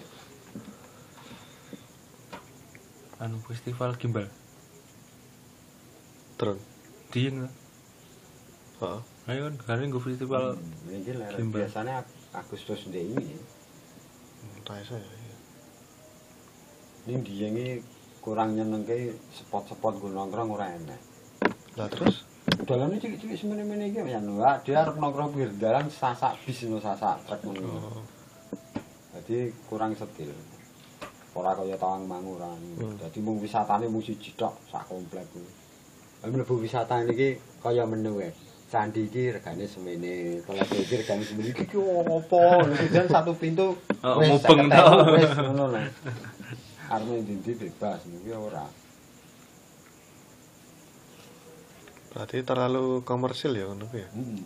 anu festival gimbal. Drone. Dieng. Heeh. Ayo kan gane nggo festival Ini lah Gimbal. biasanya Agustus ndek ini. Entah saya. Ya. Ini dia ini kurang nyenengke spot-spot gue nongkrong ora enak. Lah terus Dalannya cilik-cilik semene-mene iki ya Wah, dia arep nongkrong pinggir dalan sasak bis no sasak truk ngono. oh, Jadi kurang setil. Ora kaya Tawangmangu ora. Hmm. Dadi mung wisatane mung siji tok sak komplek kuwi. Lah mlebu wisata niki kaya menu wae. Candi iki regane semene, toilet iki regane semene iki opo? Nek jan satu pintu Oh, wis mubeng seket ewu, tok. wis ngono lho. Arep ndi bebas niki ora. berarti terlalu komersil ya ngono ku ya. Heeh.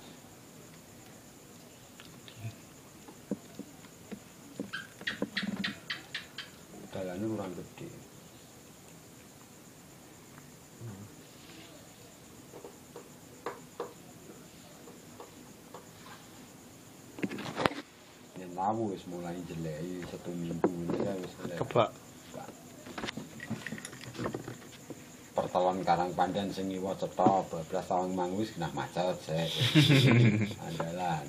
Dalane kurang gede. Yen lawu wis mulai jeleki satu minggu ini kan wis mulai. Kebak. Pertelon Karang Pandan sing iwa cetha bablas Tawangmangu wis genah macet sik. Andalan.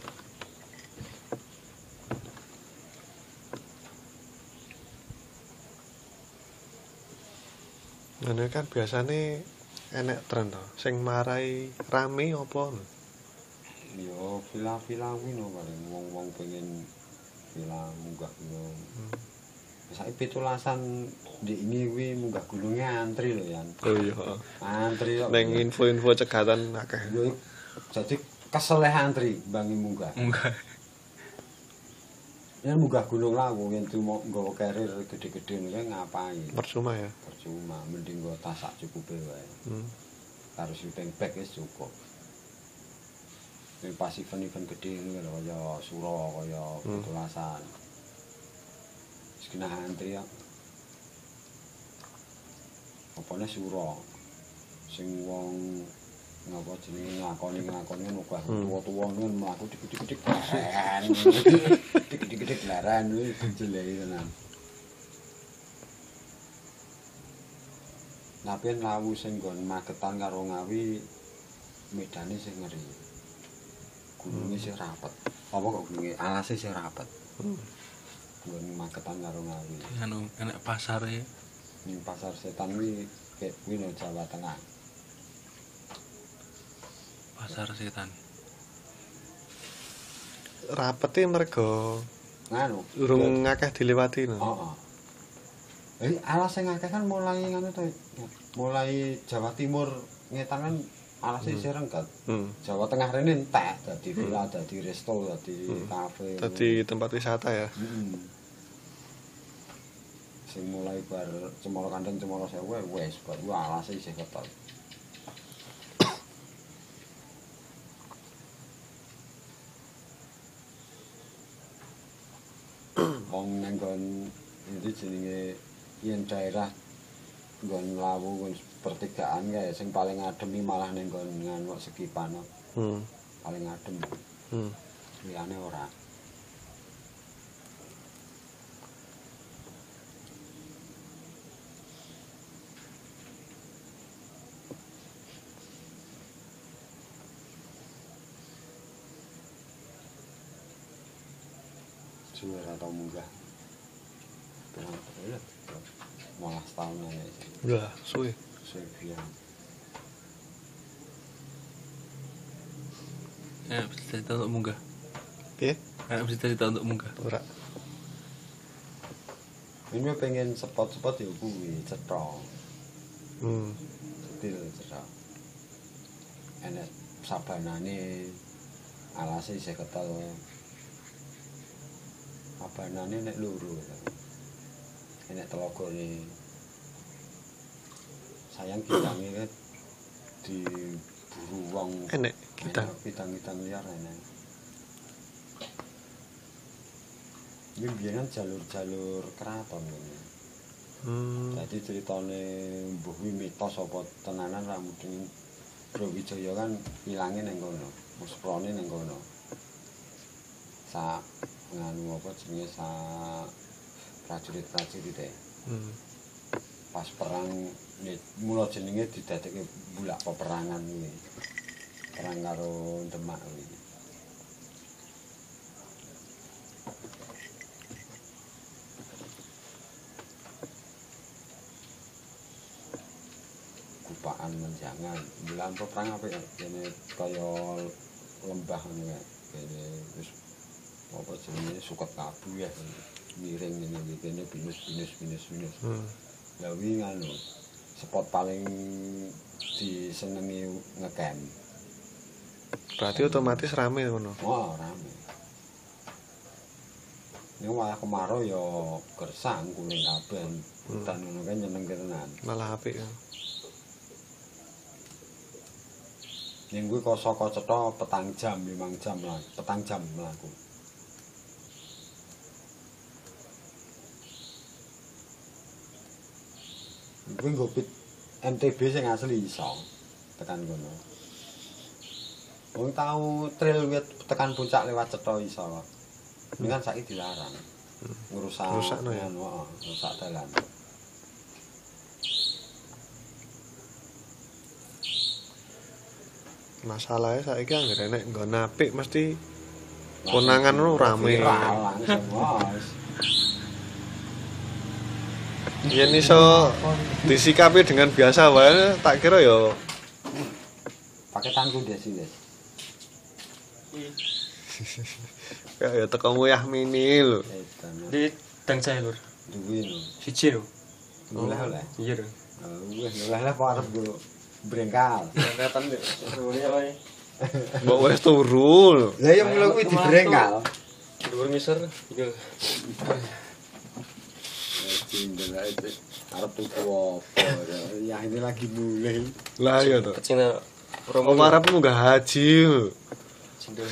Ngene kan biasane enek tren to. Sing marai rame apa? Yo vila-vila kuwi no paling wong-wong pengen vila munggah gunung. Hmm. Saiki pitulasan ndek ini kuwi munggah gununge antri lho Yan. Oh iya, heeh. Antri kok. Ning info-info cegatan akeh. Yo jadi keseleh antri bangi munggah. Munggah. Ya munggah gunung lawu yen cuma nggawa karir gede-gede niku ngapain? Percuma ya. Percuma, mending nggo tas sak cukupe wae. Hmm. Karo sleeping bag wis cukup. Nek pas event-event gede ngono lho kaya Suro, kaya Hmm. pitulasan. Wis kena antri ya. Apane Suro. Sing wong ngapa jenenge ngakoni-ngakoni ngono kuwi Hmm. tuwa-tuwa ngono mlaku dik-dik-dik laren. Dik-dik-dik laren kuwi jeleki tenan. Tapi lawu sing nggon Magetan karo Ngawi medane sing ngeri. Gununge sing rapet. Apa kok gununge alase sing rapet. Hmm. Nggon Magetan karo Ngawi. Anu enek pasare Ning pasar setan kuwi kayak kuwi no Jawa Tengah. pasar setan. Rapete mergo Nganu. urung akeh dilewati no. Heeh. Jadi alas sing akeh kan mulai nganu to. Mulai Jawa Timur ngetan kan alase isih rengket. Hmm. Jawa Tengah rene entek dadi villa, dadi resto, dadi Hmm. kafe. Dadi tempat wisata ya. Heeh. Sing mulai bar Cemoro Kandang Cemoro Sewu wis bar ku alase isih ketok. Wong nang nggon iki jenenge yen daerah nggon lawu nggon pertigaan kae sing paling adem iki malah ning nggon nganu Sekipan. Hmm. Paling adem. Hmm. Liyane ora. Suwe ora tau munggah. Pirang ya. Malah setahun aja. Wah, suwe. Suwe biyen. Eh, bisa cerita untuk munggah. Piye? Eh, bisa cerita untuk munggah. Ora. Ini pengen spot-spot ya kuwi cetha. Hmm. Setil cetha. Enek sabanane alase isih ketel. Sabanane nek loro. Enek telogone. Sayang kitange kan diburu wong. Enek kita. Enek Kitang-kitang liar enek. Ini biyen kan jalur-jalur keraton ini. Hmm. Jadi ceritane mbuh kuwi mitos apa tenanan ra mudeng Brawijaya kan ilange ning kono, musprane ning kono. Sa nganu apa jenenge sa prajurit-prajurit e. Hmm. Pas perang mula jenenge didadekke bulak peperangan kuwi. perang karo Demak kuwi. Kupaan menjangan, bilang perang apa ya? Ini kaya lembah ngono ya. Kene wis apa jenenge suket kabu ya. Miring ngene iki kene binus-binus binus-binus. Hmm. Lah wi ngono. Spot paling disenengi ngecamp. Berarti otomatis rame ngono. Wah, rame. Ini malah kemarau ya gersang kuning kabeh. Hutan ngono kan nyenengke tenan. Malah apik ya. Ning kuwi kok saka cetha petang jam, limang jam lah, petang jam mlaku. Kuwi nggo pit M T B sing asli iso tekan kono. Wong tau trail wit tekan puncak lewat cetha iso. Ini kan saiki dilarang. Ngerusak Ngerusakno ya? heeh, ngerusak dalan. Masalahnya saiki anggere nek nggon apik mesti konangan lu rame. Viral langsung, Mas. Yen iso disikapi dengan biasa wae tak kira ya Pakai tangku dia sih, Des. ya ya teko muyah mini lho. Edan. Di dan saya lur. Duwe lho. Siji lho. Oleh-oleh. Iya lho. Wis oleh-oleh kok arep go brengkal. Kelihatan deh. Suruhnya wae. Mbok wis turu lho. Lah ya mulai kuwi dibrengkal. Dhuwur ngisor iki lho. Cindel aja. Arep tuku apa? Ya ini lagi mulai. Lah ya to. Kecina Om arep munggah haji lho. cendol.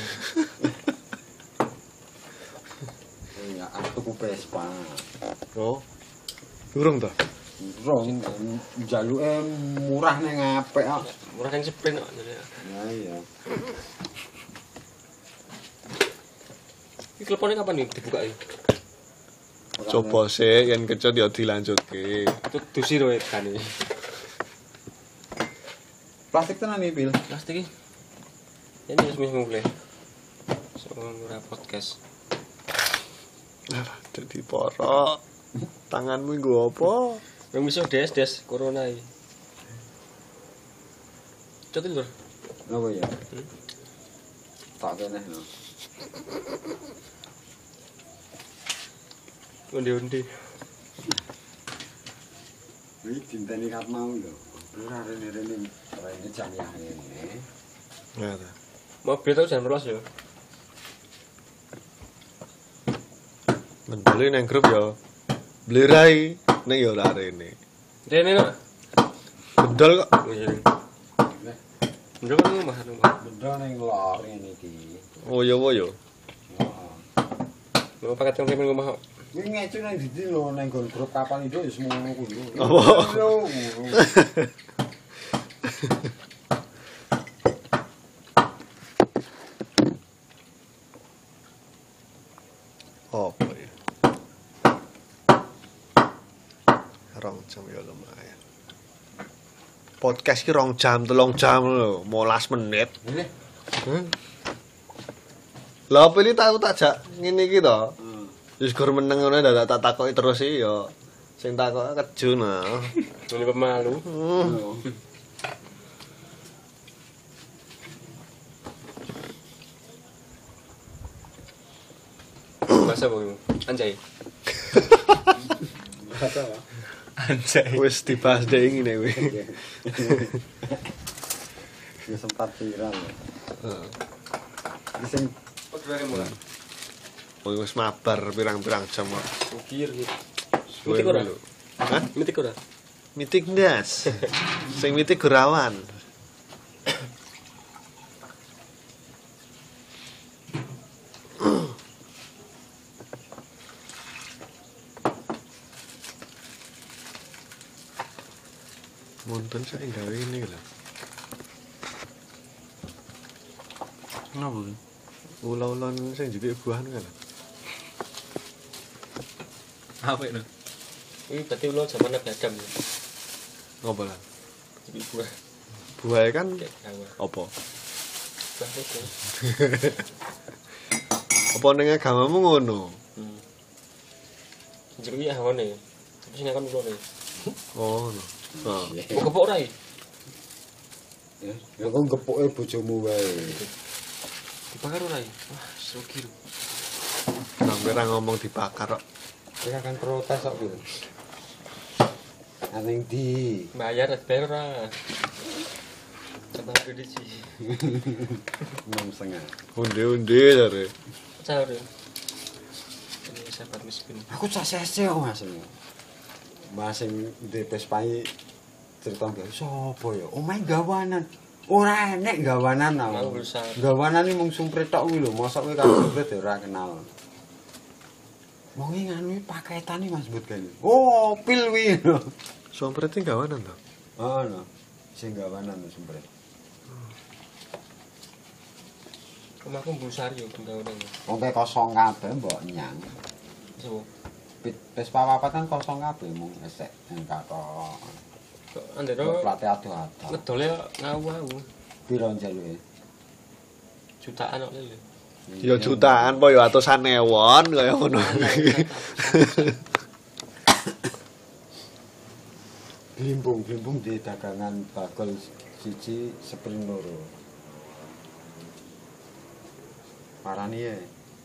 Ya arep tuku Vespa. Oh. Durung to? Rong njaluke murah ning apik kok. Murah kan sprint kok. Ya iya. Iki teleponnya kapan nih dibuka iki? Coba sih yen kecut ya dilanjutke. Itu dusi lho kan iki. Plastik tenan iki, Bil. Plastik iki. Ini wis mulai. Soal podcast. Lah dadi porok. Tanganmu nggo apa? Yang bisa des des corona iki. Cotil lur. Apa ya? Tak kene lho. Undi-undi. Iki dinteni kat mau lho. Ora rene-rene rene jam ya ngene. Ya ta. Mobil tau jam rolas ya. Mendele nang grup ya. Blerai nek ya ora rene. Rene no. Bendol kok. Ndro kan rumah rumah. Benda ning lor ngene iki. Oh ya wo ya. Heeh. Mau paket yang rumah kok. Kuwi ngecu nang ndi lho nang nggon grup kapal Indo ya semono kuwi. Apa? Apa ya? Rong jam ya lumayan. Podcast ki rong jam, telung jam lho, molas menit. Ini. Hmm? Lah apa iki tak tak jak ngene iki to? Hmm. Wis gur meneng ngono dak tak takoki terus iki ya. Sing takoki keju nah. Ini pemalu. Hmm. Masa boy. Anjay. Kata apa? Anjay. Wis dibahas deh ngene kuwi. Ya sempat viral. Heeh. Iki sing Kok dari mulai? Oh, wis mabar pirang-pirang jam kok. Ukir gitu. Suwe Mitik ora? lho. Hah? Mitik ora? Mitik ndas. Sing mitik Gurawan. Monten saya gawe ini lho. Kenapa? Ula-ulan sing jepit buahan kan. Apa itu? Ini berarti ulo zaman Nabi Adam ya. Ngopo lah? Jadi buah Buahe kan kayak kawa. apa? Bahasa. Apa ning agamamu ngono? Hmm. Jenenge hawane. Tapi sing akan ngono. Oh, ngono. Nah, Kok kepok ora iki? Ya kok gepuke bojomu wae. Dibakar ora iki? Wah, rugi lho. sampe ra ngomong dibakar kok. Kita akan protes kok gitu. Aneng di Bayar bayar ora. Coba kredit sih. enam setengah. Unde-unde jare. Caur. Ini sahabat miskin. Aku cak sese kok Mas. Mas sing D P S pai cerita nggak sapa ya? Omahe gawanan. Ora enek gawanan Mau aku. besar. Gawanan iki mung sumprit tok kuwi lho, mosok kowe karo sumprit ya ora kenal. Wong iki nganu iki paketane Mas Bud kene. Oh, pil kuwi. Sompret iki gawanan to. Oh, no. Sing gawanan sumprit. Omahku mbusar yo gawanan. Wong kae kosong kabeh mbok nyang. Sopo? Wis papat kan kosong kabeh mung esek nang katok. Kok andero Plate adoh-adoh. ngedole ngawu-ngawu. Piro njaluke? Jutaan kok lho. Ya jutaan apa ya atusan ewon kaya ngono. Glimpung, glimpung di dagangan bakul siji sepring loro. Parani ya.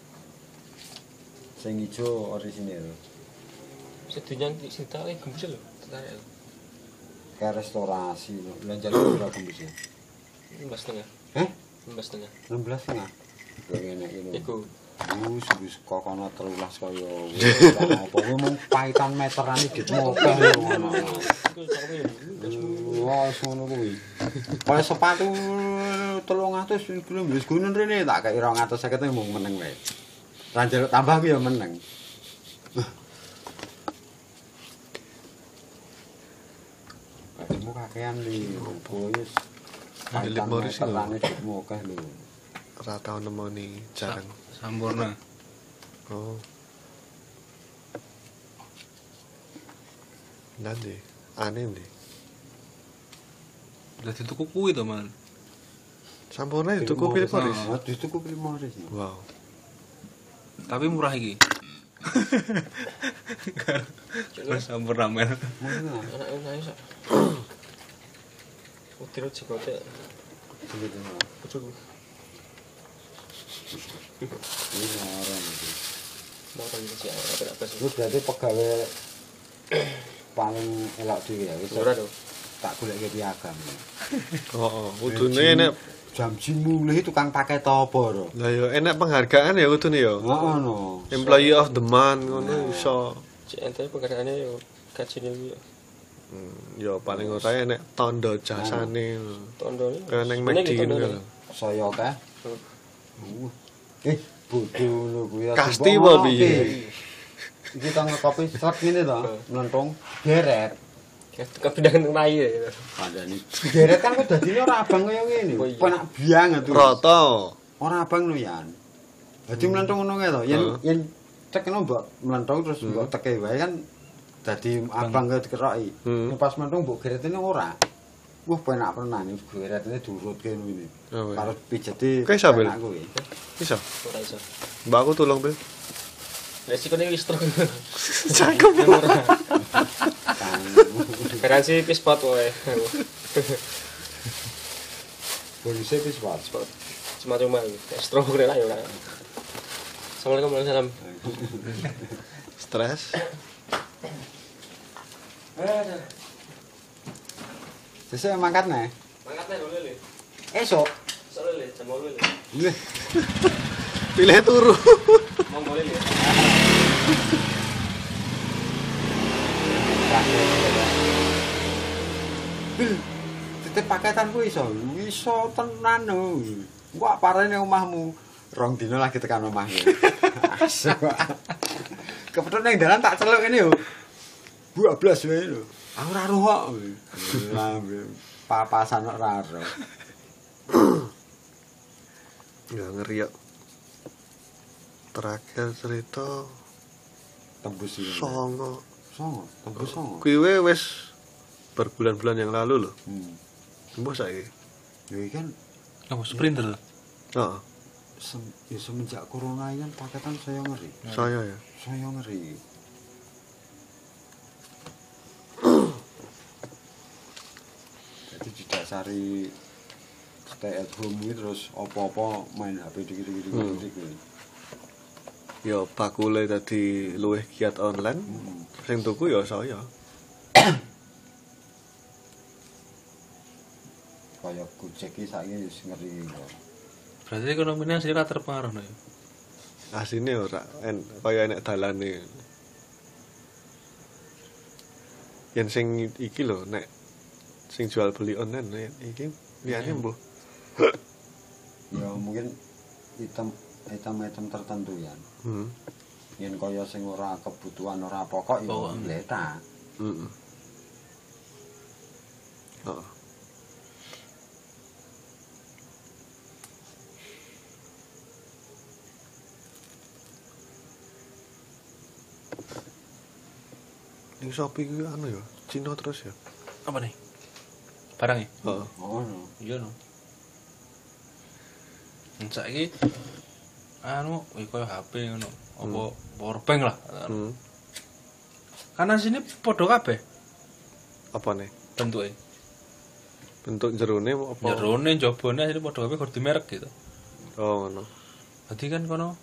Sing ijo orisinil. Sedinyan sing tak gembus lho. Tarik lho. Ke restorasi. Lah njaluk piro gembus? lima setengah. Heh? lima setengah. enam belas setengah. Kok ngene iki lho. Iku. Wis wis kokono telulas kaya wis apa kuwi mung paitan meterane ditmo akeh ngono. Iku cakupe yo. Wah, ngono kuwi. Kaya sepatu telung atus kilo wis gunen rene tak kei rong atus seket mung meneng wae. Ra njaluk tambah ku ya meneng. Kamu kakean li, wis. Ndelik Morris lho. Terane ditmo akeh lho. Ora tau nemoni jarang. Sampurna. Oh. Nanti aneh nih. Dadi tuku kuwi to, Man. Sampurna itu tuku Philip Morris. Ah, dituku Philip Morris. Wow. Tapi murah iki. Terus sampurna men. Anak nangis sak. Utiro cipote. Bojoku. Ini orang itu. Mau kan sih apa apa sih. Lu berarti pegawai paling elok dhewe ya wis. Ora to. Tak goleke piagam. Oh, kudune nek jam mulih tukang paket apa ro? lah ya enak penghargaan ya kudune ya. Heeh no. Employee of the month ngono iso. Cek ente pekerjaannya yo gajine yo. Hmm, ya paling ora enek tanda jasane. Tondone. Kaya ning McD ngono lho. Saya kae. Uh. Eh, bodoh lho kuwi. Kasti apa piye? Iki tang kopi sret ngene to, mlentung geret. Kepindahan mai ya. Pandani. Geret kan kok dadine ora abang kaya ngene. Oh, iya. Penak biang tuh. Rata. Ora abang lho Yan. Dadi mlentung ngono kae to. Yen yen cekno mbok mlentung terus mbok teke wae kan dadi abang kaya dikeroki. Hmm. Pas mlentung mbok geretene ora. Wah penak tenan iki geretene durutke ngene. Oh, iya. Karo pijete. Kae sambil? penak kuwi. Iso. Ora iso. Mbak aku tolong, Bil. Resikone wis truk. Cakep. Garansi pispot wae. Bonusnya wis wae. Spot. Cuma-cuma stroke rela ya ora. Assalamualaikum warahmatullahi Stres. wabarakatuh. Sesuk mangkat nih. Mangkat nek lho. Esok. Soale le jam lho. Lih. Pilih turu. Monggo le. Bil, titip paketan ku iso. Iso tenan lho. Kok parane omahmu. Rong dino lagi tekan omahmu. Asik. Kepethuk ning dalan tak celuk ngene yo. dua belas wae lho. Aku ora roh kok. Lah papasan kok ora roh. Ya ngeri ya. Terakhir cerita Tembus iki. songo. Songo, tembus songo. Kuwi we wis berbulan-bulan yang lalu loh. Hmm. Tembus saiki. Ya iki kan Apa sprinter? Heeh. Sem, ya semenjak corona ini paketan saya ngeri. Saya ya. Saya ngeri. Jadi didasari stay at home ini terus apa-apa main H P dikit-dikit Hmm. dikit. Ya bakule dadi luwih giat online. Hmm. Sing tuku ya saya. Kayak Gojek iki saiki wis ngeri kok. Berarti ekonominya asli ra terpengaruh no ya. Asine ora en kaya enek dalane. Yen sing iki lho nek sing jual beli online nek iki liyane mbuh. Ya mungkin item item-item tertentu ya. Hmm. Yen kaya sing ora kebutuhan ora pokok ya Pokok. letak. Heeh. Oh. Ning Shopee kuwi anu ya, Cina terus ya. Apa nih? Barang ya? Heeh. Oh, no. Iya no. Saiki anu iki koyo H P ngono, apa power bank lah. Hmm. Kanan sini padha kabeh Apa nih? bentuke. Bentuk jerone apa? Jerone jabone asline padha kabeh kudu merek gitu. Oh, ngono. Berarti kan kono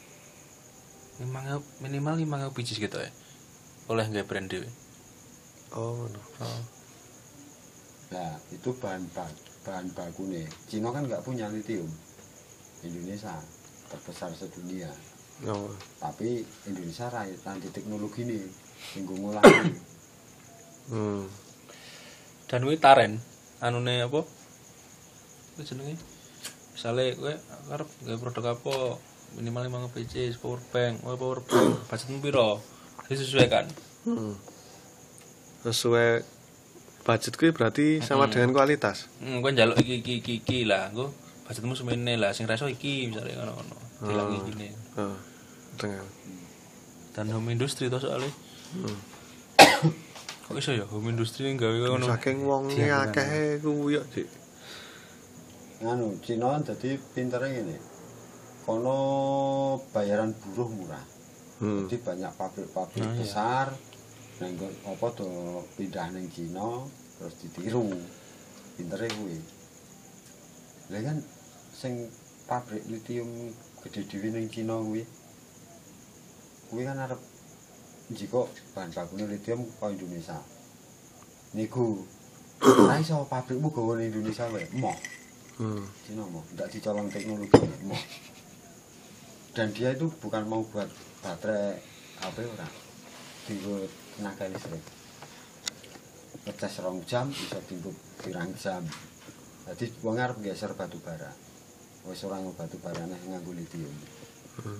minimal lima ribu biji gitu ya. Oleh nggak brand dhewe. Oh, ngono. Oh. Nah, itu bahan bahan, bahan baku nih. Cina kan nggak punya lithium. Indonesia terbesar sedunia. Oh. Tapi Indonesia rai nanti teknologi nih, minggu mulai. Hmm. Dan kuwi taren anune apa? Kuwi jenenge. Misale kowe arep gawe produk apa minimal lima ribu biji power bank, oh power bank, budgetmu piro? Disesuaikan. Hmm. Sesuai budget kuwi berarti sama Hmm. dengan kualitas. Hmm, kowe njaluk iki iki iki, iki lah, engko budgetmu semene lah, sing reso iki misale ngono-ngono. Dilangi Hmm. gini. Heeh. Dengan Dan home industry to soalnya. Hmm. Kok iso ya home industry gawe ngono. saking wonge akeh kuwi yo, Dik. Anu, Cina dadi pintere ngene. Kono bayaran buruh murah. Hmm. Jadi banyak pabrik-pabrik Oh, iya. besar nang apa do pindah ning Cina terus ditiru. Pintere kuwi. Lah kan sing pabrik lithium gede dhewe ning Cina kuwi. Kuwi kan arep njiko bahan bakune lithium ke Indonesia. Niku ora iso pabrikmu gawe ning Indonesia wae. Moh. Hmm. Cina mau tidak dicolong teknologi mau. Dan dia itu bukan mau buat baterai H P ora. Tinggal tenaga listrik. Ngecas rong jam bisa tinggal pirang jam. Jadi wong arep geser batu bara. Wis ora nggo batu barane nganggo lithium. Hmm.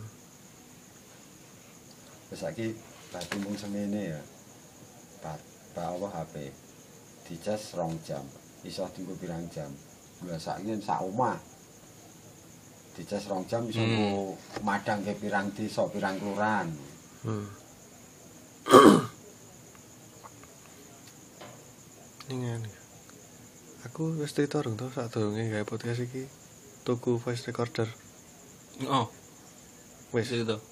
Wis saiki batu mung semene ya. Bat bawa H P. Dicas rong jam. Iso tinggal pirang jam. Gua saiki sak omah. Dicas rong jam iso Hmm. madang ke pirang desa, pirang kelurahan. Hmm. Ini ngene. Aku wis cerita rung to sadurunge gawe podcast iki tuku voice recorder. Oh, Wis. wis itu.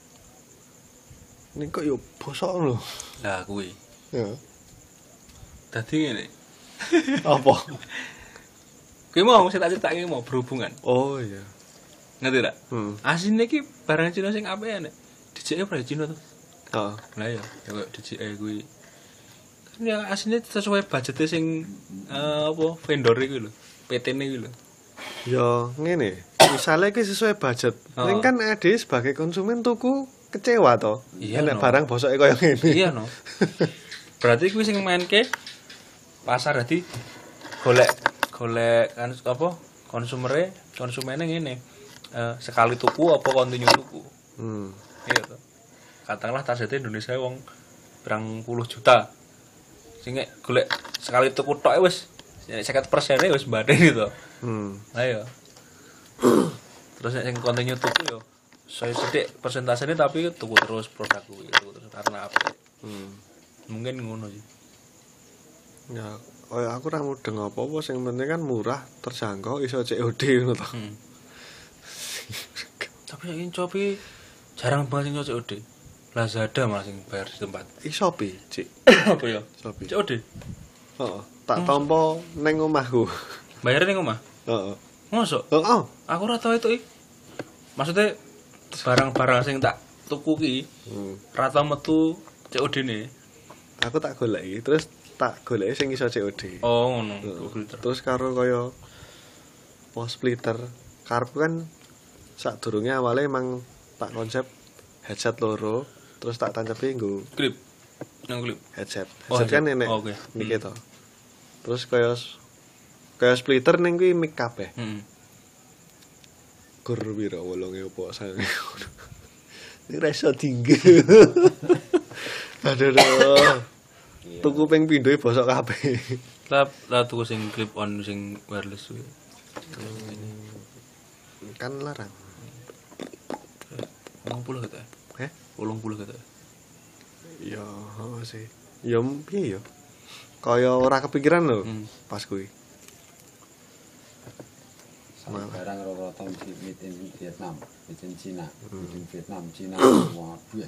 Ini kok yo bosok lho. Lah kuwi. Ya. Dadi ngene. Apa? Kuwi mau sing tak critake mau berhubungan. Oh iya. Ngerti tak? Hmm. Asine iki barang Cina sing apik nek. Dijeke ora Cina to. Heeh. Lah ya, ya kok dijeke kuwi. Kan ya asine sesuai budgetnya sing eh, apa vendor iki lho. P T-ne iki lho. Ya ngene. Misalnya iki sesuai budget. Oh. Ning kan ade sebagai konsumen tuku kecewa to. Iya, Enek no. barang bosoke kaya ngene. Iya no. Berarti kuwi sing mainke pasar dadi golek golek kan apa konsumere konsumene ngene. Eh, sekali tuku apa kontinu tuku. Hmm. Iya to. Katakanlah targetnya Indonesia wong berang puluh juta. Sing nek golek sekali tuku tok wis lima puluh persen wis mbadani to. Hmm. Ayo. Terus nek sing kontinu tuku yo saya sedek persentasenya tapi tuku terus produk kuwi tuku terus karena apa? Hmm. Mungkin ngono sih. Ya, oh ya aku ora mudeng apa-apa sing penting kan murah, terjangkau, iso C O D ngono to. Hmm. Tapi saiki Shopee jarang banget sing C O D. Lazada malah sing bayar di tempat. I Shopee, Cik. Apa ya? Shopee. C O D. Heeh, tak tampa ning omahku. Bayar ning omah. Heeh. Mosok? Heeh. Aku ora tau itu. Maksudnya barang-barang sing tak tuku ki Hmm. ra tau metu C O D-ne. Aku tak goleki, terus tak goleki sing iso C O D. Oh, ngono. Heeh. Terus karo kaya pos splitter, karepku kan sadurunge awale emang tak konsep headset loro, terus tak tancepi nggo Klip. Nang klip. headset. Oh, Headset kan headset. enek Oh, oke. mic to. Terus kaya kaya splitter ning kuwi mic kabeh. Heeh. Gur piro wolonge opo sange. Ini reso tinggi. Aduh. aduh. Tuku ping pindho bosok kabeh. Lah lah tuku sing clip on sing wireless kuwi. Kan larang. delapan puluh kata. Heh? delapan puluh kata. Ya, oh sih. Ya piye ya? Kaya ora kepikiran lho Hmm. pas kuwi. Sama barang rata-rata made in Vietnam, made in Cina, made in Vietnam, Cina semua duit.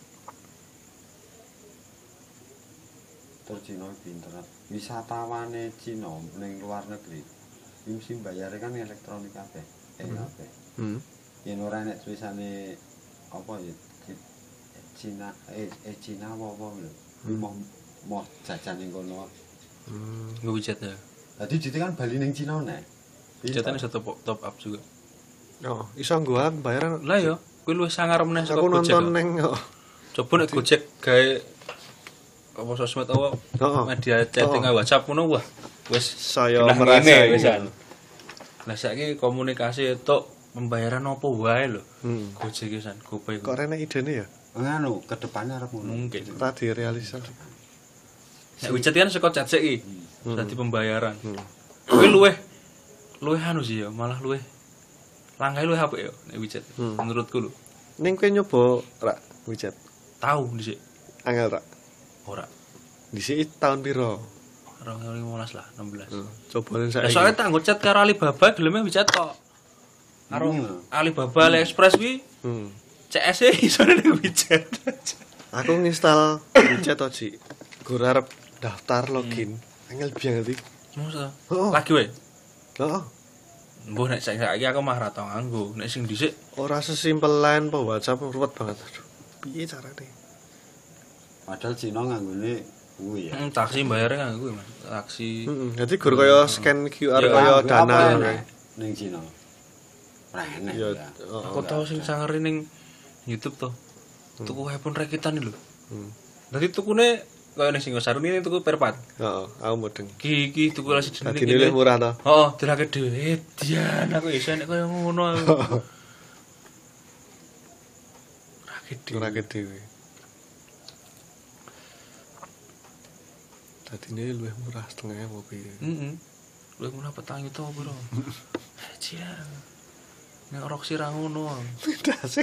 Terus Cina pinter. Wisatawane Cina ning luar negeri, iki mesti bayare kan elektronik kabeh. Eh kabeh. Hmm. Yen ora nek tulisane apa ya Cina eh eh Cina apa lho. Mau mau jajan ning kono. Hmm. Nggo widget ya. Dadi jite kan bali ning Cina nek. Widgetane iso top, top up juga. Oh, iso nggo alat bayaran. Lah ya, kuwi luwih sangar meneh saka Aku Gojek. nonton ning oh. Coba nek Gojek gawe apa sosmed apa Heeh. media chatting Oh. WhatsApp ngono wah wis Saya genah merasa ngene ini. wisan. Lah saiki komunikasi itu pembayaran apa wae lho. Hmm. Gojek wisan, GoPay. Kok rene idene ya? Nganu, kedepannya arep ngono. Mungkin. Ora direalisasi. Nek widget kan saka chat sik iki. Hmm. Dadi pembayaran. Hmm. Kuwi luwih luwih anu sih ya, malah luwih langgahe luwih apik ya nek widget. Hmm. Menurutku lho. Ning kowe nyoba ra widget? Tahu dhisik. Angel ra? Ora. Dhisik tahun piro? dua ribu lima belas lah, enam belas. Hmm. Cobain Lah saiki. soalnya tak nggo chat karo Alibaba geleme widget kok. Karo Hmm. Alibaba AliExpress kuwi Hmm. C S e iso ning widget. Aku nginstal widget to, Ci. Gur arep daftar login. Angel banget iki. Masa? Oh. Lagi wae. Heeh. Mbah nek saiki aku mah ra tau nganggo. Nek sing dhisik Ora sesimpel line po WhatsApp ruwet banget. Aduh. Piye carane? Padahal Cina nganggone kuwi ya. hmm, taksi bayare nganggo kuwi, Mas. Taksi. Heeh. Dadi gur kaya scan Q R Ya, kaya Apa dana enek ngono. ning Cina. Ora enek Ya, ya. heeh. Aku tau sing sangere ning YouTube to. Tuku handphone rakitan lho. Hmm. Dadi tukune kaya ning Singosari ini tuku perpat. Heeh, aku mudeng. Ki ki tuku lagi jenenge. Dadi nilai murah to. Oh, dirake dhewe. Eh, dian aku iso nek kaya ngono aku. Rakit dhewe. Ora dhewe. Dadi ini luwih murah setengahnya mau piye. Heeh. Luwih murah petang itu apa bro? Dian. Nek Roxy ra ngono. Dasih.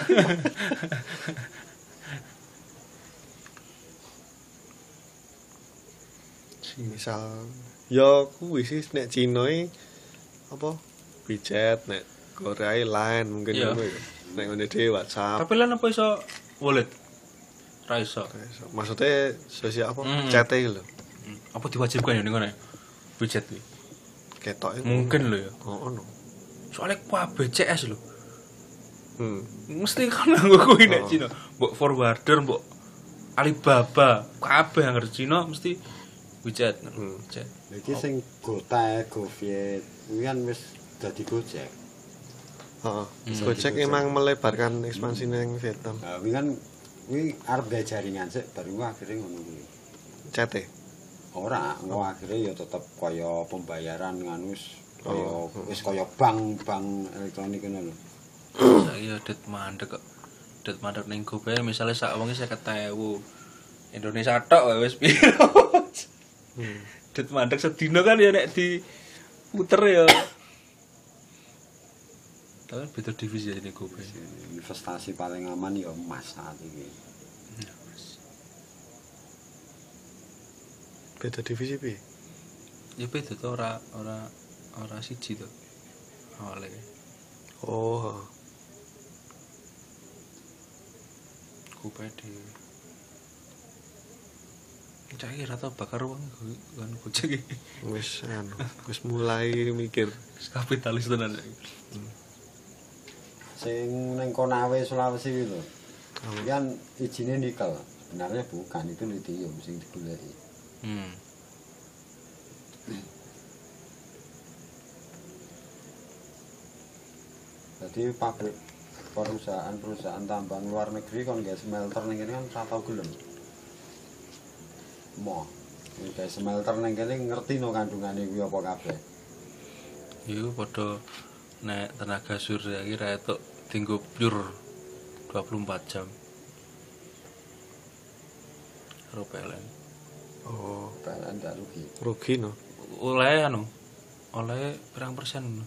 Misal ya kuwi sih nek Cina iki apa widget nek Korea line mungkin Iya. ngono ya. Nek ngene dhewe WhatsApp. Tapi lan apa iso wallet? Ra iso. Maksudnya sosial apa? Hmm. Chat iki lho. Apa diwajibkan ya ning ngene? Widget iki. Ketoke Mungkin lho ya. Oh ono. Soalnya kabeh C S lho. Hmm. Mesti kan nganggo kuwi nek Oh. Cina. Mbok forwarder, mbok Alibaba, kabeh yang Cina mesti widget. Hmm. Chat. Iki sing Gojek, Goviet, kuwi kan wis dadi Gojek. Heeh. Hmm. Gojek emang melebarkan ekspansi ning Vietnam. Nah, kuwi kan kuwi arep gawe jaringan sik baru akhirnya ngono kuwi. Chat e. Ora, engko akhirnya ya tetep kaya pembayaran nganu wis kaya Oh. wis kaya bank-bank elektronik ngono lho. Saiki ya det mandek kok. Det mandek ning GoPay misale sak wong seket ribu. Indonesia tok wae wis piro. Hmm. Det mandek sedina kan ya nek di puter ya. Tapi beda divisi ya ini GoPay. Investasi paling aman ya emas saat iki. Beda divisi piye? Ya beda to ora ora ora siji to. Awale. Oh. upaya dhewe. Cak iki ra tau bakar wong kan Gojek iki. Wis anu, wis mulai mikir Kapitalis tenan. Sing ning Konawe Sulawesi kuwi lho. Kan ijine nikel. Sebenarnya bukan, itu litium sing digoleki. Hmm. Jadi pabrik perusahaan-perusahaan tambang luar negeri kon nggak smelter ning kene kan ora tau gelem. Mo, nggak smelter ning kene ngerti no kandungane kuwi apa kabeh. Iku padha nek tenaga surya iki ra etuk dienggo pure dua puluh empat jam. Karo P L N. oh P L N ndak rugi. rugi no. Oleh anu. Oleh pirang persen.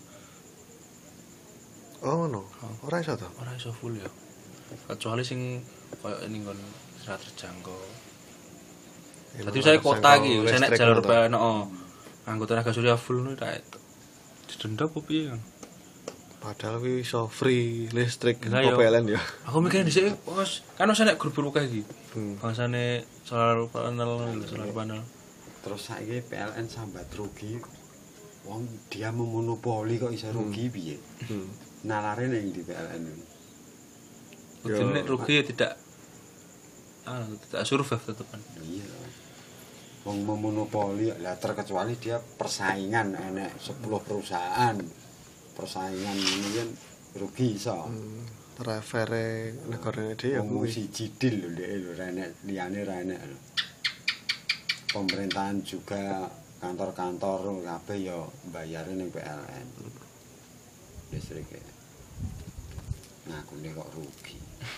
Oh no, ora iso to. Ora iso full ya. Kecuali sing koyo ning nggon serat terjangkau. Dadi saya kota iki, saya nek jalur P L N, heeh. Anggota tenaga surya full nu ra etuk. Didenda apa piye kan? Padahal kuwi iso free listrik Lah, apa yo. P L N ya. Aku mikir dhisik wis kan wis nek grup-grup kae iki. Hmm. Bangsane solar panel, solar panel. Terus saiki P L N sambat rugi. Wong dia memonopoli kok iso rugi piye? Hmm. Nalare ning di P L N ini. Kudune rugi ya tidak ah tidak survive tetepan. Iya. Wong memonopoli lah terkecuali dia persaingan enek sepuluh perusahaan. Persaingan ini kan rugi iso. Hmm. Refere negarane dhewe Wong kuwi. siji dil lho ndek lho ra enek liyane ra enek lho. Pemerintahan juga kantor-kantor kabeh ya mbayare ning P L N. Listrik. Ngakune kok rugi.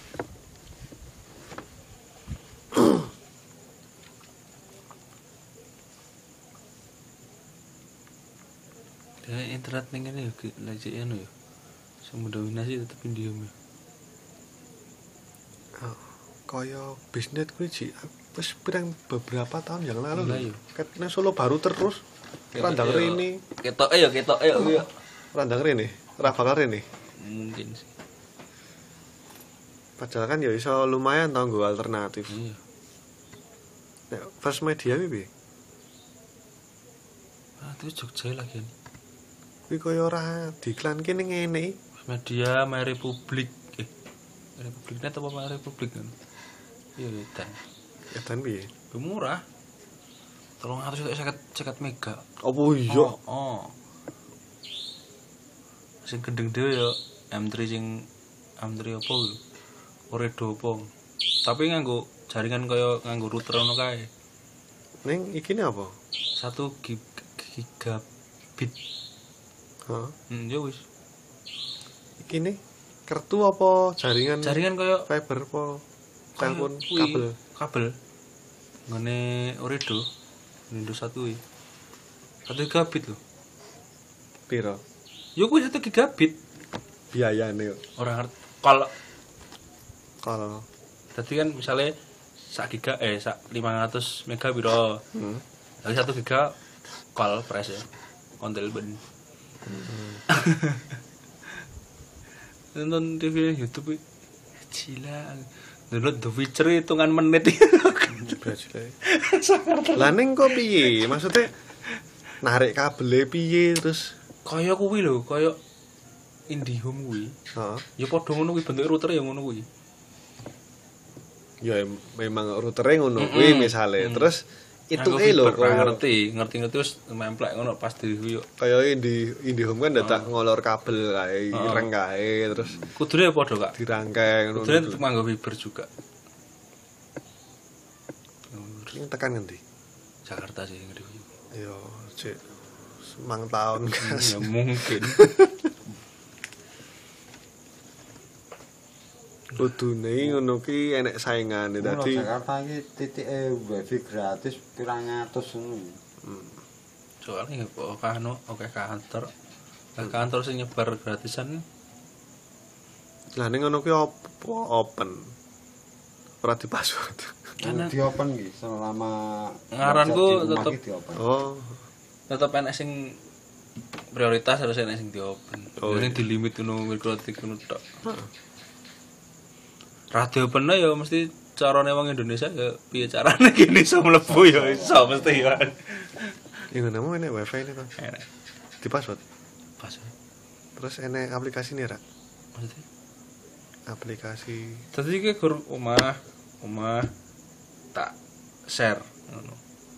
Ya internet ning kene yo lagi anu ya. Sing mendominasi tetep Indium ya. Oh, kaya bisnis kuwi Ji, wis pirang beberapa tahun yang lalu Iya, lho. iya. Katene Solo baru terus. Randang rene, Ketoke ya ketoke ya kuwi ya. randang rene, ora bakal rene. Mungkin sih. Padahal kan ya iso lumayan tau nggo alternatif. Iya. Nek First Media kuwi piye? Ah, itu Jogja lagi nih. Kuwi kaya ora diiklanke ning ngene. Media My Republic. Eh, My Republic Net apa My Republic kan? Iya, dan Edan piye? murah. Tolong atus seket mega. Apa iya? Oh, oh. Sing gendeng dhewe ya M tiga sing M tiga apa kuwi? Oredo apa? Tapi nganggo jaringan kaya nganggo router ngono kae. Ning iki ne apa? satu gigabit. Heeh. Hmm, ya wis. Iki ne kertu apa jaringan? Jaringan kaya fiber apa telepon kuwi, kabel? Kabel. Ngene Oredo. Windows satu iki. satu gigabit lho. Piro? Ya kuwi satu gigabit. Biayane kok. Ora ngerti. Kalau Kalau tadi kan misalnya sak giga eh sak lima ratus mega piro. hmm. Lagi satu giga call price ya. Kontel ben. Nonton T V YouTube gila. Download The Witcher hitungan menit. Lah ning kok piye? Maksudnya narik kabel piye terus Kaya kuwi lho, kaya IndiHome kuwi. heeh. Ya padha ngono kuwi bentuk router ya ngono kuwi. Ya em- memang routere ngono kuwi misale. Terus itu Aku eh lho fiber, kaya ngerti, ngerti-ngerti wis memplek ngono pas di yo. kaya Indi IndiHome kan dadak ngolor kabel kae, ireng kae terus Kudune padha, Kak. dirangkai ngono. Kudune tetep nganggo fiber juga. Ini tekan ngendi? Jakarta sih ngeri. Yo, cek semang tahun kan. Ya mungkin. Kudune ngono ki enek saingane Dadi dadi. Jakarta iki titike wifi gratis pirang atus ngono. Soalnya kok kano oke kantor. Lah kantor sing nyebar gratisan Lah ning ngono ki opo open. Ora di password. Kan di open iki selama Ngaranku di rumah tetep- iki di open. Oh, tetep enek sing prioritas harus enek sing di open. Oh, Ini iya. di limit ngono mikrotik ngono tok. radio bener ya mesti carane wong Indonesia ya piye carane gini iso mlebu ya iso mesti ya. Iku nemu enek wifi ini to. Enak. Di password. Password. Terus enek aplikasi nih, Rak. Maksudnya? Aplikasi. Dadi iki gur omah, omah tak share ngono.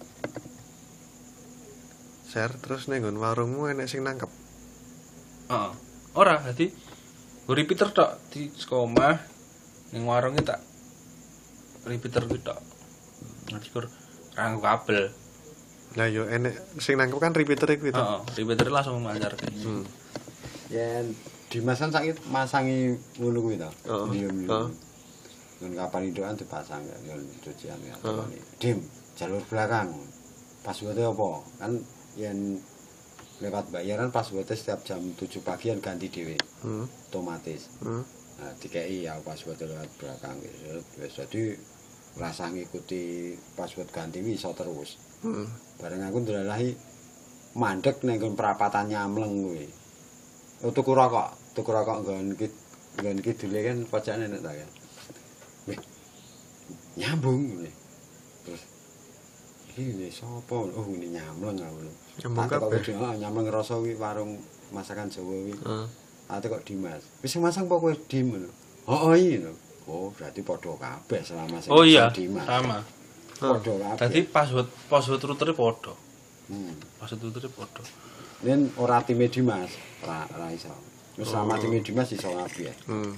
Share terus ning nggon warungmu enek sing nangkep. Heeh. Ora, dadi gur repeater tok di omah ning warunge tak repeater ki tok. Dadi gur ranggo kabel. Lah yo enek sing nangkep kan repeater iku itu. Heeh, repeater langsung mancar. Hmm. Yen Dimas kan saiki masangi ngono kuwi to. Heeh. Heeh. Ngen kapan indokan dipasang ya ngen cucian ya. Dim, jalur belakang. Password-e apa? Kan yen lewat bayaran password-e setiap jam tujuh pagi kan ganti dhewe. Hmm. Otomatis. Hmm. Nah, dikei ya password lewat belakang wis dadi rasa ngikuti password ganti iso terus. Heeh. Bareng aku ndelahi mandek ning nggon perapatan Nyamleng kuwi. Oh tuku rokok, tuku rokok nggon ki nggon kidule kan pojokane nek ta kan. Wih. Nyambung ngene. Terus iki sapa? Oh ini Nyamleng aku. Nyambung kabeh. Heeh, Nyamleng rasa kuwi warung masakan Jawa kuwi. Heeh. Ate kok Dimas. Wis masang apa kowe Dim ngono. Oh iya. Oh berarti padha kabeh selama sing Oh iya, Dimas. sama. Padha kabeh. Dadi password password router padha. Hmm. Password router padha. Nen ora time Dimas, ora ora iso. Wis sama time Dimas iso kabeh. Hmm.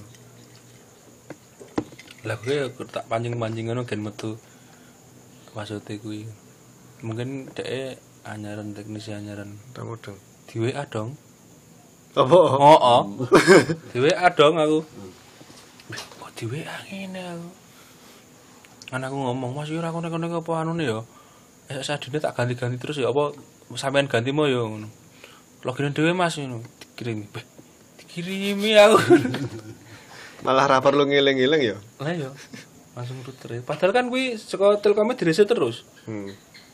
Lah gue tak pancing-pancing ngono gen metu maksudnya kuwi. Mungkin dhek anyaran teknisi anyaran Mudeng. di W A dong. Apa? Oh, oh. Di W A dong aku. Kok di W A ngene aku. Kan aku ngomong, "Mas yo ora konek-konek apa anune ya. Esuk sadine tak ganti-ganti terus ya apa sampean ganti mo ya ngono." Login dhewe Mas ngono, dikirimi. Beh, dikirimi aku. Malah ra perlu ngiling-ngiling ya. Lah ya. Langsung router. Padahal kan kuwi saka Telkomnya direset terus. Hmm.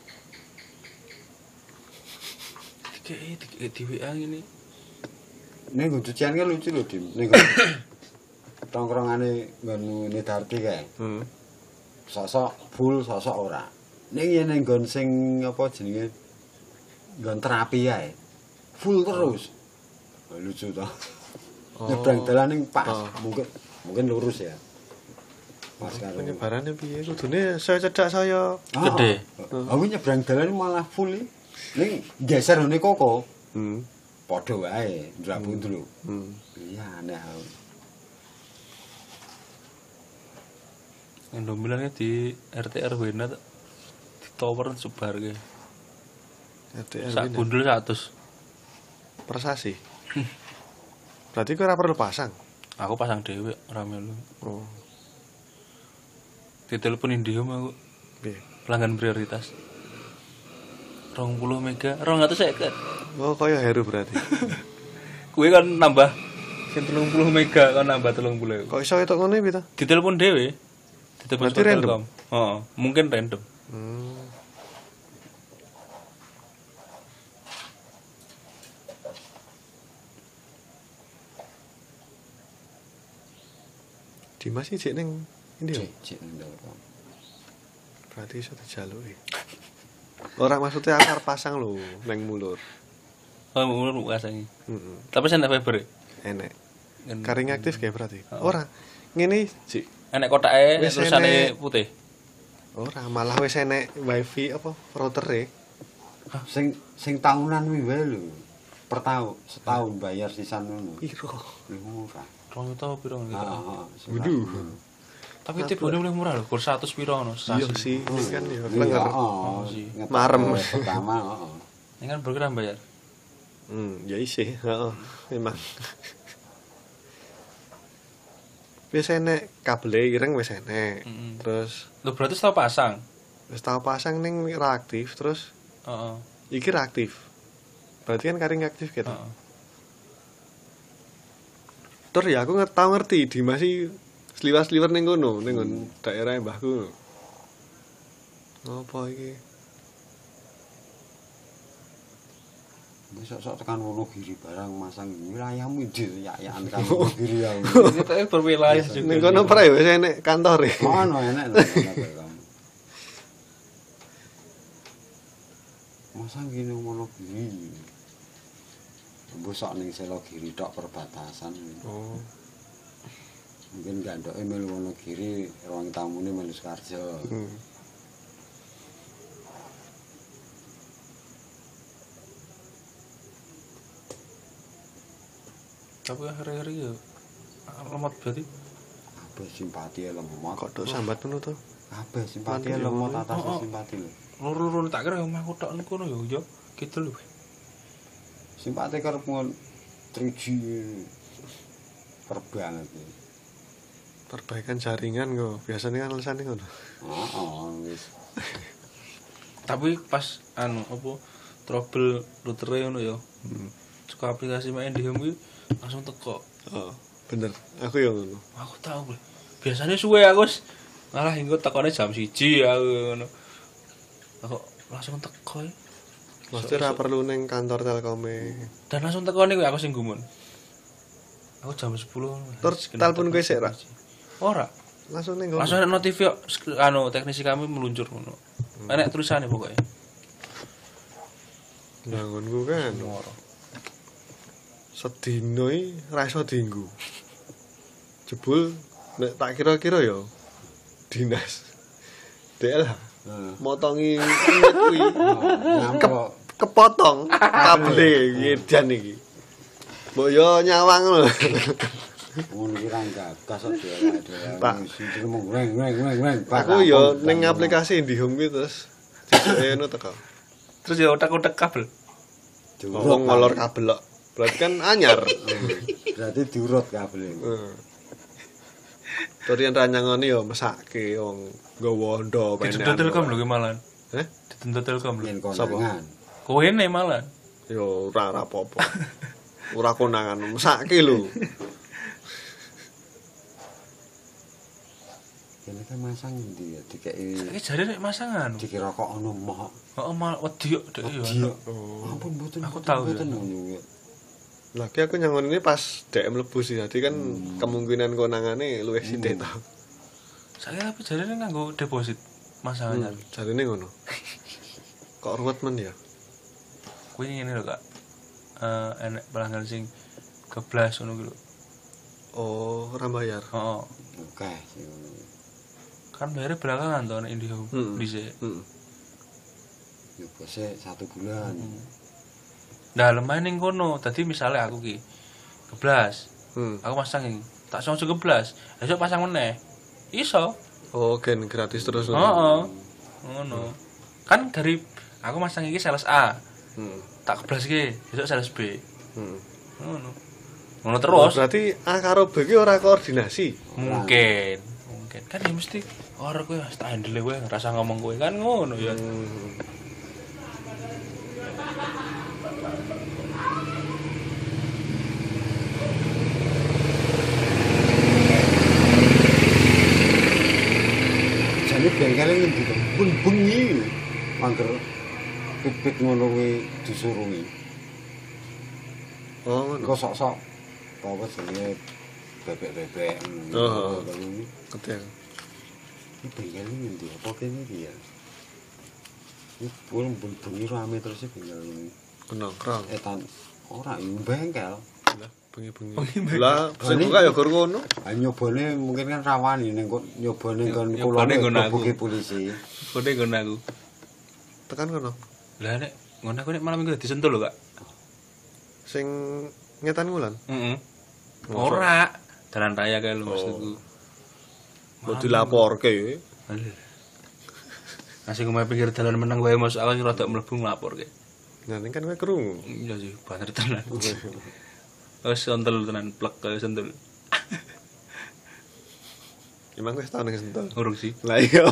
Dikei dikei di W A ngene. Ning nggon cucian kan lucu lho, Dim. Ning nggon tongkrongane nggon Nedarti kae. Hmm. Sosok full, sosok ora. Ning yen ning nggon sing apa jenenge nggon terapi kae. Full terus. Oh, lucu to. Oh. Nyebrang dalan ning pas, Oh. mungkin mungkin lurus ya. Pas karo Penyebarannya piye? Kudune saya cedak saya. Gede. Aku nyebrang dalan malah full. Ning geser ngene koko. Hmm. Padha wae, ndrabu dulu. Hmm. Iya aneh. Indomilannya di R T R W-na di tower sebar ke. R T R Sak ini. bundel seratus. Persasi. Berarti kau ora perlu pasang. Aku pasang dhewe ora melu. Oh. Ditelepon Indihome aku. Piye? Pelanggan prioritas. dua puluh mega, dua ratus seket. Oh, kaya Heru berarti. Kuwi kan nambah sing tiga puluh mega kan nambah tiga puluh. Kok iso ketok ngono piye to? Ditelepon dhewe. Ditelepon Berarti random? Heeh, mungkin random. Hmm. Dimas iki jek ning ndi ya? Cek ndok. Berarti iso dijaluki. Ora maksudnya akar pasang lho neng mulur. Oh, mulur kasangi. Heeh. Tapi sen fiber. Enek. Kan- Karing aktif kayak berarti. Oh. Ora. Ngene jek Enek kotake Wis terusane enek. putih. ora malah wis enek wifi apa router-e. Sing sing tahunan kuwi wae lho. Per tahun, setahun bayar sisan ngono. Piro? Lho murah. dua juta piro Heeh, gitu. heeh. Waduh. Tapi tibone mulai murah lho, kur seratus piro ngono. Iya sih, ini kan ya Iya, klenger. heeh. sih. Ngetok Marem. Pertama, heeh. Ini kan program bayar. Hmm, ya isih, heeh, memang. Wis enek kabel ireng wis enek. Mm-mm. Terus Lho berarti tau pasang. wis tau pasang ning ra aktif, terus Heeh. iki ra aktif. Berarti kan karing aktif gitu. Heeh. Terus ya aku nggak tau ngerti di masih sliwas-sliwer ning kono, ning nggon daerah mbahku. Apa iki? Besok-sok tekan Wonogiri barang masang wilayahmu ndi yak-yakan kan Wonogiri ya. Kita berwilayah juga. Ning kono pra wis enek kantore. Ono enek lho. Masang gini Wonogiri. Besok ning Selogiri tok perbatasan. Oh. Mungkin gandoke melu Wonogiri, ruang tamune melu Sukarjo. Hmm. Tapi hari-hari ya lemot berarti. Kabeh simpati lemot. Kok tok sambat ngono to? Kabeh simpati Mati lemot ya, atas oh, oh. simpati lho. Loro-loro tak kira omahku tok niku kono ya yo gitu lho. Simpati karep ngon triji perbanget. Perbaikan jaringan kok. Biasanya kan lesane ngono. Heeh, wis. Tapi pas anu apa trouble router ngono ya. Hmm. Suka aplikasi main di home langsung teko. Oh, bener. Aku ya ngono. Aku tahu bro. Biasanya suwe aku wis malah hingga tekone jam siji aku ngono. Aku langsung teko. Ya. Mesti ora perlu ning kantor Telkome. Dan langsung teko niku aku sing gumun. Aku jam sepuluh. Terus telepon kowe sik ra? Ora. Langsung ning kono. Langsung ada notif yo anu teknisi kami meluncur ngono. Enek tulisane pokoknya. Bangunku kan. Sedino iki ra iso dienggo. Jebul nek tak kira-kira ya dinas. D L H. Heeh. Motongi kulit kuwi. Nyampe Kepotong kabel edan iki. Mbok yo nyawang lho. ngono ki ra gagas kok Pak. dhewe mung weng weng weng weng. Aku yo ning aplikasi IndiHome kuwi terus dhewe ngono teko. Terus ya otak-otak kabel. Wong ngolor kabel kok. Berarti kan anyar. Berarti diurut kabel. Heeh. Torian ranyangane yo mesake wong nggawa ndo penekan. Dituntut Telkom lho ki malan. Heh? Dituntut Telkom lho. Yen Sapa? konangan. Kowe ne malan. Yo ora ora apa-apa. Ora konangan mesake lho. Kene kan masang ndi ya dikeki Iki jare nek masangan. dikira kok ono moh. Heeh mal wedi kok dek yo. Oh. Ampun mboten. Aku tahu, mboten ya. ngono. Lagi aku nyangon ini pas D M mlebu sih. Jadi kan kemungkinan konangane luwih sithik to. Saya tapi jare nganggo deposit masangan. Hmm, jarine ngono. Kok ruwet men ya? Kuwi ngene lho, Kak. Eh enek pelanggan sing keblas ngono ki lho. Oh, ora bayar. Heeh. Oke. Kan bayarnya belakangan to nek IndiHome Hmm. dhisik. Heeh. Yo bose satu bulan. Nah, lemah ning kono. Dadi misale aku ki keblas. Hmm. Aku masang iki. Tak langsung keblas. Besok pasang meneh. Iso. Oh, gen gratis terus. Heeh. Ngono. Kan dari aku masang iki sales A. Hmm. Tak keblas iki, besok sales B. Hmm. Ngono. Ngono Oh, terus. berarti A karo B ki ora koordinasi. Mungkin. Mungkin kan ya mesti ora kowe wis tak handle kowe ngerasa ngomong kowe kan ngono ya. Hmm. Jane bengkele ngendi to? Pun bengi. Mangger pipit ngono kuwi disurungi. Oh, ngono. Kok sok-sok apa jenenge bebek-bebek. Oh. Ini Ketel. bengkele ngendi? Apa kene iki ya? Ini pun pun bengi rame terus iki bengkel ini. Kenongkrong. Etan ora ini bengkel. Lah, bengi-bengi. Lah, sing buka ya gur ngono. Ah nyobane mungkin kan rawani ning kok nyobane kon Nyobane nggon aku. kulo polisi. Kode ngono aku. Tekan kono. Lah nek ngono aku nek malam minggu disentuh lho, Kak. Sing ngetan wulan. Heeh. Masa? Ora. Dalan raya kae lho maksudku. Kok dilaporke. Nasi kumaha pinggir dalan meneng wae Mas, aku rada mlebu nglaporke. Nah, ning kan kowe krungu. Iya sih, baner tenan. Wis sentul tenan plek kaya sentul. Emang wis tau ning Sentul. Urung sih. Lah iya.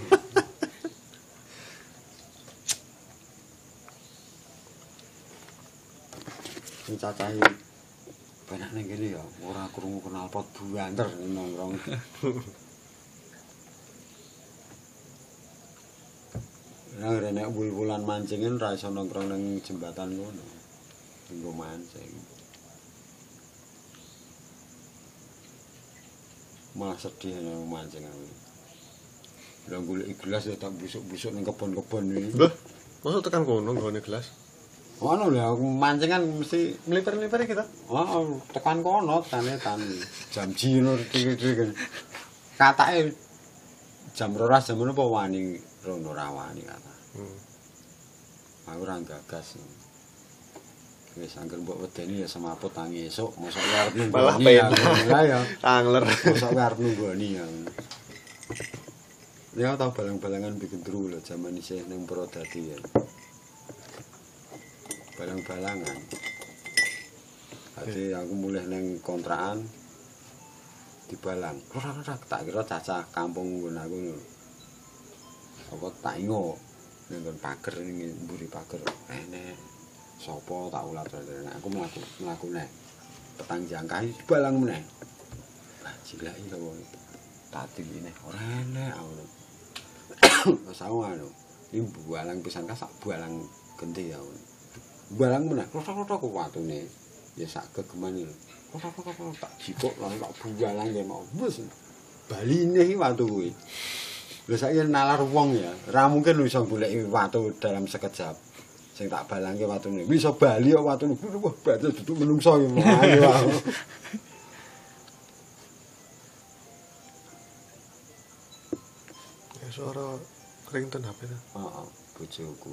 Sing cacahe banyak ning kene ya ora krungu kenal pot buanter nongkrong. Nah, nek wul-wulan mancingin ra iso nongkrong ning jembatan ngono. Nggo mancing. Malah sedih nang mancing aku. Lah golek gelas ya tak busuk-busuk ning kebon-kebon iki. Lho, mosok tekan kono nggone gelas. Ono lho aku mancing kan mesti Meliper-meliper kita. oh, tekan kono tekane tan jam jino iki-iki. Katake jam rolas jam apa wani rono ra wani kata. Hmm. Aku ora gagas. Wis angger mbok wedeni ya semaput tangi esuk, mosok arep nunggu. Malah ya. penak. Lah ya. Angler. Mosok arep nunggoni ya. Ya tau balang-balangan bikin dulu lho zaman isih ning Purwodadi ya. Balang-balangan. Jadi aku mulai neng kontrakan dibalang. Ora-ora tak kira cacah kampung nggon aku ngono. Apa tak ingo ning nggon pager ning mburi pager. Enek sapa tak ulat nek aku mlaku mlaku nek petang jangkai dibalang meneh. Lah cilaki kok. Tak tingine ora enek aku. Wes aku anu, iki bualang pisan ka sak bualang genti ya. Bualang meneh, klothok-klothok ku watune. Ya sak gegeman lho. Klothok-klothok tak jipuk lan tak bualang ya mau. Wes baline iki watu kuwi. Lha saiki nalar wong ya, ora mungkin iso goleki watu dalam sekejap. Sing tak balangke watune. Bisa bali kok watune. Wah, baca duduk menungso iki. Ayo. Suara ringtone H P ta. Heeh, bojoku.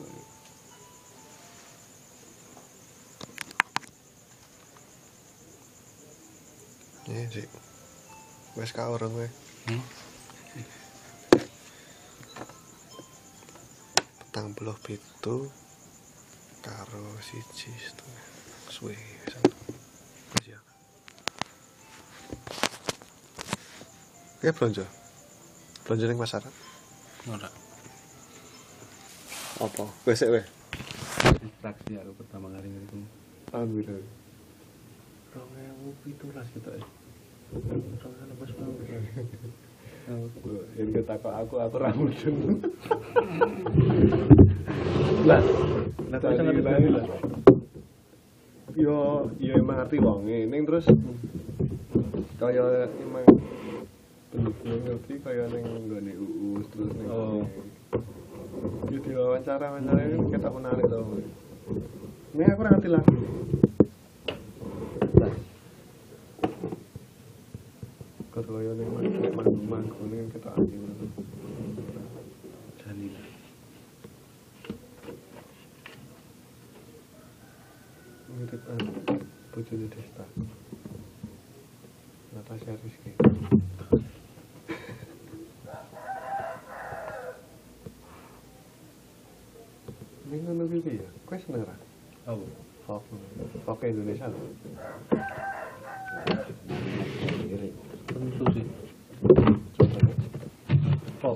Iya sih. Wes ka orang kowe. Hmm? Petang puluh pitu karo siji setengah. Suwe pisan. Wes ya. Oke, belanja. Belanja ning pasaran. Ora. Apa? Wes sik weh. Distraksi aku pertama kali ngiku. Alhamdulillah. dua ribu tujuh belas gitu ya. Soalnya pas banget. Aku yang ketakut aku aku rambutnya. Lah, Lah kok sangat ngerti lah. yo yo emang ngerti wonge ning terus kaya emang pendukung ngerti kaya ning nggone U U S terus ning Oh. yo diwawancara wawancara ini ketok menarik to. Nek aku ora ngerti lah. Kaya ning nek manggung ning ketok anjing ngono. Jani lah. Mirip anu bojone Desta. Natasha Rizky. Ini ngono iki ya. Kowe seneng ra? Oh. Folk. Folk Indonesia lho. Tentu sih. Folk.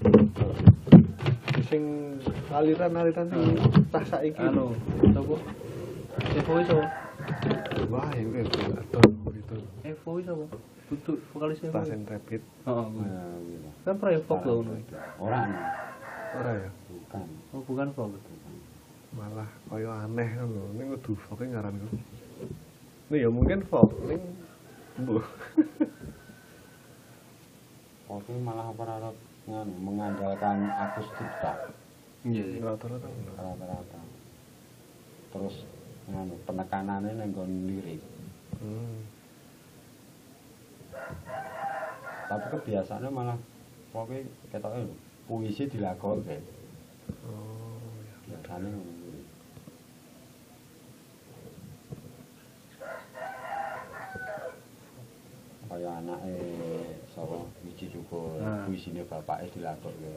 Sing aliran-aliran sing tas saiki. Anu, sapa? Evo iso. Wah, ini atau itu Evo iso apa? Butuh vokalisnya. tas and rapid. Heeh. Kan proyek folk lho ngono. Ora Ora ya. bukan. Oh, bukan folk. Malah kaya aneh lho. Ning kudu folk ngaran ku. Nih ya mungkin folk ning mbuh. Oke malah apa nganu mengandalkan akustik tak Iya, iya. Rata-rata. rata-rata. Terus nganu penekanannya nang nggon lirik. Hmm. Tapi kebiasaannya malah pokoknya ketoknya puisi dilakokke. Oh, ya. Biasanya ngono. Kaya anake sapa Wiji Cukul, Nah. puisine bapake dilakokke.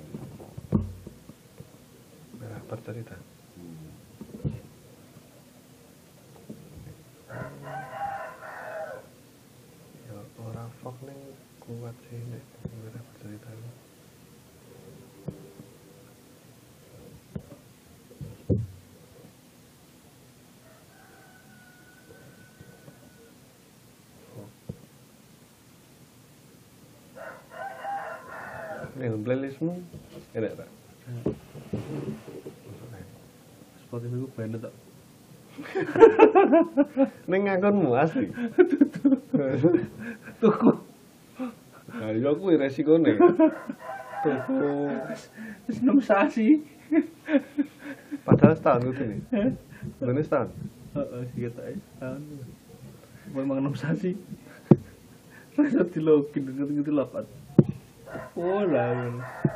Merah bercerita. Hmm. Ya ora folk ning kuat sih nek merah bercerita. Nih, playlistmu enak tak? Spotify ku band tok. Ning ngakonmu asli. Tuku. Nah, iya kuwi resikone. Tuku Wis enam sasi. padahal setahun itu nih. Bener setahun. Heeh, sih ketoke tahun. Memang enam sasi. Rasa dilogin ngerti-ngerti lapat. Oh lah.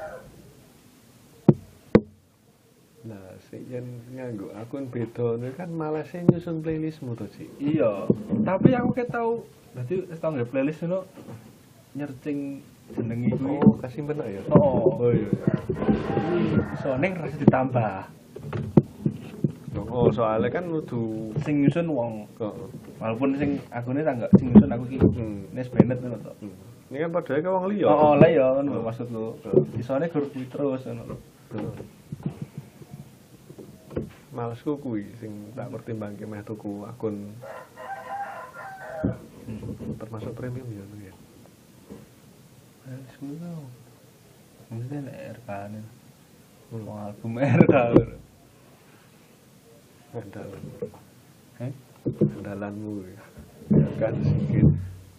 Nah, sik yen nganggo akun beda niku kan malah sing nyusun playlistmu to, Cik. Iya, tapi aku kayak tahu berarti wis tau nggak playlist itu nyercing jenengi kuwi. Oh, kasih bener ya. Oh, Oh iya. soalnya rasa ditambah. Oh, soalnya kan kudu Sing nyusun wong. kok. Walaupun sing akune tak enggak sing nyusun aku ki. Hmm. Nes Bennett ngono to. Ini kan padahal ke wong liya. Oh, oh lah ya ngono maksudku. Isone gur kuwi terus ngono. Malesku kuwi sing tak pertimbangke meh tuku akun termasuk premium ya ngono ya. Wis kuwi to. Mesti nek R K ne. Wong album R K. Andalan. Heh? Andalanmu ya. Ya kan sedikit.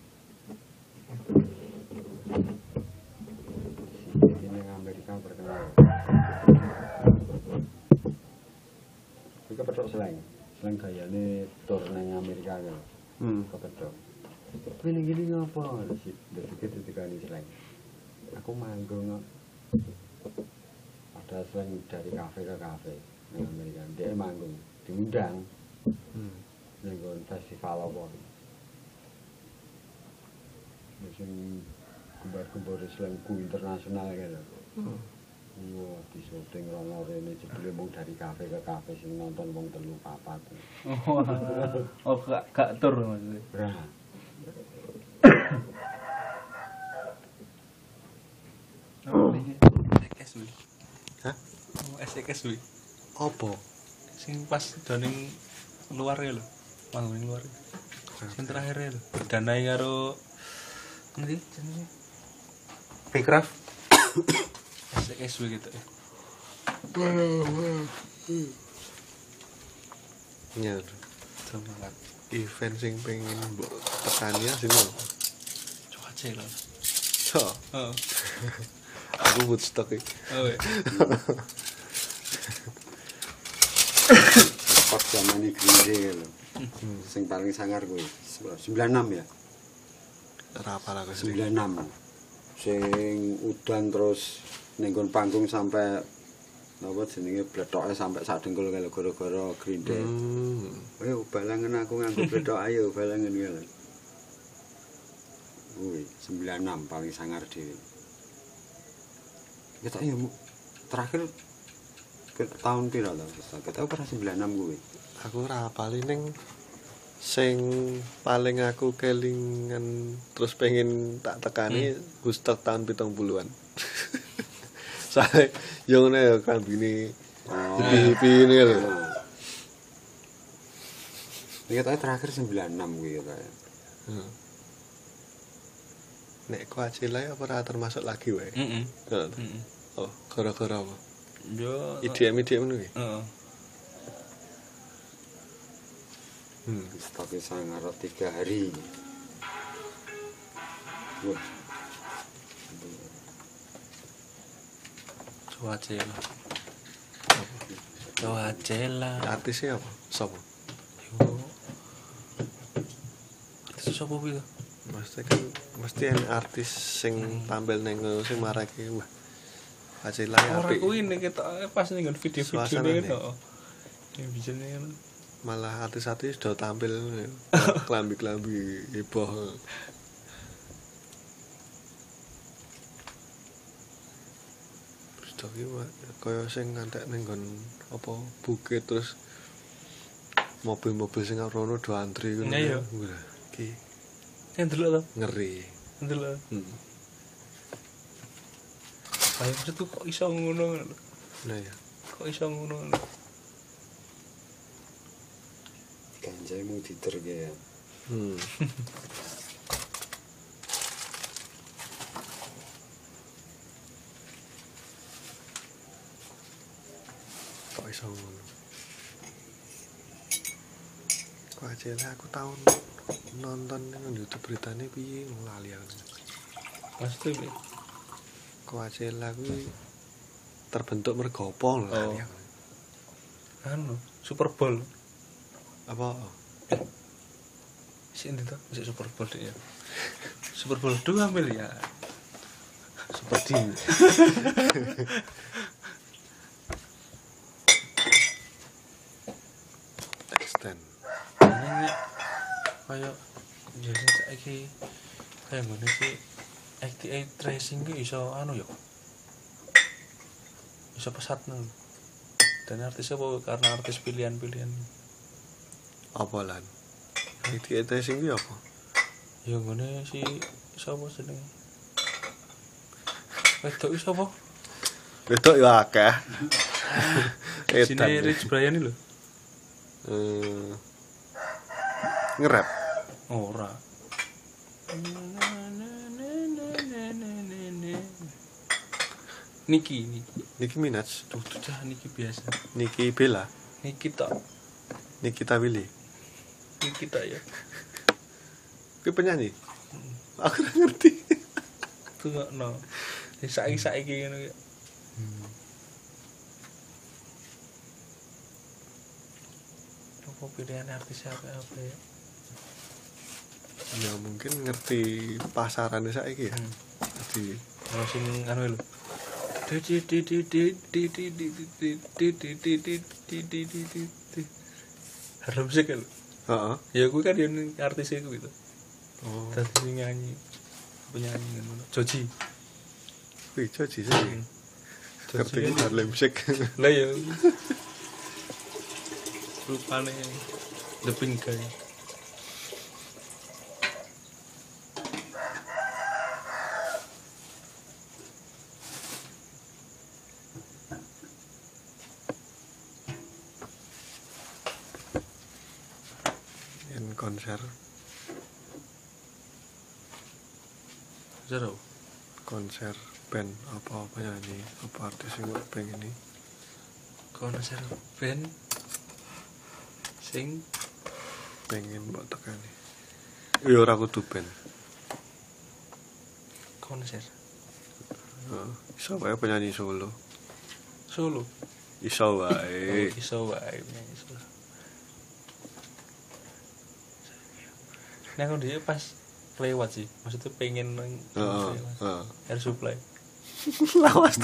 Ini yang Amerika berkenal. Ini kepedok slang. Slang gayane tur nang Amerika kan. Hmm. Kepedok. Ini gini ngapa sih? Dari ketika ini slang. Aku manggung ada slang dari kafe ke kafe nang Amerika. Dia manggung diundang. Hmm. Nang festival apa. Musim kembar-kembar slangku internasional gitu. Hmm. Wah, di syuting rono rene jebule mung dari kafe ke kafe sing nonton wong telu papat. Oh, oh gak gak tur maksudnya. Berat. Oh, iki S W. Hah? Oh, S K S W. Apa? Sing pas doning luar ya lho. Manggung luar. Sing terakhir ya lho. Berdanai karo ngendi jenenge? Backcraft. S K S W gitu ya. Ya. Semangat. Event sing pengen mbok tekani ya sini. Cuaca lho. So, Oh. aku Woodstock iki. Oh. Pas zaman ini Green Day lho. Sing paling sangar kuwi sembilan enam ya. Ora apa lah sing. sembilan enam. Sing udan terus ning nggon panggung sampai apa jenenge bletoke sampai sak dengkul kalau gara-gara Green Day. Hmm. Ayo balangan aku nganggo blethok ayo balangan ngono. Kuwi sembilan enam paling sangar dhewe. Kita ya terakhir ke tahun pira to? Kita pernah sembilan enam kuwi. Aku ora apal ning sing paling aku kelingan terus pengen tak tekani hmm. Woodstock tahun pitung puluhan. Soale yo ngene ya kambine hippie-hippie ini lho. Ini katanya terakhir sembilan enam kuwi katanya. Heeh. Nek Coachella apa ora termasuk lagi wae? Heeh. Heeh. Oh, gara-gara apa? Yo. I D M I D M ngono iki. Heeh. Hmm, tapi sangar tiga hari. Wah. Coachella. Coachella. Artisnya apa? Sopo? Yo. Artis sapa kuwi? Mesti kan mesti ana artis sing tampil ning sing marake wah. Coachella ya Ora apik. kuwi nek ketok pas ning video-video Suasanane. nek heeh. Ya bisa nih. Malah artis-artis sudah tampil kelambi-kelambi heboh. Terus iki kaya sing ngantek ning nggon apa bukit terus mobil-mobil sing rono do antri ngono. Iya, iya. Wah, iki Yang dulu to. ngeri. Dulu. Hmm. Ayo maksudku kok iso ngono. Nah ya. Kok iso ngono. Ganjaimu diterge ya. Hmm. Kok iso ngono? Kok aja lah aku tahun nonton nang YouTube beritane piye lali aku. Pasti piye? Kok aja lah kuwi terbentuk mergo apa lho lali aku. Anu, Super Bowl. Apa? Sing itu, masih Super Bowl deh ya. Super Bowl dua miliar. Super D. Extend. Ini kayak biasanya saiki kayak ngene sih X T A tracing ki iso anu ya. Iso pesat nang. Dan artisnya apa karena artis pilihan-pilihan. Apa lan? Iki tracing ki apa? Ya ngene si sapa jeneng? Wedok iki sapa? Wedok ya akeh. Sini Rich Brian iki lho. Eh nge-rap. Ora. Niki, Niki. Nicki Minaj, Tuh, tuh cah Niki biasa. Nicki Bella, Niki tak, Nikita Willy. Niki tak ya. Kuwi penyanyi. Aku ora ngerti. Tuh nggak no. Saiki-saiki ngono ya. Apa pilihan artis apa apa ya? Ya mungkin ngerti pasarannya saiki ya. Hmm. Jadi Kalau sing anu lho. Di di di di di di di di di di di di di di di di di di Harlem Shake lho. heeh. Ya gue kan yang artis itu gitu. Oh. Tadi nyanyi penyanyi ngono. Joji. Wih, Joji sih. Ngerti Joji. Harlem Shake. Lah ya. Rupane The Pink Guy. Yang konser Zero. konser band apa apa nyanyi apa artis yang buat band ini Konser band sing pengen buat tekan nih. Ya ora kudu band. konser Heeh. Iso wae penyanyi solo. Solo. Iso wae. Iso wae penyanyi solo. Nah, aku dia pas lewat sih, maksudnya pengen nang Heeh. lewat. Heeh. Air supply. Lawas.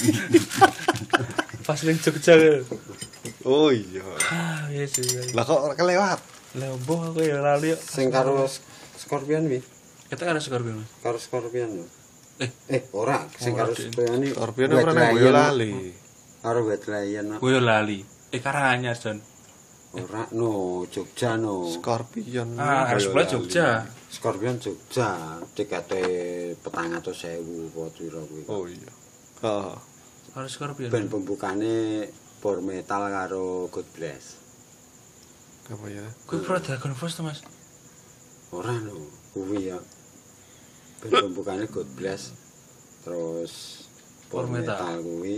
Pas ning Jogja. Lho. Oh iya. Ah, iya sih. Lah kok ora kelewat? Lah mbok aku ya lali. Sing karo Scorpion wi. Kita kan ada Scorpion. Mas. Karo Scorpion lho. Eh, Eh, ora sing Ora, karo Dik. Scorpion iki. Scorpion ora nang Boyolali. Karo Wetlayan. gue lali. Eh Karanganyar, Jon. Ora no, Jogja no. Scorpion. Ah, Air supply Boyolali. Jogja. Scorpion Jogja, tikete petang atus sewu apa pira kuwi. Oh iya. Heeh. Harus Scorpion. Ben pembukane Power Metal karo God Bless. Apa ya? Gue pro Dragon Force tuh, Mas. Ora no, kuwi ya. Ben pembukane God Bless. Terus Power Power Metal. Metal kuwi.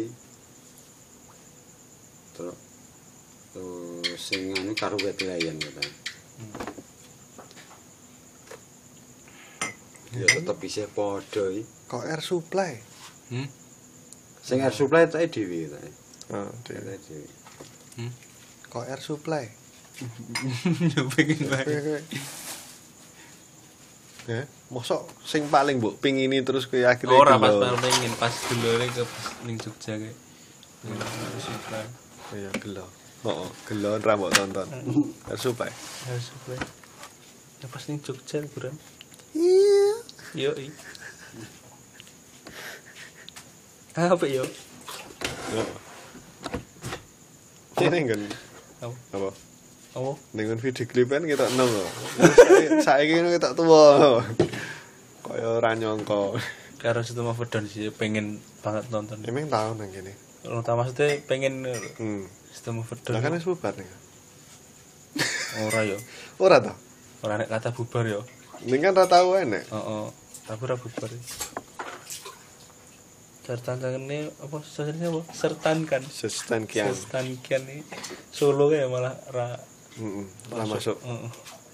Terus terus sing anu karo Wetlayan ya ta. Ya tetep isih padha iki. Kok Air Supply? Hmm? Sing Air Supply tak dhewe ta. Heeh, Dhewe dhewe. Hmm? kok Air Supply. Ya pengen banget. Ya, mosok sing paling mbok pingini terus kowe akhirnya Ora pas gelo. pengen pas dulure ke pas ning Jogja kayak. Harus supply. Iya, gelo. Heeh, gelo ra mbok tonton. Air Supply. Harus supply. Ya pas ning Jogja liburan. Iya. Yo i. Apa yo? Kene kan. Apa? Apa? Apa? Dengan video klipan kita nang kok. Saiki ngono kita tuwa. Kaya ora nyangka. Karo Situ Mafudon sih pengen banget nonton. Emang tahun nang kene. Kalau tak maksudnya pengen Hmm. Situ Mafudon. Lah kan wis bubar nih. Ora yo. Ora ta? Ora nek kata bubar yo. Ning kan ra tau enek. Heeh. Tapi ora bubar. Sertan ini apa sebenarnya apa? Sertan kan. Sesten kian. Sertan kian ini Solo kayak malah ra Heeh. Lah masuk. Heeh.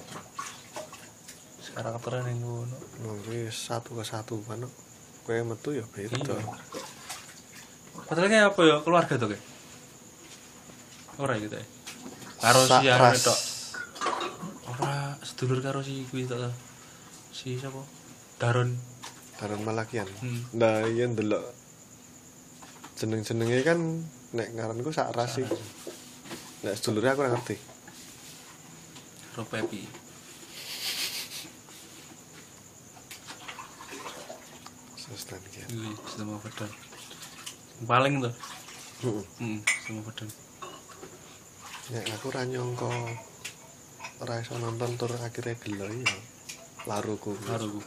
Karakternya ning ngono. Nggih satu ke satu kan. Kowe metu ya beda. Padahal kayak apa ya keluarga tuh kayak. Ora gitu ya. Karo si anu Sakras. tok. Ora sedulur karo si kuwi tok. Si sapa? Daron. Daron Malakian. Hmm. Nah, iya ndelok jeneng-jenenge kan nek ngaranku sak ras sih. Nek sedulure aku ora ngerti. Karo Pepi. Sustan iki. Iya, Sistem Overdown. Paling tuh. Heeh. Heeh, Sistem Overdown. Nek aku ora nyangka ora iso nonton tur akhirnya gelo ya. Laruku. Laruku.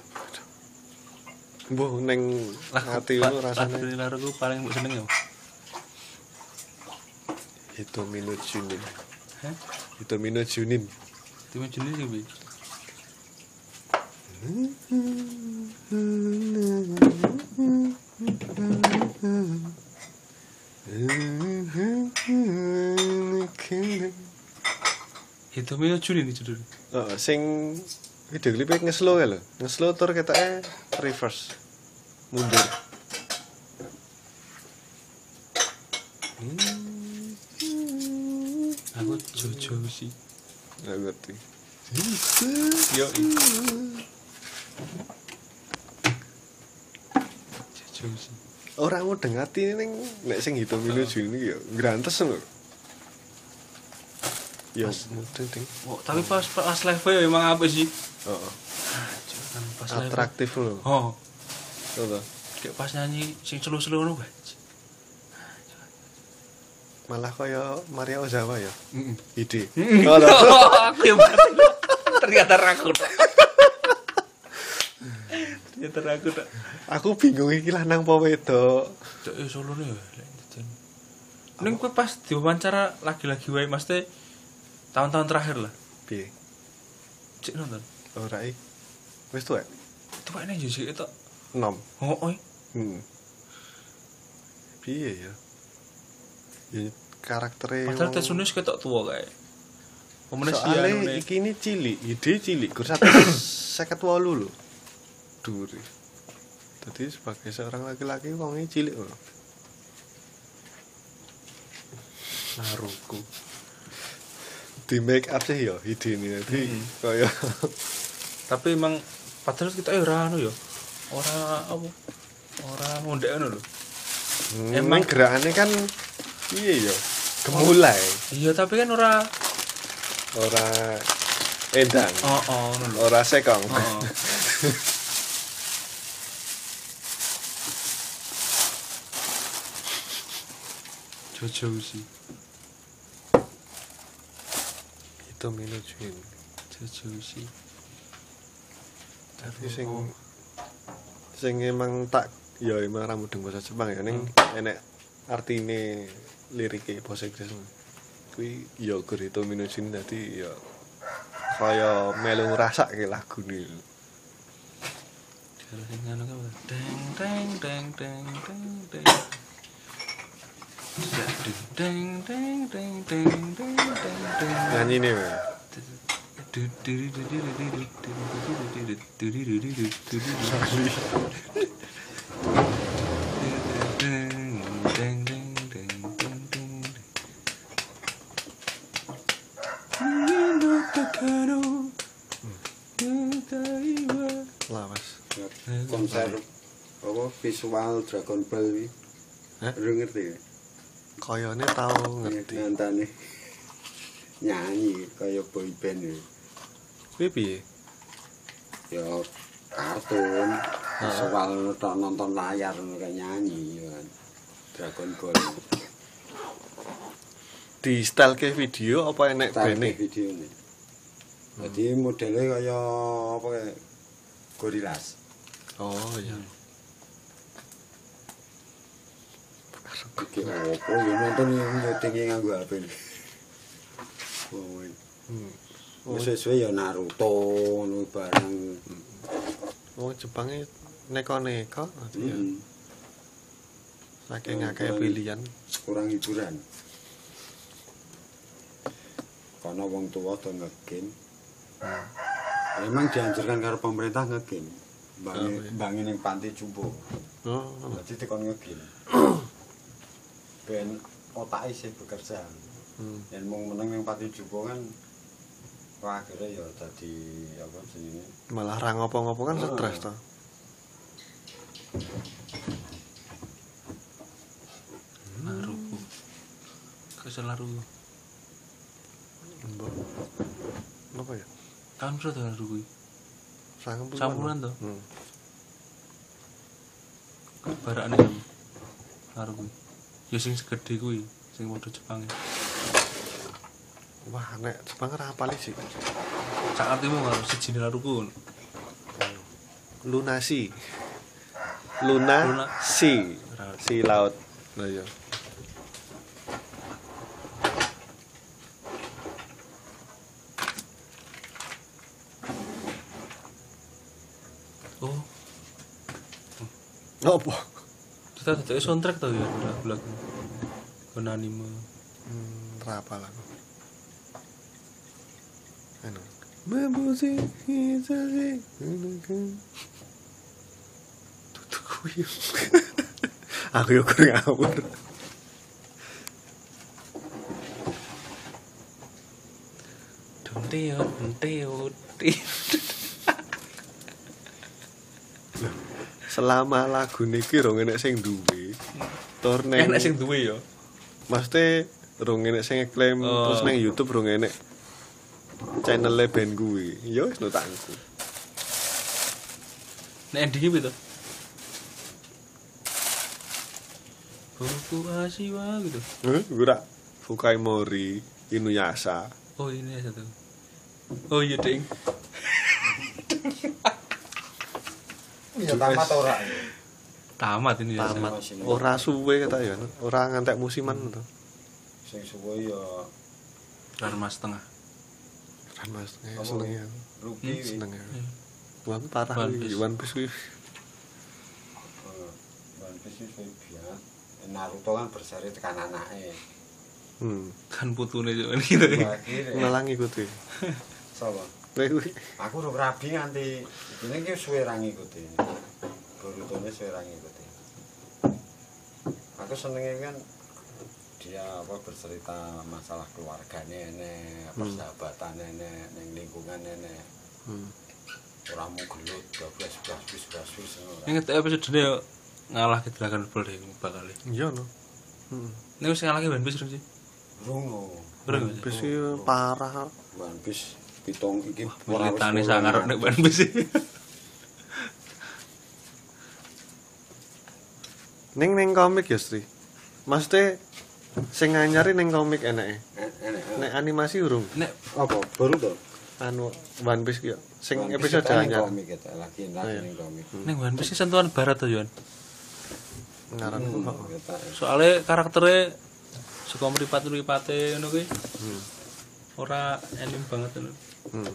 Mbuh ning ati ngono rasane. Lagu laruku paling mbok seneng ya. Itu Mino Junin. Hah? Itu Mino Junin. Tim jenis sih, Bi. Itu Mino Juni nih judulnya. Oh, sing video klipnya nge-slow ya lho. Nge-slow tur ketake reverse. Mundur. Aku Jojo sih. Nggak ngerti. Yo. Jojo sih. Orang mau dengati ning nek sing hitung Mino Juni ya grantes lho. Ya, mudeng ting. Oh, tapi pas pas live ya emang apa sih? Heeh. Kan pas live. Atraktif lho. Oh, Betul. kayak pas nyanyi sing selo-selo ngono wae. Malah kaya Maria Ozawa ya. Heeh. Ide. Aku yang berarti. Ternyata ragu. Ternyata ragu tak. Aku bingung iki lanang apa wedok. Cok eh solone ya. Ning kowe pas diwawancara lagi-lagi wae mesti tahun-tahun terakhir lah. Piye? Cek nonton. Ora iki. Wis tuwek. Tuwek nang Jose itu. enam. Oh, oi. Hmm. Piye ya? Ya karaktere Padahal wong- Tetsunis ketok tua kae. Pemene sih Soale anu iki ini cilik, ide cilik, gur satu lima delapan lho. Duri. Jadi sebagai seorang laki-laki wongnya cilik lho. Naruku. Di make up sih ya ide ini nanti kaya tapi emang padahal kita ora anu ya. Ora apa? Ora ngondek anu lho. emang gerakannya kan iya ya gemulai, Iya, tapi kan ora ora endang, oh oh ngono lho. ora sekong. Oh. Jojo sih. Itu Mino Jun. Jojo sih. Tapi sing sing emang tak ya emang ra mudeng bahasa Jepang ya ning enek artine lirike bahasa Inggris. Kuwi ya gur itu Mino Jun dadi ya kaya melu ngrasake lagune. Kalau sing anu kan deng deng deng deng deng deng. Deng deng deng deng deng deng deng. Nyanyine wae. Lawas. Konser apa visual Dragon Ball iki. Hah? Lu ngerti ya? Kayane tau ngerti. Ngantane nyanyi kaya boy band ya. Kuwi piye? Ya kartun visual tok nonton layar kayak nyanyi ya kan. Dragon Ball. Di style ke video apa enek Tarik bene? video ini. Jadi modelnya kaya apa kayak Gorillaz. Oh iya. Iki opo ya nonton yang nyetinge nganggo H P. Oh. Hmm. Wis sesuai ya Naruto ngono barang. Wong Jepange neko-neko ya. Hmm. Saking akeh pilihan. Kurang hiburan. ana wong tuwa do nge-game. Memang dianjurkan karo pemerintah nge-game. Bangi bangi ning panti jumbo. Oh, Jadi dikon nge-game. Ben otak isih bekerja. hmm. Yen mung meneng ning panti jumbo kan wah akhirnya ya dadi apa jenenge? Malah ra ngopo-ngopo kan stres to. Laruku. Kesel laru. Mbok. Napa ya? Tahun berapa tuh laru kuwi? Sangat Sampuran to. Hmm. Barakane jam. Laru kuwi. Ya sing segede kuwi, sing modho Jepang. Wah, nek Jepang ora apal sih. Sak artimu karo siji laruku. Lunasi. Luna, Luna. si. Si laut. Lah iya. Oh, Apa? kita dadi soundtrack to ya lagu-lagu. Kon anime. Hmm, ra apal aku. Anu. Mabusi hitsasi. Tutuk kuwi. Aku yo kurang ngawur. Donte yo, donte yo. Selama lagu niki rong enek sing duwe. Tur ning Enak sing duwe yo. Maksudnya rong enek sing ngeklaim Oh. terus nang YouTube rong enek channel band kuwi. Ya wis nutangku. Nek endinge piye to? Buku Asiwa gitu. Heh, ora Fukai Mori, Inuyasha. Oh ini satu. Oh iya ding. Ya tamat ora. Tamat ini ya. Tamat. Ora suwe kata ya, ora ngantek musiman to. Sing suwe ya Dharma setengah. Kan Mas, seneng ya. rugi. Seneng ya. Wah, parah One kuwi, Piece. One Piece kuwi. One Piece iki biar Naruto kan berseri tekan anake. Hmm. Kan putune yo gitu. Akhire Ngalangi kuwi. sapa? Kowe kuwi. Aku udah rabi nganti ini ki suwe ra ngikuti. Borutone suwe ra ngikuti. Aku senenge kan dia apa bercerita masalah keluargane enek, persahabatan enek, ning lingkungan enek. Hmm. Ora mung gelut bablas bablas bablas ngono. Ini ketika episode yo ngalah ke Dragon Ball deh bakal. Iya no. Heeh. Ini wis ngalah ke One Piece sih. Rungu. Bereng. One Piece iki parah. One Piece pitung iki Militane sangar nek One Piece. Ning ning komik ya, Sri. Maksudnya sing nganyari ning komik enake. enek. Nek animasi urung. Nek Apa baru to? Anu One Piece ki yo. Sing One Piece episode kan ning anyar. komik eta lagi Iya. lagi ning komik. ning One Piece sentuhan barat to yo. Ngaran Hmm, kok. eta. Soale karaktere suka mripat-mripate ngono kuwi. Ora anime banget ngono. Hmm.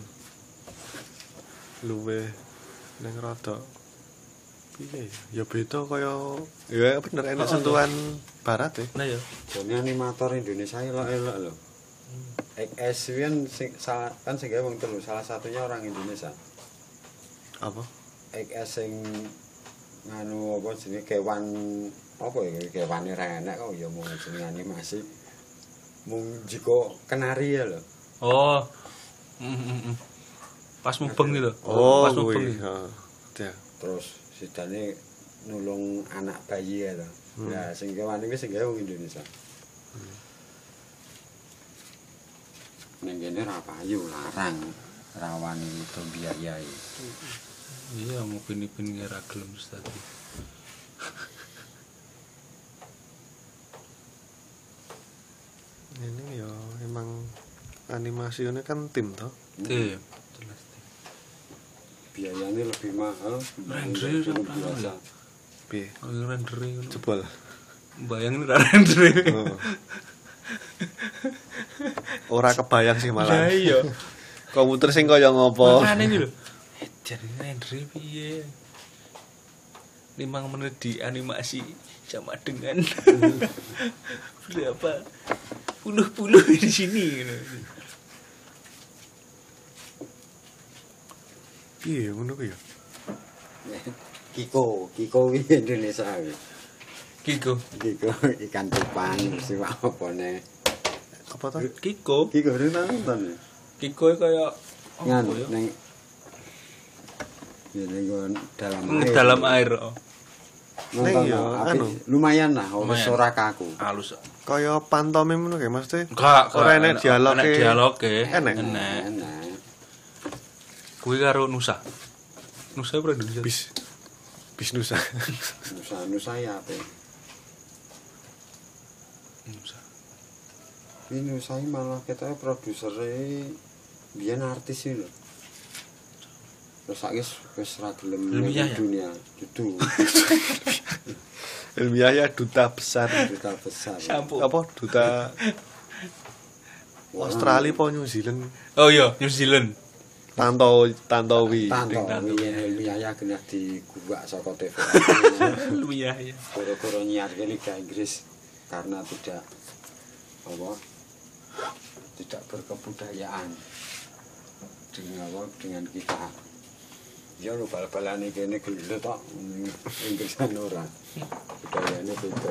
Luwe ning rada piye ya? Ya beda kaya ya bener enak sentuhan barat ya. Nah yo. Jane animator Indonesia elok-elok lho. X S kan sing salah kan sing gawe wong telu, salah satunya orang Indonesia. Apa? X S sing nganu apa jenenge kewan apa ya kewane ra enak kok ya mung jenenge animasi. Mung jiko kenari ya lho. Oh. Mm, mm, mm. Pas mubeng gitu. Oh, Pas mubeng. kuwi. gitu. Heeh. Ya. Terus sidane nulung anak bayi ya lho. Ya sing kewan iki sing gawe wong Indonesia. Ning kene ra payu larang rawan itu biayai. Iya, mau pini-pini ra gelem terus tadi. Ini ya emang animasinya kan tim toh. Tim. Jelas tim. Biayanya lebih mahal Render film apa biasa. Piye? Oh, rendering ngono. Jebol. Bayangin ra rendering. Oh. Ora kebayang sih Lah malah. iya. Komputer sing kaya ngopo? Makane iki lho. Eh, jadi rendering piye? lima menit di animasi sama dengan berapa puluh-puluh di sini gitu. Piye ngono ku ya? Kiko, Kiko wi Indonesia wi. Kiko. Kiko ikan cupang siwak opone. Apa to? Kiko. Kiko ora nonton. Kiko kaya Ngan apa ya? ning ya ning dalam Ning air. dalam air. Oh. Nonton Ning ya, no, anu. apik. Lumayan lah, wis Lumayan. ora kaku. Halus. Kaya pantomim ngono kae maksudnya. Enggak, Ora enek dialoge. Enek dialoge. Enek. Enek. Enak. Kuwi karo Nusa. Nusa ora Indonesia. Bis bis Nusa. Nusa Nusa ya apik. Nusa. Ini Nusa iki malah ketoke produsere biyen artis iki lho. Terus saiki wis ora gelem Ilmiah ning ya? dunia. Dudu. Ilmiah ya duta besar. Duta besar. Sampo. Apa duta Australia apa New Zealand? Oh iya, New Zealand. Tanto Tantowi. Tanto ilmiah ya kena digubak saka T V. Ilmiah ya. Koro-koro nyiarke Liga Inggris karena tidak apa tidak berkebudayaan dengan apa dengan kita. Ya lu bal-balane kene gelo tok Inggrisan ora. Budayane beda.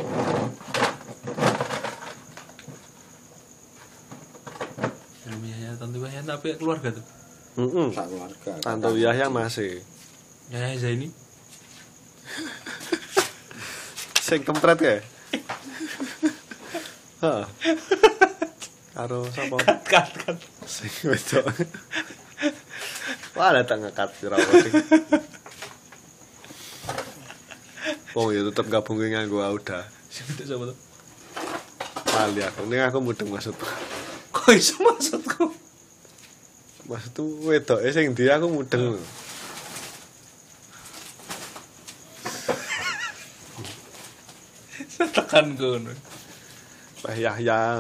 Ilmiah ya Tanto Yahya tapi keluarga tuh. Heeh. Sak keluarga. Tanto Yahya masih. Yahya Zaini. Sing kempret kae. Heeh. Karo sapa? Kat kat. Sing wedok. Wah, ada tak ngekat jerawat. Oh ya tetep gabung ke nganggo Auda. Siapa tuh siapa tuh? Kali aku, ini aku mudeng maksudku. Kok iso maksudku? Maksudku wedok e sing ndi aku mudeng. Tekan kono. Pak Yahya.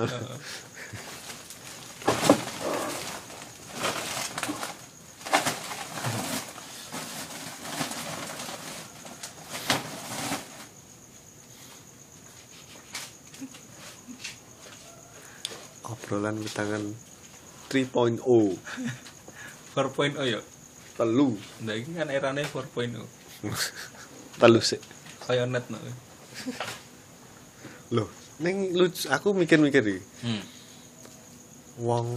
Obrolan witangan tiga titik nol. empat titik nol ya. Telu. Nah ini kan erane empat titik nol. Telu sik. Kayak net no. Loh, ning lucu aku mikir-mikir iki. Hmm. Wong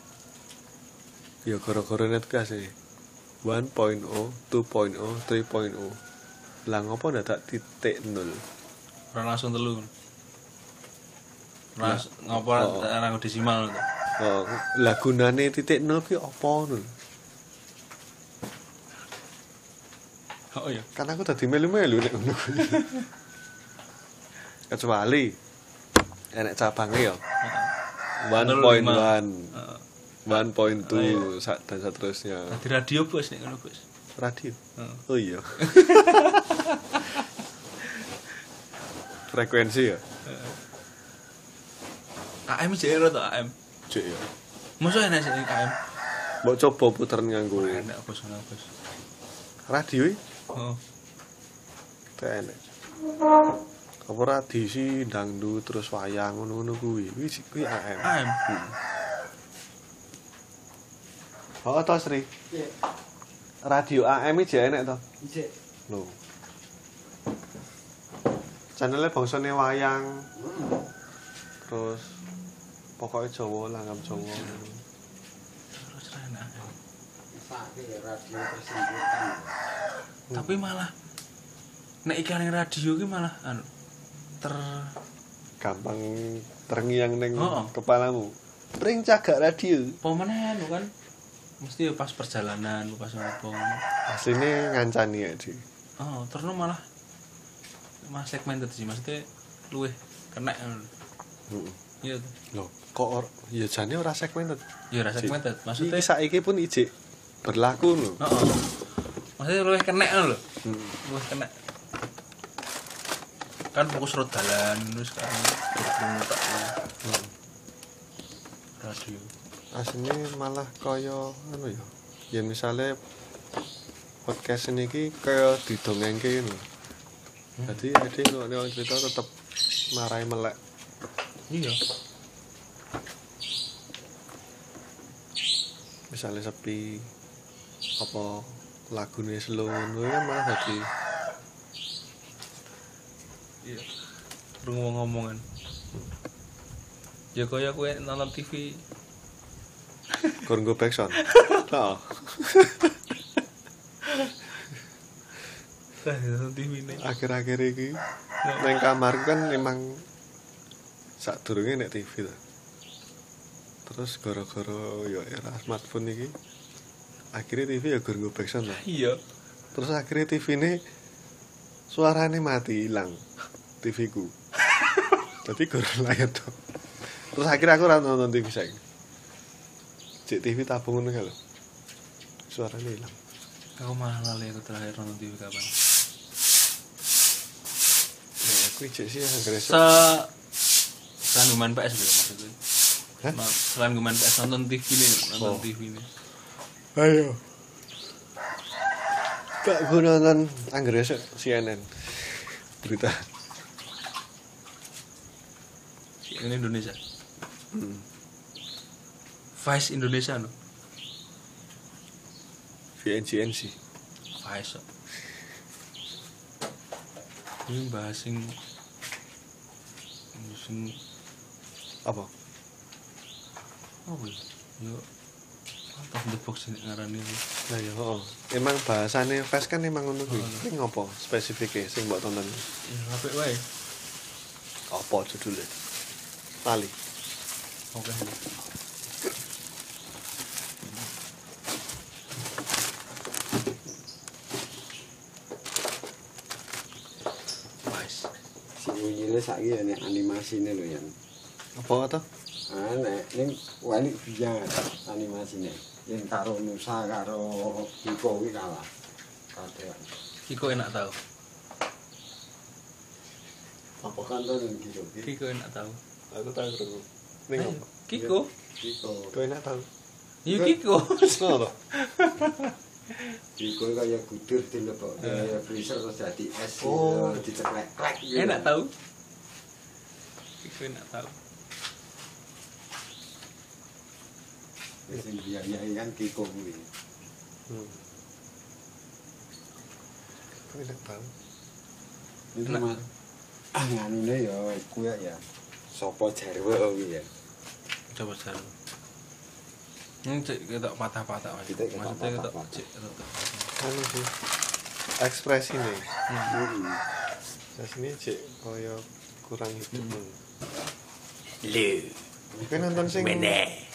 ya gara-gara net gas e. satu titik nol, dua titik nol, tiga titik nol. Lah ngopo ndak tak titik nol? Ora langsung telu. Ras ngopo Oh. ora desimal to. Oh, lah gunane titik nol ki apa nul? Oh iya. Kan aku tadi melu-melu nek ngono kuwi. Kecuali enek cabange ya. satu titik satu, Heeh. satu titik dua sak dan seterusnya. Di radio bos nek ngono bos. Radio. Heeh. Oh iya. Frekuensi ya. K M jero to A M. Cek ya. Mosok enak sih K M. Mbok coba puter nganggo Enak bos ngono bos. radio iki. Oh. Tenek. Apa radisi dangdut terus wayang ngono-ngono kuwi. Kuwi kuwi A M. A M. Oh, to Sri. Iya. Radio A M iki enek to? Ijek. Lho. Channelnya bangsane wayang. Terus pokoknya Jawa, langgam Jawa. Terus enak. Sakit radio persembuhan. Tapi malah nek iklan radio ki malah anu ter Gampang terngiang ning Oh. kepalamu. Pring cagak radio. pemenang anu kan mesti pas perjalanan pas ngopo. Asline ngancani ya, Di. Oh, terus malah malah segmented sih maksudnya luwih kena anu. Heeh. Iya. Loh, kok or, ya jane ora segmented. Ya rasa segmented. Maksudnya Iki saiki pun ijik berlaku lho. heeh. Maksudnya luwih kena lho. Hmm. Luwih kena. Kan fokus road dalan terus kan berpungut Hmm. radio. Asline malah kaya anu ya. Ya misale podcast ini ki kaya didongengke ngono. Dadi ade kok nek cerita tetep marai melek. Iya. Misalnya sepi apa lagune slow ngono kan malah dadi iya rungu ngomongan ya kaya kowe nonton T V gur nggo backsound. Heeh. Tah nonton T V ne. Akhir-akhir iki nang kamarku kan memang sadurunge nek T V to. Terus gara-gara ya era smartphone iki akhirnya T V ya gur nggo backsound lah. Iya. Terus akhirnya T V ini suaranya mati hilang T V ku. Tapi gur layar to. Terus akhirnya aku ora nonton T V saiki. Cek T V tabung ngono lho. Suaranya hilang. Aku malah lali aku terakhir nonton T V kapan. Nah, aku cek sih anggere Se selain gue main P S gitu maksudnya. Hah? Ma- Selain gue main P S nonton T V nih, nonton Oh. T V nih. Ayo. Kak gue nonton anggere C N N. Berita. Ini Indonesia. Hmm. Vice Indonesia no. V N C N sih. Vice. Ini bahas sing sing Apa? apa ya? Yo out of the box ini ngarani ini. Nah ya, oh. Emang bahasane fast kan emang ngono kuwi. Ini ngopo spesifike sing mbok tonton? Ya apik wae. Apa judulnya? Lali. Oke. Vice. Si Uyile saiki ya nek animasine lho ya. Apa to? Ah nek ning wali biar animasine. Yen karo Nusa karo Kiko kuwi kalah. Kadean. Kiko enak tau. Apa kan to ning Kiko? Kiko enak tau. Aku tahu krungu. Ning Ayo, apa? Kiko. Kiko. Kowe enak tahu. Iya Kiko. Ngono to? Kiko kaya gudur dilebok kaya freezer terus dadi es Oh. diceklek-klek gitu. Enak tau. Kiko enak tau. Sing biayai kan Kiko kuwi. Hmm. Kowe enak tahu. Itu Enak. mah ah nganune ya kuwi ya. Sopo jarwo kuwi ya. Coba cari. Hmm, cek kita patah-patah mas. Kita ketok Maksudnya kita patah-patah. cek kita. Anu sih. Ekspresi nih. Heeh. Nah sini cek kaya kurang hidup. Hmm. Lu. Kowe nonton sing Mene.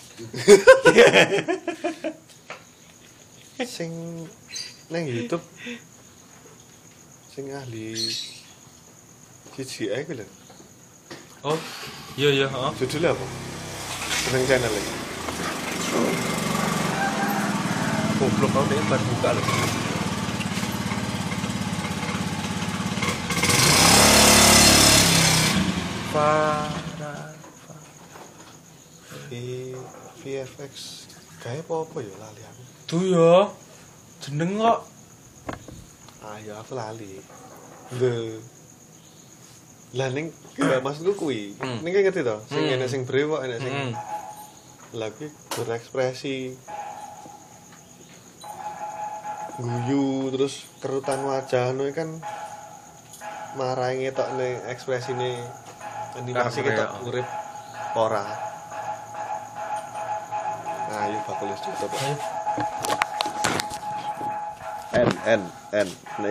sing nang YouTube sing ahli C G I ku lho. Oh, iya iya, heeh. Judulnya apa? Seneng channel iki. Goblok kau deh baru buka loh. Para V VFX kayak apa-apa ya lali aku. tuh ya. Jeneng kok. Ah ya aku lali. The lah ning gak maksudku kuwi. Hmm. Ning ngerti to? Sing Hmm. enek sing brewok, enek sing Hmm. lagi berekspresi guyu terus kerutan wajah anu kan marai ngetokne ekspresine animasi Karakter, ketok ya. urip ora. Ayo bakul wis tutup. N N N. Nah,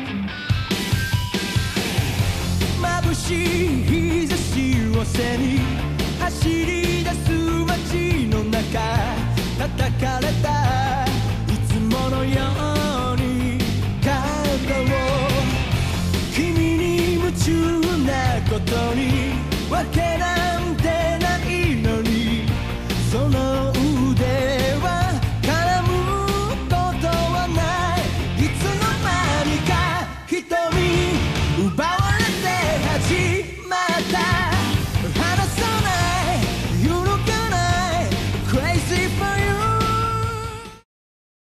眩しい日差しを背に走り出す街の中叩かれたいつものように肩を君に夢中なことにわけなんてないのにその腕は絡むことはないいつの間にか瞳奪われて始まった離さない揺るがない Crazy